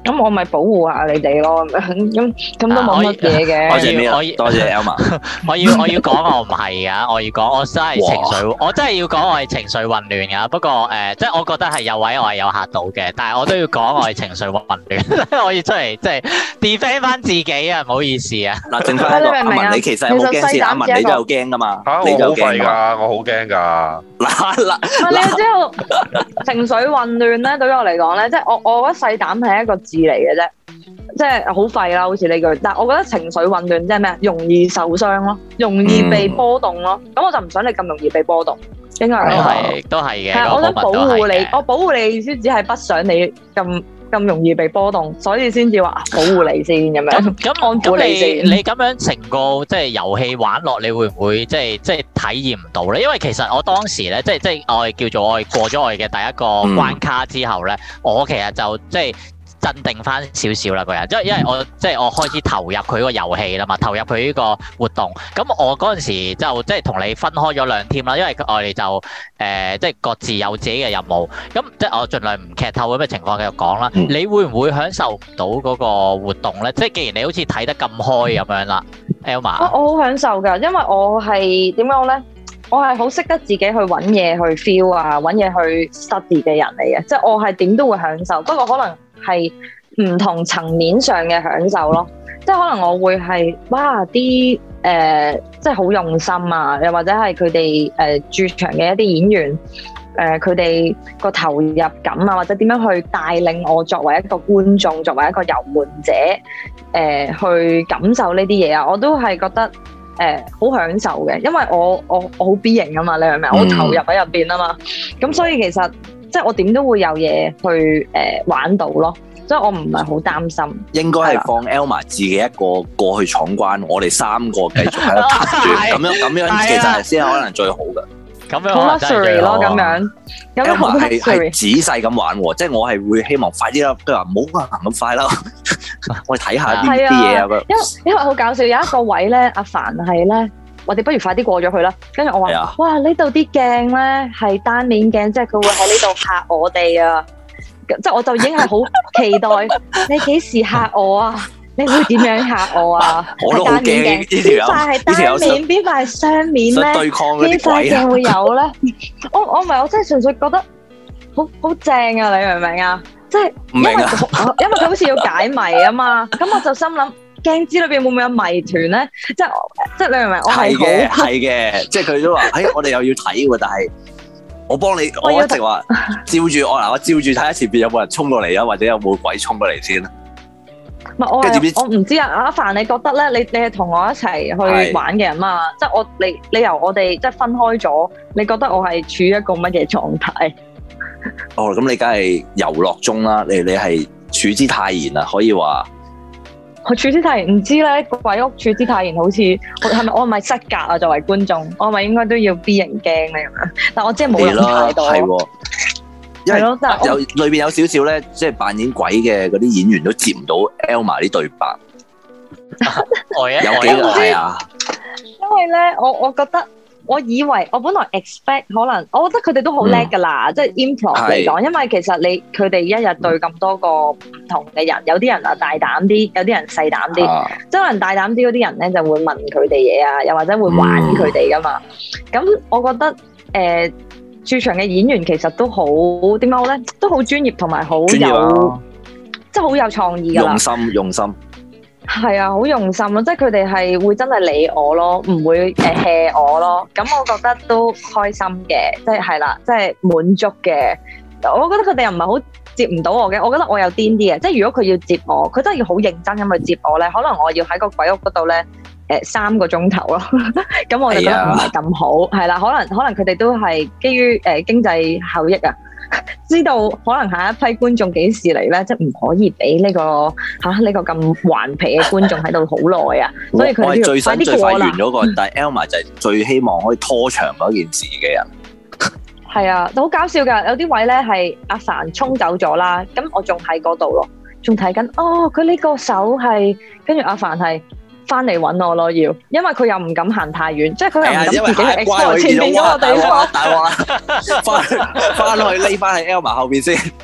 咁我咪保護下你哋咯，咁咁咁都冇乜嘢嘅。 多謝咩？多謝 Elma。 我要我要講我唔係噶，我要講我真係情緒，我真係要講我係情緒混亂噶。不過誒，即係我覺得係有位我係有嚇到嘅，但係我都要講我係情緒混亂，我要出嚟即係 defend 翻自己啊！唔好意思啊。 嗱，剩翻一個阿文，你其實有冇驚先？阿文你都有驚噶嘛？ 嚇！我好廢㗎，我好驚㗎。 嗱嗱， 你要知道情緒混亂咧，對於我嚟講咧，即係我我覺得細膽係一個字嚟嘅啫，即係好廢啦，好似呢句。但係我覺得情緒混亂即係咩？容易受傷咯，容易被波動咯。咁、嗯、我就唔想你咁容易被波動，應該係咁講。 都係嘅。 係，我想保護你，我保護你意思只係不想你咁咁容易被波動，所以先至話保護你先咁樣。 咁安撫你先。你咁樣成個即係遊戲玩落，你會唔會即係即係體驗唔到咧？因為其實我當時咧，即係即係我係叫做我係過咗我嘅第一個關卡之後咧，嗯、我其實就即係。鎮定翻少少啦，個人，因為因為我即係我開始投入佢個遊戲啦嘛，投入佢呢個活動。咁我嗰陣時就即係同你分開咗兩 team 啦，因為我哋就誒、呃、即係各自有自己嘅任務。咁即係我盡量唔劇透咁嘅情況繼續講啦。你會唔會享受唔到嗰個活動咧？即係既然你好似睇得咁開咁樣啦 Elma。我好享受㗎，因為我係點講咧？我係好識得自己去揾嘢去 feel 啊，揾嘢去 study 嘅人嚟嘅，即係我係點都會享受，不過可能係唔同層面上嘅享受咯，即係可能我會係哇啲誒，即係好用心啊，又或者係佢哋誒駐場嘅一啲演員誒，佢哋個投入感啊，或者點樣去帶領我作為一個觀眾，作為一個遊玩者誒、呃，去感受呢啲嘢啊，我都係覺得。誒好、呃、享受嘅，因為我我我好 B 型啊嘛，你明唔明？我投入喺入邊啊嘛，咁所以其實即係我點都會有嘢去誒、呃、玩到咯，所以我唔係好擔心。應該係放 Elma 自己一個過去闖關，我哋三個繼續喺度拍住，咁樣咁樣其實係先可能最好嘅。咁樣好 luxury 咯，咁樣。Elma 係係仔細咁玩喎，即係我係會希望快啲啦，佢話唔好行咁快啦，我哋睇下啲啲嘢啊。因為因為好搞笑，有一個位咧，阿凡係咧，我哋不如快啲過咗去啦。跟住我話：啊、哇，呢度啲鏡咧係單面鏡，即係佢會喺呢度嚇我哋啊！即係我就已經係好期待，你幾時嚇我啊？你會點樣嚇我啊？我都好驚，邊塊係單面，邊塊係雙面咧？邊塊鏡會有咧？我我唔係，我真係純粹覺得好好正啊！你明唔明啊？即係因為因為佢好似要解謎啊嘛，咁我就心諗鏡子裏邊會唔會有謎團咧？即係即係你明唔明？我係嘅，係嘅，即係佢都話：哎，我哋又要睇喎，但係我幫你，我一直話照住我嗱，我照住睇下前邊有冇人衝過嚟啊，或者有冇鬼衝過嚟先啦。唔係我係我唔知啊，阿凡你覺得咧？你你係同我一齊去玩嘅人嘛？即係我你你由我哋即係分開咗，你覺得我係處於一個乜嘢狀態？哦，咁你梗係遊樂中啦，你你係處之泰然啊，可以話。我處之泰然唔知咧，鬼屋處之泰然好似係咪我係咪失格啊？作為觀眾，我係咪應該都要 B 型驚咧咁樣？但我真係冇諗太多。係喎。因為有裏邊有少少咧，即係扮演鬼嘅嗰啲演員都接唔到 Elma 啲對白，有幾個係啊？因為咧，我我覺得，我以為我本來 expect 可能，我覺得佢哋都好叻㗎啦，即係 improv 嚟講。因為其實你佢哋一日對咁多個唔同嘅人，有啲人啊大膽啲，有啲人細膽啲。即係可能大膽啲嗰啲人咧，就會問佢哋嘢啊，又或者會玩佢哋㗎嘛。咁我覺得誒。駐場嘅演員其實都好點講咧，都好專業同埋好有，即係好有創意㗎啦。用心用心，係啊，好用心咯！即係佢哋係會真係理我咯，唔會誒 hea 我咯。咁我覺得都開心嘅，即係係啦，即係滿足嘅。我覺得佢哋又唔係好接唔到我嘅，我覺得我有癲啲嘅。即係如果佢要接我，佢真係要好認真咁去接我咧，可能我要喺個鬼屋嗰度咧。誒三個鐘頭咯，咁我就覺得唔係咁好，係啦，可能可能佢哋都係基於誒經濟效益啊，知道可能下一批觀眾幾時嚟咧，即係唔可以俾呢個嚇呢個咁頑皮嘅觀眾喺度好耐啊，所以佢哋要快啲過啦。完咗個，但係 Elma 就係最希望可以拖長嗰件事嘅人。係啊，好搞笑㗎，有啲位咧係阿凡衝走咗啦，咁我仲喺嗰度咯，仲睇緊哦，佢呢個手係跟住阿凡係。翻嚟揾我咯，要，因為佢又唔敢行太遠，即係佢又唔敢自己去 explore 前面嗰個地方。大鑊啦！翻翻去匿翻喺 Elma 後邊先。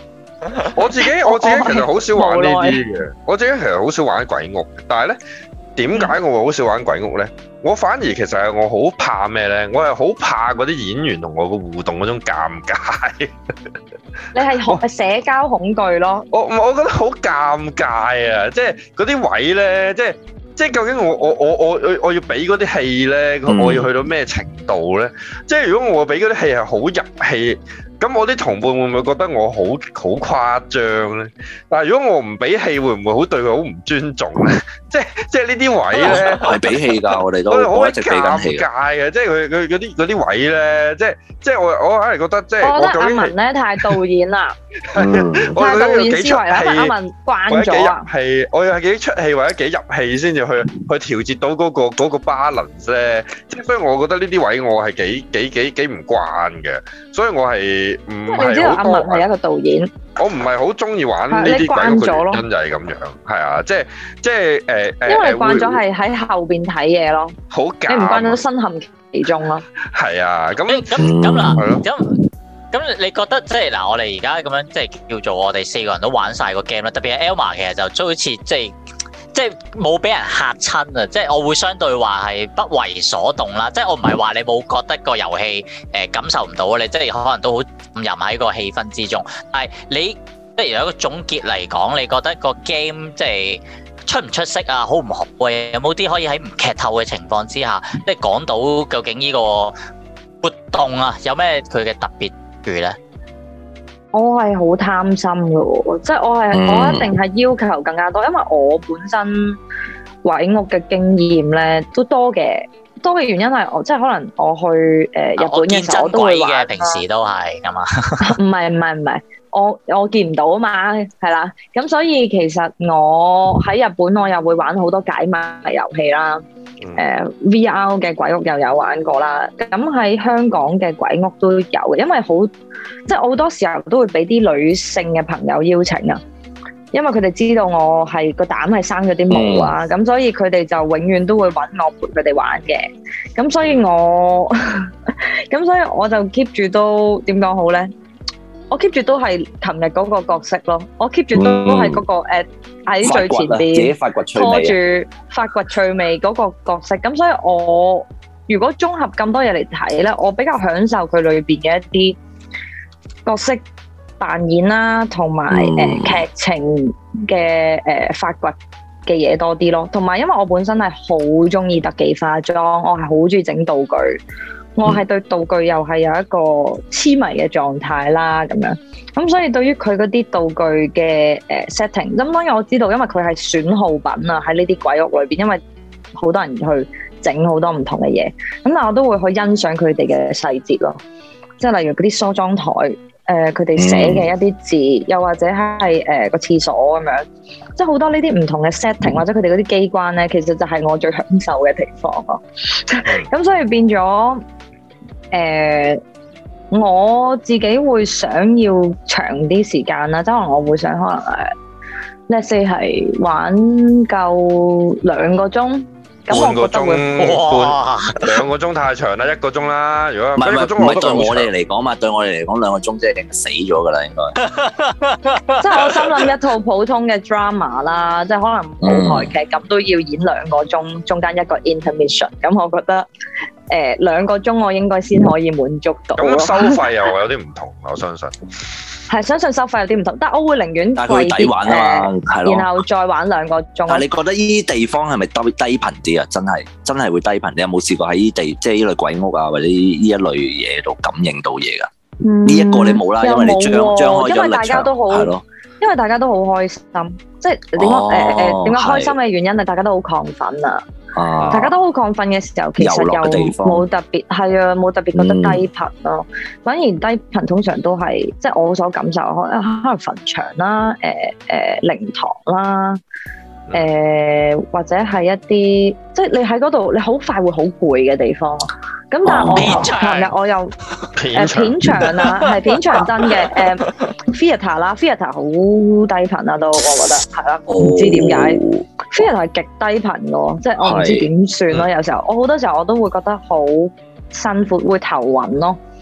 我自己我自己其實好少玩呢啲嘅，我自己其實好少玩鬼屋，但係咧點解我會好少玩鬼屋咧？我反而其實係我好怕咩咧？我係好怕嗰啲演員同我個互動嗰種尷尬。 你係學社交恐懼咯？ 我我覺得好尷尬啊！即係嗰啲位咧，即係即係究竟我我我我我我要俾嗰啲戲咧，我要去到咩程度咧？即係如果我俾嗰啲戲係好入戲。咁我啲同伴會唔會覺得我好好誇張咧？但係如果我唔俾戲，會唔會好對佢好唔尊重咧？即係即係呢啲位咧， 係俾戲㗎，我哋都我一直俾緊戲。 尷尬嘅，即係佢佢嗰啲嗰啲位咧，即係即係我我硬係覺得即係。 我覺得阿文咧太導演啦，太導演思維啦，阿文慣咗啊。 係我要係幾出戲或者幾入戲先至去去調節到嗰個嗰個 balance 咧。即係所以我覺得呢啲位我係幾幾幾幾唔慣嘅，所以我係。唔係， 你知道阿文係一個導演， 我唔係好中意玩呢啲鬼屋嘅原因就係咁樣，係啊，即係即係誒誒， 因為你慣咗係喺後邊睇嘢咯， 好假， 你唔慣咗身陷其中咯， 係啊，咁咁咁嗱，咁咁你覺得即係嗱，我哋而家咁樣即係叫做我哋四個人都玩晒個 game 啦，特別係 Elma 其實就都好似即係。即係冇俾人嚇親啊！即係我會相對話係不為所動啦。即係我唔係話你冇覺得個遊戲誒感受唔到，你即係可能都好浸入喺個氣氛之中。但係你即係有一個總結嚟講，你覺得個 game 即係出唔出色啊？好唔好啊？有冇啲可以喺唔劇透嘅情況之下，即係講到究竟呢個活動啊有咩佢嘅特別處咧？ 我係好貪心嘅喎，即係我係、嗯、我一定係要求更加多，因為我本身鬼屋嘅經驗咧都多嘅，多嘅原因係我即係可能我去誒、呃、日本嘅時候我都會玩， 平時都係咁啊， 唔係唔係唔係，我我見唔到啊嘛，係啦，咁所以其實我喺日本我又會玩好多解碼遊戲啦。誒、呃、V R 嘅鬼屋又有玩過啦，咁喺香港嘅鬼屋都有嘅，因為好即係我好多時候都會俾啲女性嘅朋友邀請啊，因為佢哋知道我係個膽係生咗啲毛啊，咁、嗯、所以佢哋就永遠都會揾我陪佢哋玩嘅，咁所以我咁所以我就 keep 住都點講好咧？我 keep 住都係琴日嗰個角色咯，我 keep 住都係嗰、嗰個誒喺、嗯、最前邊拖住發掘趣味嗰個角色，咁所以我如果綜合咁多嘢嚟睇咧，我比較享受佢裏邊嘅一啲角色扮演啦，同埋誒劇情嘅誒、呃、發掘嘅嘢多啲咯，同埋因為我本身係好中意特技化妝，我係好中意整道具。我係對道具又係有一個痴迷嘅狀態啦，咁樣咁所以對於佢嗰啲道具嘅誒 setting，咁當然我知道，因為佢係損耗品啊，喺呢啲鬼屋裏邊，因為好多人去整好多唔同嘅嘢，咁但係我都會去欣賞佢哋嘅細節咯，即係例如嗰啲梳妝台，誒佢哋寫嘅一啲字，嗯、又或者係誒個廁所咁樣，即係好多呢啲唔同嘅 setting 或者佢哋嗰啲機關咧，其實就係我最享受嘅地方咯。咁所以變咗。誒、呃，我自己會想要長啲時間啦，即係可能我會想可能誒 let's say 係玩夠兩個鐘，咁我覺得會哇，兩個鐘太長啦，一個鐘啦。如果唔係唔係唔係對我哋嚟講嘛，對我哋嚟講兩個鐘即係定死咗噶啦，應該。即係我心諗一套普通嘅 drama 啦，即係可能舞台劇咁、嗯、都要演兩個鐘，中間一個 intermission， 咁我覺得。誒兩個鐘我應該先可以滿足到。咁收費又有啲唔同，我相信。係相信收費有啲唔同，但係我會寧願貴啲玩啊嘛，係咯，然後再玩兩個鐘。但係你覺得呢啲地方係咪低低頻啲啊？真係真係會低頻？你有冇試過喺呢地即係呢類鬼屋啊，或者呢一類嘢度感應到嘢㗎？呢、嗯、一個你冇啦，因為你張張開咗力場，係咯。因為大家都好開心，即係點講誒誒點解開心嘅原因係大家都好亢奮啊！啊大家都好亢奮嘅時候，其實又冇特別係啊，冇特別覺得低頻咯。嗯、反而低頻通常都係即係我所感受，可能可能墳場啦、誒誒靈堂啦、誒、呃、或者係一啲即係你喺嗰度，你好快會好攰嘅地方。咁但係我琴日我又誒片場啊，係片場真嘅誒 theatre 啦 theatre 好低頻啊都，我覺得係啦，唔知點解 theatre 係極低頻嘅喎，即係我唔知點算咯。有時候我好多時候我都會覺得好辛苦，會頭暈咯。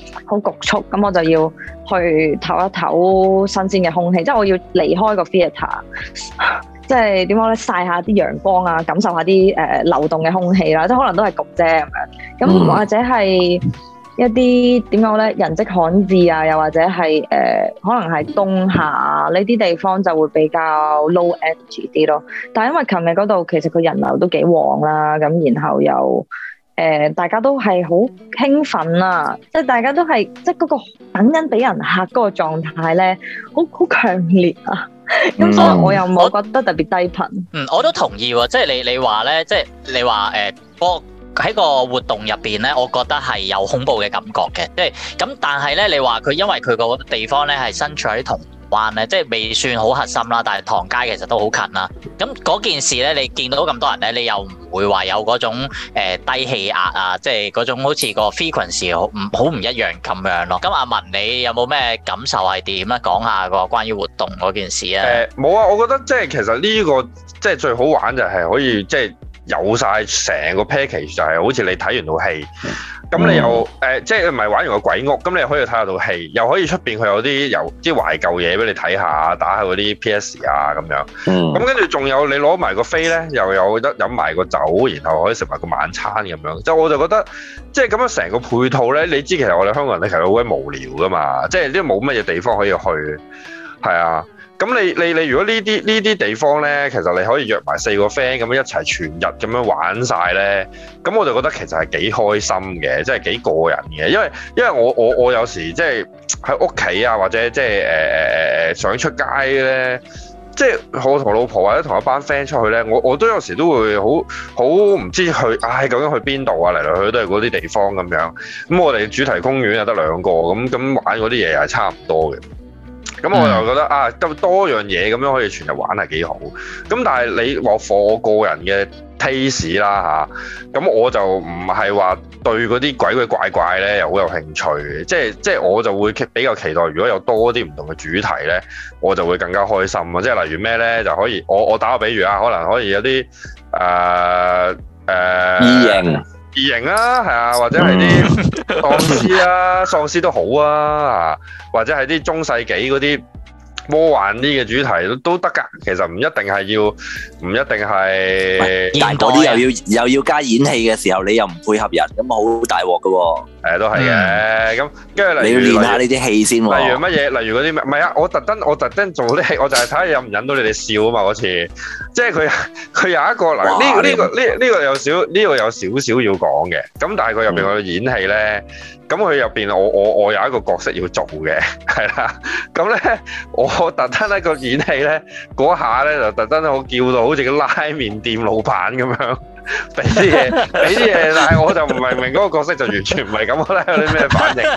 好局促，咁我就要去唞一唞新鮮嘅空氣，即係我要離開個 theatre，即係點講咧，曬下啲陽光啊，感受下啲誒、呃、流動嘅空氣啦，即係可能都係焗啫咁樣，咁或者係一啲點講咧，人跡罕至啊，又或者係誒、呃、可能係冬夏呢啲地方就會比較 low energy 啲咯。但係因為琴日嗰度其實個人流都幾旺啦，咁然後又誒、呃、大家都係好興奮啊，即係大家都係即係嗰個等緊俾人嚇嗰個狀態咧，好好強烈啊！咁、嗯、所以我又冇覺得特別低頻。 嗯，我都同意喎，即係你你話咧，即係你話誒波。喺個活動入邊咧，我覺得係有恐怖嘅感覺嘅，即係咁。但係咧，你話佢因為佢個地方咧係身處喺銅鑼灣咧，即係未算好核心啦，但係唐街其實都好近啦。咁嗰件事咧，你見到咁多人咧，你又唔會話有嗰種誒、呃、低氣壓啊，即係嗰種好似個 frequency 好唔好唔一樣咁樣咯。咁阿文，你有冇咩感受係點咧？講下個關於活動嗰件事啊。誒冇啊，我覺得即係其實呢、這個即係最好玩就係可以即係。有晒成個 package 就係好似你睇完套戲，咁、嗯、你又誒、呃、即係唔係玩完個鬼屋，咁你又可以睇下套戲，又可以出邊佢有啲有啲懷舊嘢俾你睇下，打下嗰啲 P S 啊咁樣，咁跟住仲有你攞埋個飛咧，又有得飲埋個酒，然後可以食埋個晚餐咁樣，即係我就覺得即係咁樣成個配套咧，你知其實我哋香港人咧其實好鬼無聊噶嘛，即係呢冇乜嘢地方可以去，係啊。咁你你你如果呢啲呢啲地方咧，其實你可以約埋四個 friend 咁樣一齊全日咁樣玩晒咧，咁我就覺得其實係幾開心嘅，即係幾過癮嘅，因為因為我我我有時即係喺屋企啊，或者即係誒誒誒想出街咧，即係我同老婆或者同一班 friend 出去咧，我我都有時都會好好唔知去，唉究竟去邊度啊？嚟嚟去去都係嗰啲地方咁樣，咁我哋主題公園又得兩個，咁咁玩嗰啲嘢係差唔多嘅。咁我就覺得啊，咁多樣嘢咁樣可以全日玩係幾好。咁但係你話課我個人嘅 taste 啦嚇，咁我就唔係話對嗰啲鬼鬼怪怪咧又好有興趣嘅。即係即係我就會比較期待，如果有多啲唔同嘅主題咧，我就會更加開心啊！即係例如咩咧，就可以我我打個比喻啊，可能可以有啲誒誒異形。異形啊，係啊，或者係啲喪屍啊，喪屍都好啊，或者係啲中世紀嗰啲魔幻啲嘅主題都都得㗎。其實唔一定係要，唔一定係。 但嗰啲又要又要加演戲嘅時候，你又唔配合人，咁好大鑊㗎喎。 誒都係嘅，咁跟住例如你要練下呢啲戲先喎。 例如乜嘢？例如嗰啲咩？唔係啊！我特登我特登做啲戲，我就係睇下引唔引到你哋笑啊嘛！嗰次，即係佢佢有一個嗱，呢呢個呢呢個有少呢個有少少要講嘅。咁但係佢入邊個演戲咧，咁佢入邊我我我有一個角色要做嘅，係啦。咁咧我特登咧個演戲咧嗰下咧就特登我叫到好似個拉麵店老闆咁樣。俾啲嘢，俾啲嘢，但係我就唔係明嗰個角色就完全唔係咁啦，有啲咩反應？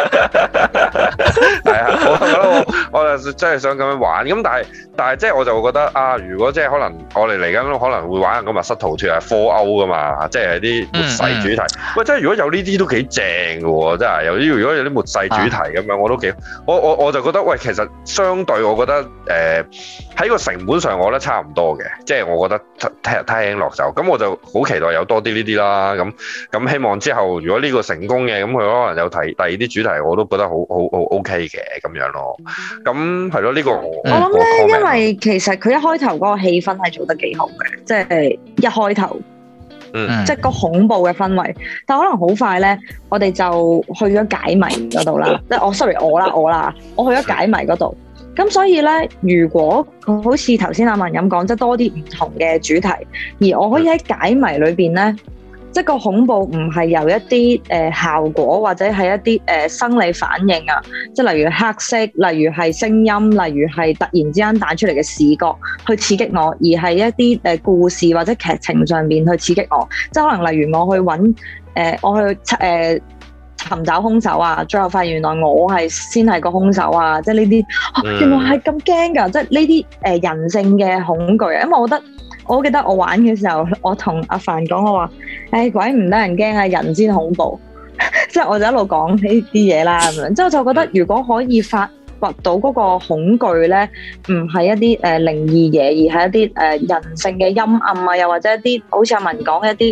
係啊，我覺得我我就真係想咁樣玩，咁但係但係即係我就會覺得啊，如果即係可能我哋嚟緊可能會玩個密室逃脫係科歐噶嘛，即係啲末世主題。嗯嗯、喂，即係如果有呢啲都幾正嘅喎，真係有啲如果有啲末世主題咁樣，啊、我都幾我我我就覺得喂，其實相對我覺得誒喺、呃、個成本上我覺得差唔多嘅，即係我覺得聽聽落就咁我就。好期待有多啲呢啲啦，咁咁希望之後如果呢個成功嘅，咁佢可能有提第二啲主題，我都覺得好好好 OK 嘅咁樣咯。咁係咯，呢個我我諗咧，因為其實佢一開頭嗰個氣氛係做得幾好嘅，即係一開頭，嗯，即係個恐怖嘅氛圍。但可能好快咧，我哋就去咗解謎嗰度啦。即係我 sorry 我啦我啦，我去咗解謎嗰度。咁所以咧，如果好似頭先阿文咁講，即係多啲唔同嘅主題，而我可以喺解謎裏邊咧，即係個恐怖唔係由一啲誒、呃、效果或者係一啲誒、呃、生理反應啊，即係例如黑色，例如係聲音，例如係突然之間彈出嚟嘅視覺去刺激我，而係一啲誒故事或者劇情上邊去刺激我，即係可能例如我去揾誒、呃、我去誒。呃尋找兇手啊！最後發現原來我係先係個兇手啊！即係呢啲，原來係咁驚㗎！即係呢啲誒人性嘅恐懼啊！因為我覺得，我好記得我玩嘅時候，我同阿凡講我話：誒、哎、鬼唔得人驚啊，人先恐怖！即係我就一路講呢啲嘢啦咁樣。之後就覺得，如果可以發掘到嗰個恐懼咧，唔係一啲誒、呃、靈異嘢，而係一啲誒、呃、人性嘅陰暗啊，又或者一啲好似阿文講嘅一啲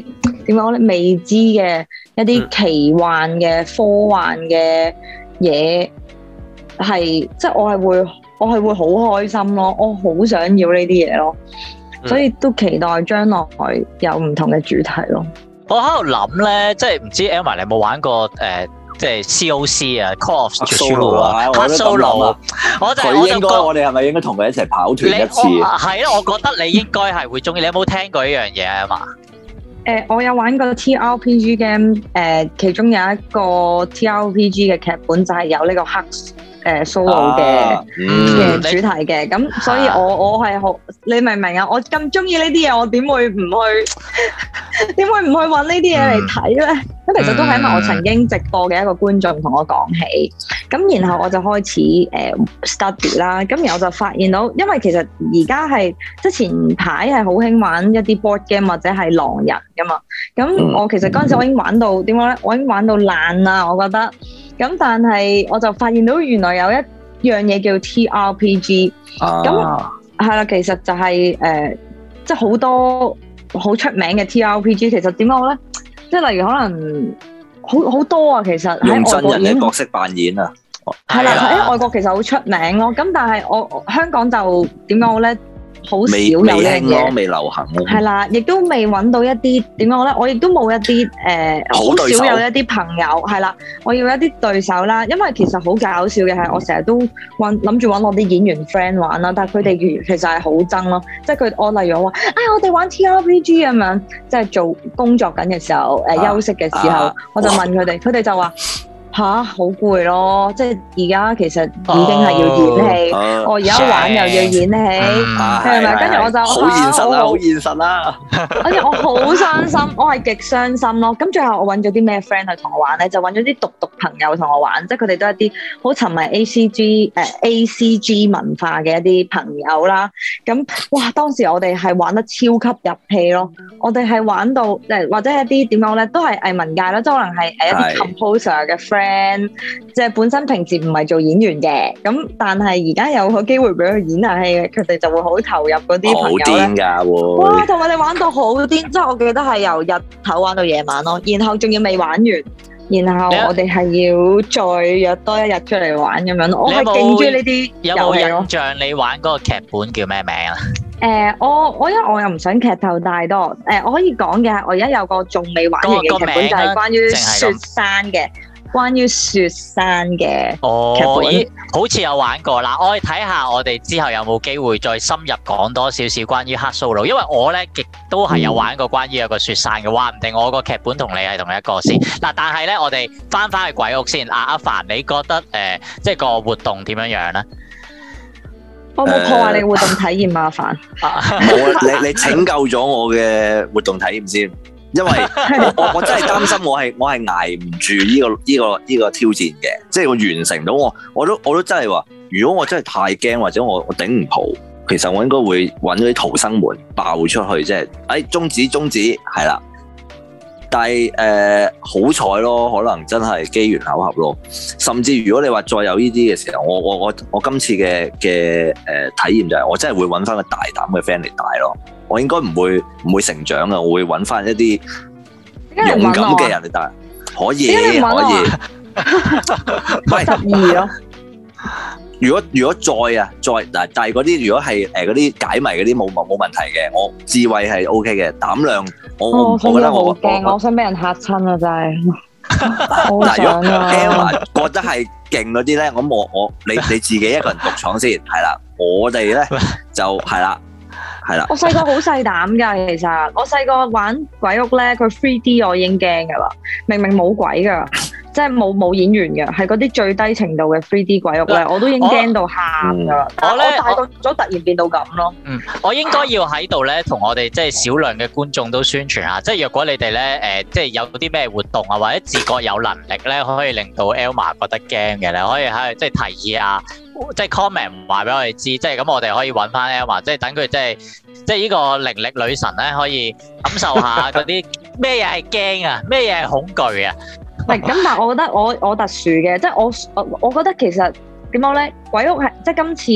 點講咧未知嘅一啲奇幻嘅、嗯、科幻嘅嘢，係即係我係會我係會好開心咯，我好想要呢啲嘢咯，嗯、所以都期待將來有唔同嘅主題咯。 我喺度諗咧，即係唔知 Elma 你有冇玩過誒？呃即係 C O C 啊 ，Call of Cthulhu 啊 ，Call Solo，我就佢應該我哋係咪應該同佢一齊跑團一次？ 係咯，我覺得你應該係會中意。你有冇聽過呢樣嘢啊嘛？ 誒，我有玩過 T R P G game，誒，其中有一個 T R P G 嘅劇本就係有呢個黑誒 solo 嘅嘅主題嘅，咁所以我我係好，你明唔明啊？我咁中意呢啲嘢，我點會唔去？點會唔去揾呢啲嘢嚟睇咧？咁其實都係因為我曾經直播嘅一個觀眾同我講起，咁然後我就開始誒、呃、study 啦，咁然後我就發現到，因為其實而家係即係前排係好興玩一啲 board game 或者係狼人噶嘛，咁我其實嗰陣時我已經玩到點講咧，我已經玩到爛啦，我覺得，咁但係我就發現到原來有一樣嘢叫 T R P G，咁係啦，其實就係、是、誒、呃、即係好多好出名嘅 T R P G， 其實點講咧？即係例如可能好好多啊，其實用真人嘅角色扮演啊， 係啦，喺外國其實好出名咯。咁但係我香港就點講好咧？好少有呢樣嘢， 未流行咯。 係啦，亦都未揾到一啲點講咧？我亦都冇一啲誒，好、呃、少有一啲朋友係啦。我要一啲對手啦，因為其實好搞笑嘅係，我成日都揾諗住揾我啲演員 friend 玩啦，但係佢哋其實係好憎咯。即係佢我例如我話，哎我哋玩 T R P G 咁樣，即係做工作緊嘅時候，誒、呃、休息嘅時候，啊、我就問佢哋，佢哋就話。吓，好攰咯！即係而家其實已經係要演戲，我而家玩又要演戲，係咪？跟住我就好現實啦，好現實啦。 跟住我好傷心，我係極傷心咯。咁最後我揾咗啲咩 friend 去同我玩咧？就揾咗啲獨獨朋友同我玩，即係佢哋都係一啲好沉迷 A C G 誒 A C G 文化嘅一啲朋友啦。咁哇，當時我哋係玩得超級入戲咯。我哋係玩到誒，或者一啲點講咧，都係藝文界啦，即係可能係誒一啲 composer 嘅 friend。即係本身平時唔係做演員嘅，咁但係而家有個機會俾佢演下戲，佢哋就會好投入嗰啲朋友咧。好癲㗎喎！哇，同佢哋玩到好癲，即係我記得係由日頭玩到夜晚咯，然後仲要未玩完，然後我哋係要再約多一日出嚟玩咁樣。我係勁中意呢啲遊戲咯。有冇印象你玩嗰個劇本叫咩名啊？誒、呃，我我因為我又唔想劇透太多，誒、呃，我可以講嘅係我而家有個仲未玩完嘅劇本，就係關於雪山嘅。關於雪山嘅劇本， 哦、好似有玩過啦。我哋睇下，我哋之後有冇機會再深入講多少少關於黑 Solo，因為我咧亦都係有玩過關於有個雪山嘅，話唔定我個劇本同你係同一個先。嗱，但係咧，我哋翻翻去鬼屋先。阿阿凡，你覺得誒、呃，即係個活動點樣樣咧？ 我冇破壞你嘅活動體驗啊，阿凡。 冇，你你拯救咗我嘅活動體驗先。因為我我我真係擔心我係我係捱唔住呢個呢個呢個挑戰嘅，即係我完成到我我都我都真係話，如果我真係太驚或者我我頂唔蒲，其實我應該會揾嗰啲逃生門爆出去，即係誒終止終止係啦。但係誒好彩咯，可能真係機緣巧合咯。甚至如果你話再有呢啲嘅時候，我我我我今次嘅嘅誒體驗就係我真係會揾翻個大膽嘅 friend 嚟帶咯。我應該唔會唔會成長啊！我會揾翻一啲勇敢嘅人嚟帶，可以可以，唔係得意咯。如果如果再啊再嗱，但係嗰啲如果係誒嗰啲解謎嗰啲冇冇冇問題嘅，我智慧係 O K 嘅，膽量我、哦、我覺得我好驚，我想俾人嚇親啊！真係好想啊！如果 Elma 覺得係勁嗰啲咧，咁我我你你自己一個人獨闖先係啦，我哋咧就係啦。係啦， 我細個好細膽㗎，其實我細個玩鬼屋咧，佢 three D 我已經驚㗎啦，明明冇鬼㗎，即係冇冇演員嘅，係嗰啲最低程度嘅 three D 鬼屋咧，我都已經驚到喊㗎啦。我咧大個咗突然變到咁咯。嗯， 我應該要喺度咧，同我哋即係少量嘅觀眾都宣傳下，即係若果你哋咧誒，即係有啲咩活動啊，或者自覺有能力咧，可以令到 Elma 覺得驚嘅咧，可以喺度即係提議啊。即係 comment 唔話俾我哋知，即係咁我哋可以揾翻 Elma，即係等佢即係即係呢個靈力女神咧，可以感受下嗰啲咩嘢係驚啊，咩嘢係恐懼啊。 唔係咁，但係我覺得我我特殊嘅，即係我我我覺得其實點講咧，鬼屋係即係今次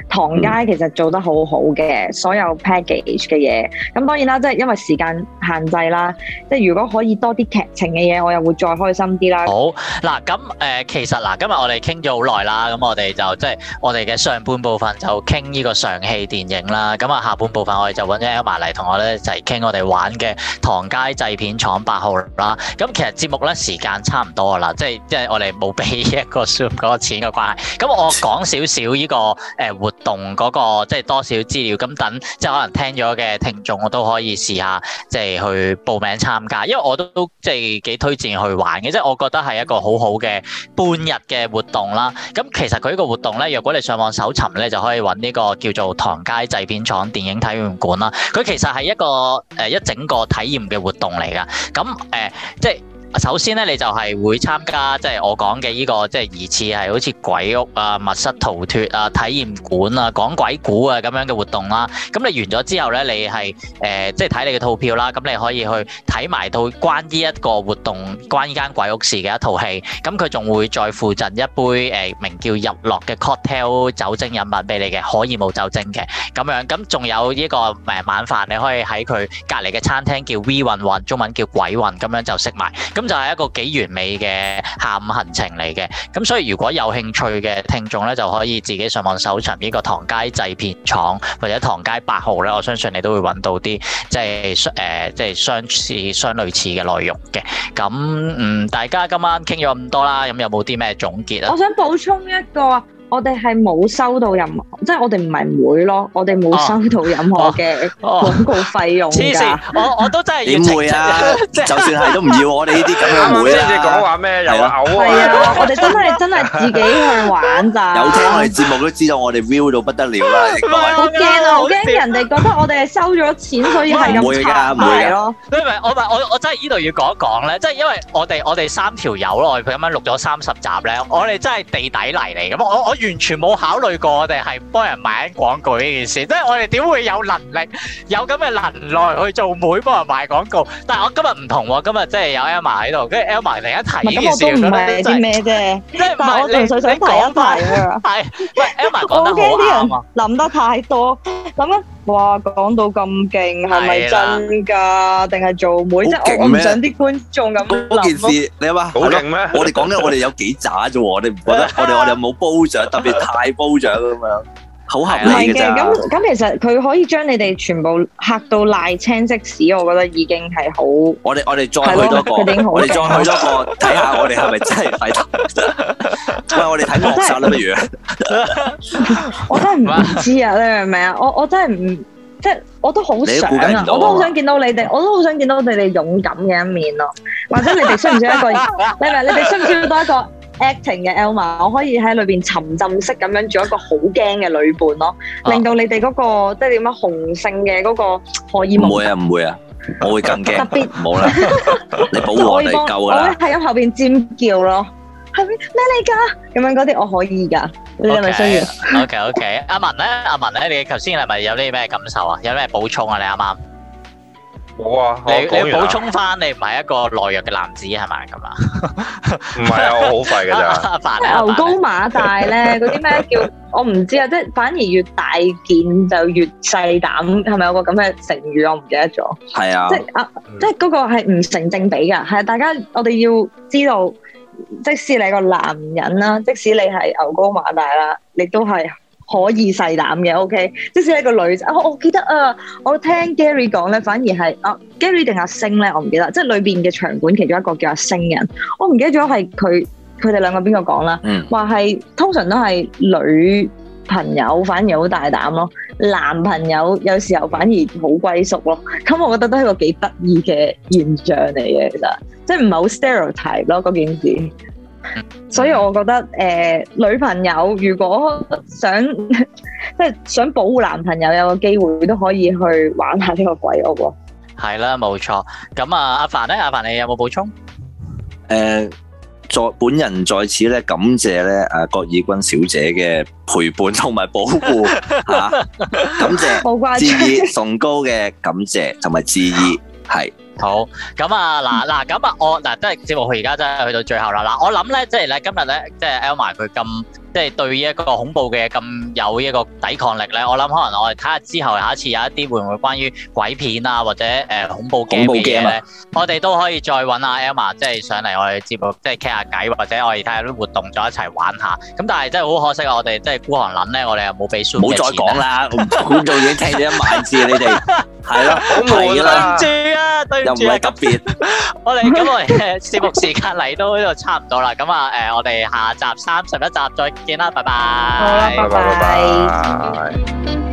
唐街其實做得好好嘅，所有 package 嘅嘢。咁當然啦，即係因為時間限制啦，即係如果可以多啲劇情嘅嘢，我又會再開心啲啦。 好嗱，咁誒、呃、其實嗱，今日我哋傾咗好耐啦，咁我哋就即係我哋嘅上半部分就傾呢個上戲電影啦，咁啊下半部分我哋就揾咗 Elma 嚟同我咧一齊傾我哋玩嘅唐街製片廠八號啦。咁其實節目咧時間差唔多啦，即係即係我哋冇俾一個 Zoom 嗰個錢嘅關係。咁我講少少呢個誒活動嗰、那個即係多少資料，咁等即係可能聽咗嘅聽眾我都可以試下即係去報名參加，因為我都即係幾推薦去玩嘅，即係我覺得係一個好好嘅半日嘅活動啦。咁其實佢呢個活動咧，若果你上網搜尋咧，就可以揾呢個叫做唐街製片廠電影體驗館啦。佢其實係一個誒一整個體驗嘅活動嚟㗎。咁誒、呃、即係。首先咧，你就係會參加即係我講嘅呢個即係疑似係好似鬼屋啊、密室逃脫啊、體驗館啊、講鬼故啊咁樣嘅活動啦。咁你完咗之後咧，你係誒、呃、即係睇你嘅套票啦。咁你可以去睇埋到關呢一個活動、關呢間鬼屋事嘅一套戲。咁佢仲會再附贈一杯誒、呃、名叫日落嘅 cocktail 酒精飲品俾你嘅，可以冇酒精嘅咁樣。咁仲有呢個誒晚飯，你可以喺佢隔離嘅餐廳叫 V 運運，中文叫鬼運，咁樣就食埋。咁就係一個幾完美嘅下午行程嚟嘅，咁所以如果有興趣嘅聽眾咧，就可以自己上網搜尋呢個唐街製片廠或者唐街八號咧，我相信你都會揾到啲即係誒、呃、即係相似相類似嘅內容嘅。咁嗯，大家今晚傾咗咁多啦，咁有冇啲咩總結啊？ 我想補充一個。我哋係冇收到任何，即係我哋唔係會咯，我哋冇收到任何嘅廣告費用㗎。黐線，我我都真係點會啊！就算係都唔要我哋呢啲咁樣會啊！ 你講話咩又嘔啊！ 係啊，我哋真係真係自己去玩咋。 有聽我哋節目都知道我哋 view 到不得了啦！ 好驚啊！好驚人哋覺得我哋係收咗錢，所以係咁插埋咯。 唔係我我我真係呢度要講一講咧，即係因為我哋我哋三條友咯，佢咁樣錄咗三十集咧，我哋真係地底泥嚟咁，我我。完全冇考慮過我哋係幫人買緊廣告呢件事，即係我哋點會有能力有咁嘅能耐去做妹幫人賣廣告？但係我今日唔同喎，今日即係有 Elma 喺度，跟住 Elma 突然間提呢件事， 咁我都唔係啲咩啫，即係但係我純粹想提一提啊。係，喂 Elma 講得好啱啊！諗得太多，諗緊哇講到咁勁，係咪真㗎？定係做妹？即係我我唔想啲觀眾咁諗。 嗰件事你話好勁咩？ 我哋講緊我哋有幾渣啫喎，我哋唔覺得我哋我哋有冇褒獎？特別太褒獎咁樣，好合理嘅咋。 咁咁其實佢可以將你哋全部嚇到賴青即屎，我覺得已經係好。 我哋我哋再去多個，我哋再去多個睇下，我哋係咪真係睇得？喂，我哋睇惡殺啦，不如？ 我真係唔知啊，你明唔明啊？我我真係唔即係，我都好想啊，我都好想見到你哋，我都好想見到你哋勇敢嘅一面咯。或者你哋需唔需要一個？你明？你哋需唔需要多一個acting 嘅 Elma？我可以喺裏邊沉浸式咁樣做一個好驚嘅女伴咯，令到你哋嗰個即係點樣雄性嘅嗰個荷爾蒙。 唔會啊，唔會啊，我會更驚。特別冇啦，你保護我哋夠㗎啦。 我會喺後邊尖叫咯，係咩咩嚟㗎？咁樣嗰啲我可以㗎，你係咪需要 ？OK OK，阿文咧，阿文咧，你頭先係咪有啲咩感受啊？有咩補充啊？你啱啱？ 冇啊！ 你你補充翻，你唔係一個懦弱嘅男子係咪咁啊？ 唔係啊，我好廢㗎咋。 阿凡咧， 牛高馬大咧，嗰啲咩叫我唔知啊，即係反而越大件就越細膽，係咪有個咁嘅成語？我唔記得咗。係啊，即係啊，即係嗰個係唔成正比㗎。係啊，大家我哋要知道，即使你係個男人啦，即使你係牛高馬大啦，你都係可以細膽嘅，OK。即使係個女仔，我我記得啊，我聽 Gary 講咧，反而係啊 Gary 定阿星咧，我唔記得，即係裏邊嘅場館其中一個叫阿星人，我唔記得咗係佢佢哋兩個邊個講啦，話係通常都係女朋友反而好大膽咯，男朋友有時候反而好歸宿咯。咁我覺得都係個幾得意嘅現象嚟嘅，其實即係唔係好 stereotype 咯嗰件事。所以我覺得誒、呃，女朋友如果想即係想保護男朋友有個機會，都可以去玩下呢個鬼屋喎。 係啦，冇錯。咁啊，阿凡咧，阿凡你有冇補充？誒、 呃，在本人在此咧，感謝咧阿郭以君小姐嘅陪伴同埋保護吓、啊，感謝致意崇高嘅感謝同埋致意係。 好，咁啊，嗱嗱，咁啊，我嗱，即係節目佢而家真係去到最後啦。嗱，我諗咧，即係咧，今日咧，即係 Elma 佢咁即係對於一個恐怖嘅咁有一個抵抗力咧，我諗可能我哋睇下之後下一次有一啲會唔會關於鬼片啊或者誒恐怖 game 嘅嘢咧，我哋都可以再揾阿 Elma 即係上嚟我哋節目，即係傾下偈，或者我哋睇下啲活動再一齊玩下。咁但係真係好可惜啊！我哋即係孤寒撚咧，我哋又冇俾 Zoom 嘅錢。唔好再講啦，觀眾已經聽咗一萬次，你哋係咯，係啦，對唔住啊，對唔住啊，又唔係特別。我哋咁我哋嘅節目時間嚟到呢度差唔多啦，咁啊誒，我哋下集三十一集再見啦，拜拜。 好啦，拜拜。 拜拜。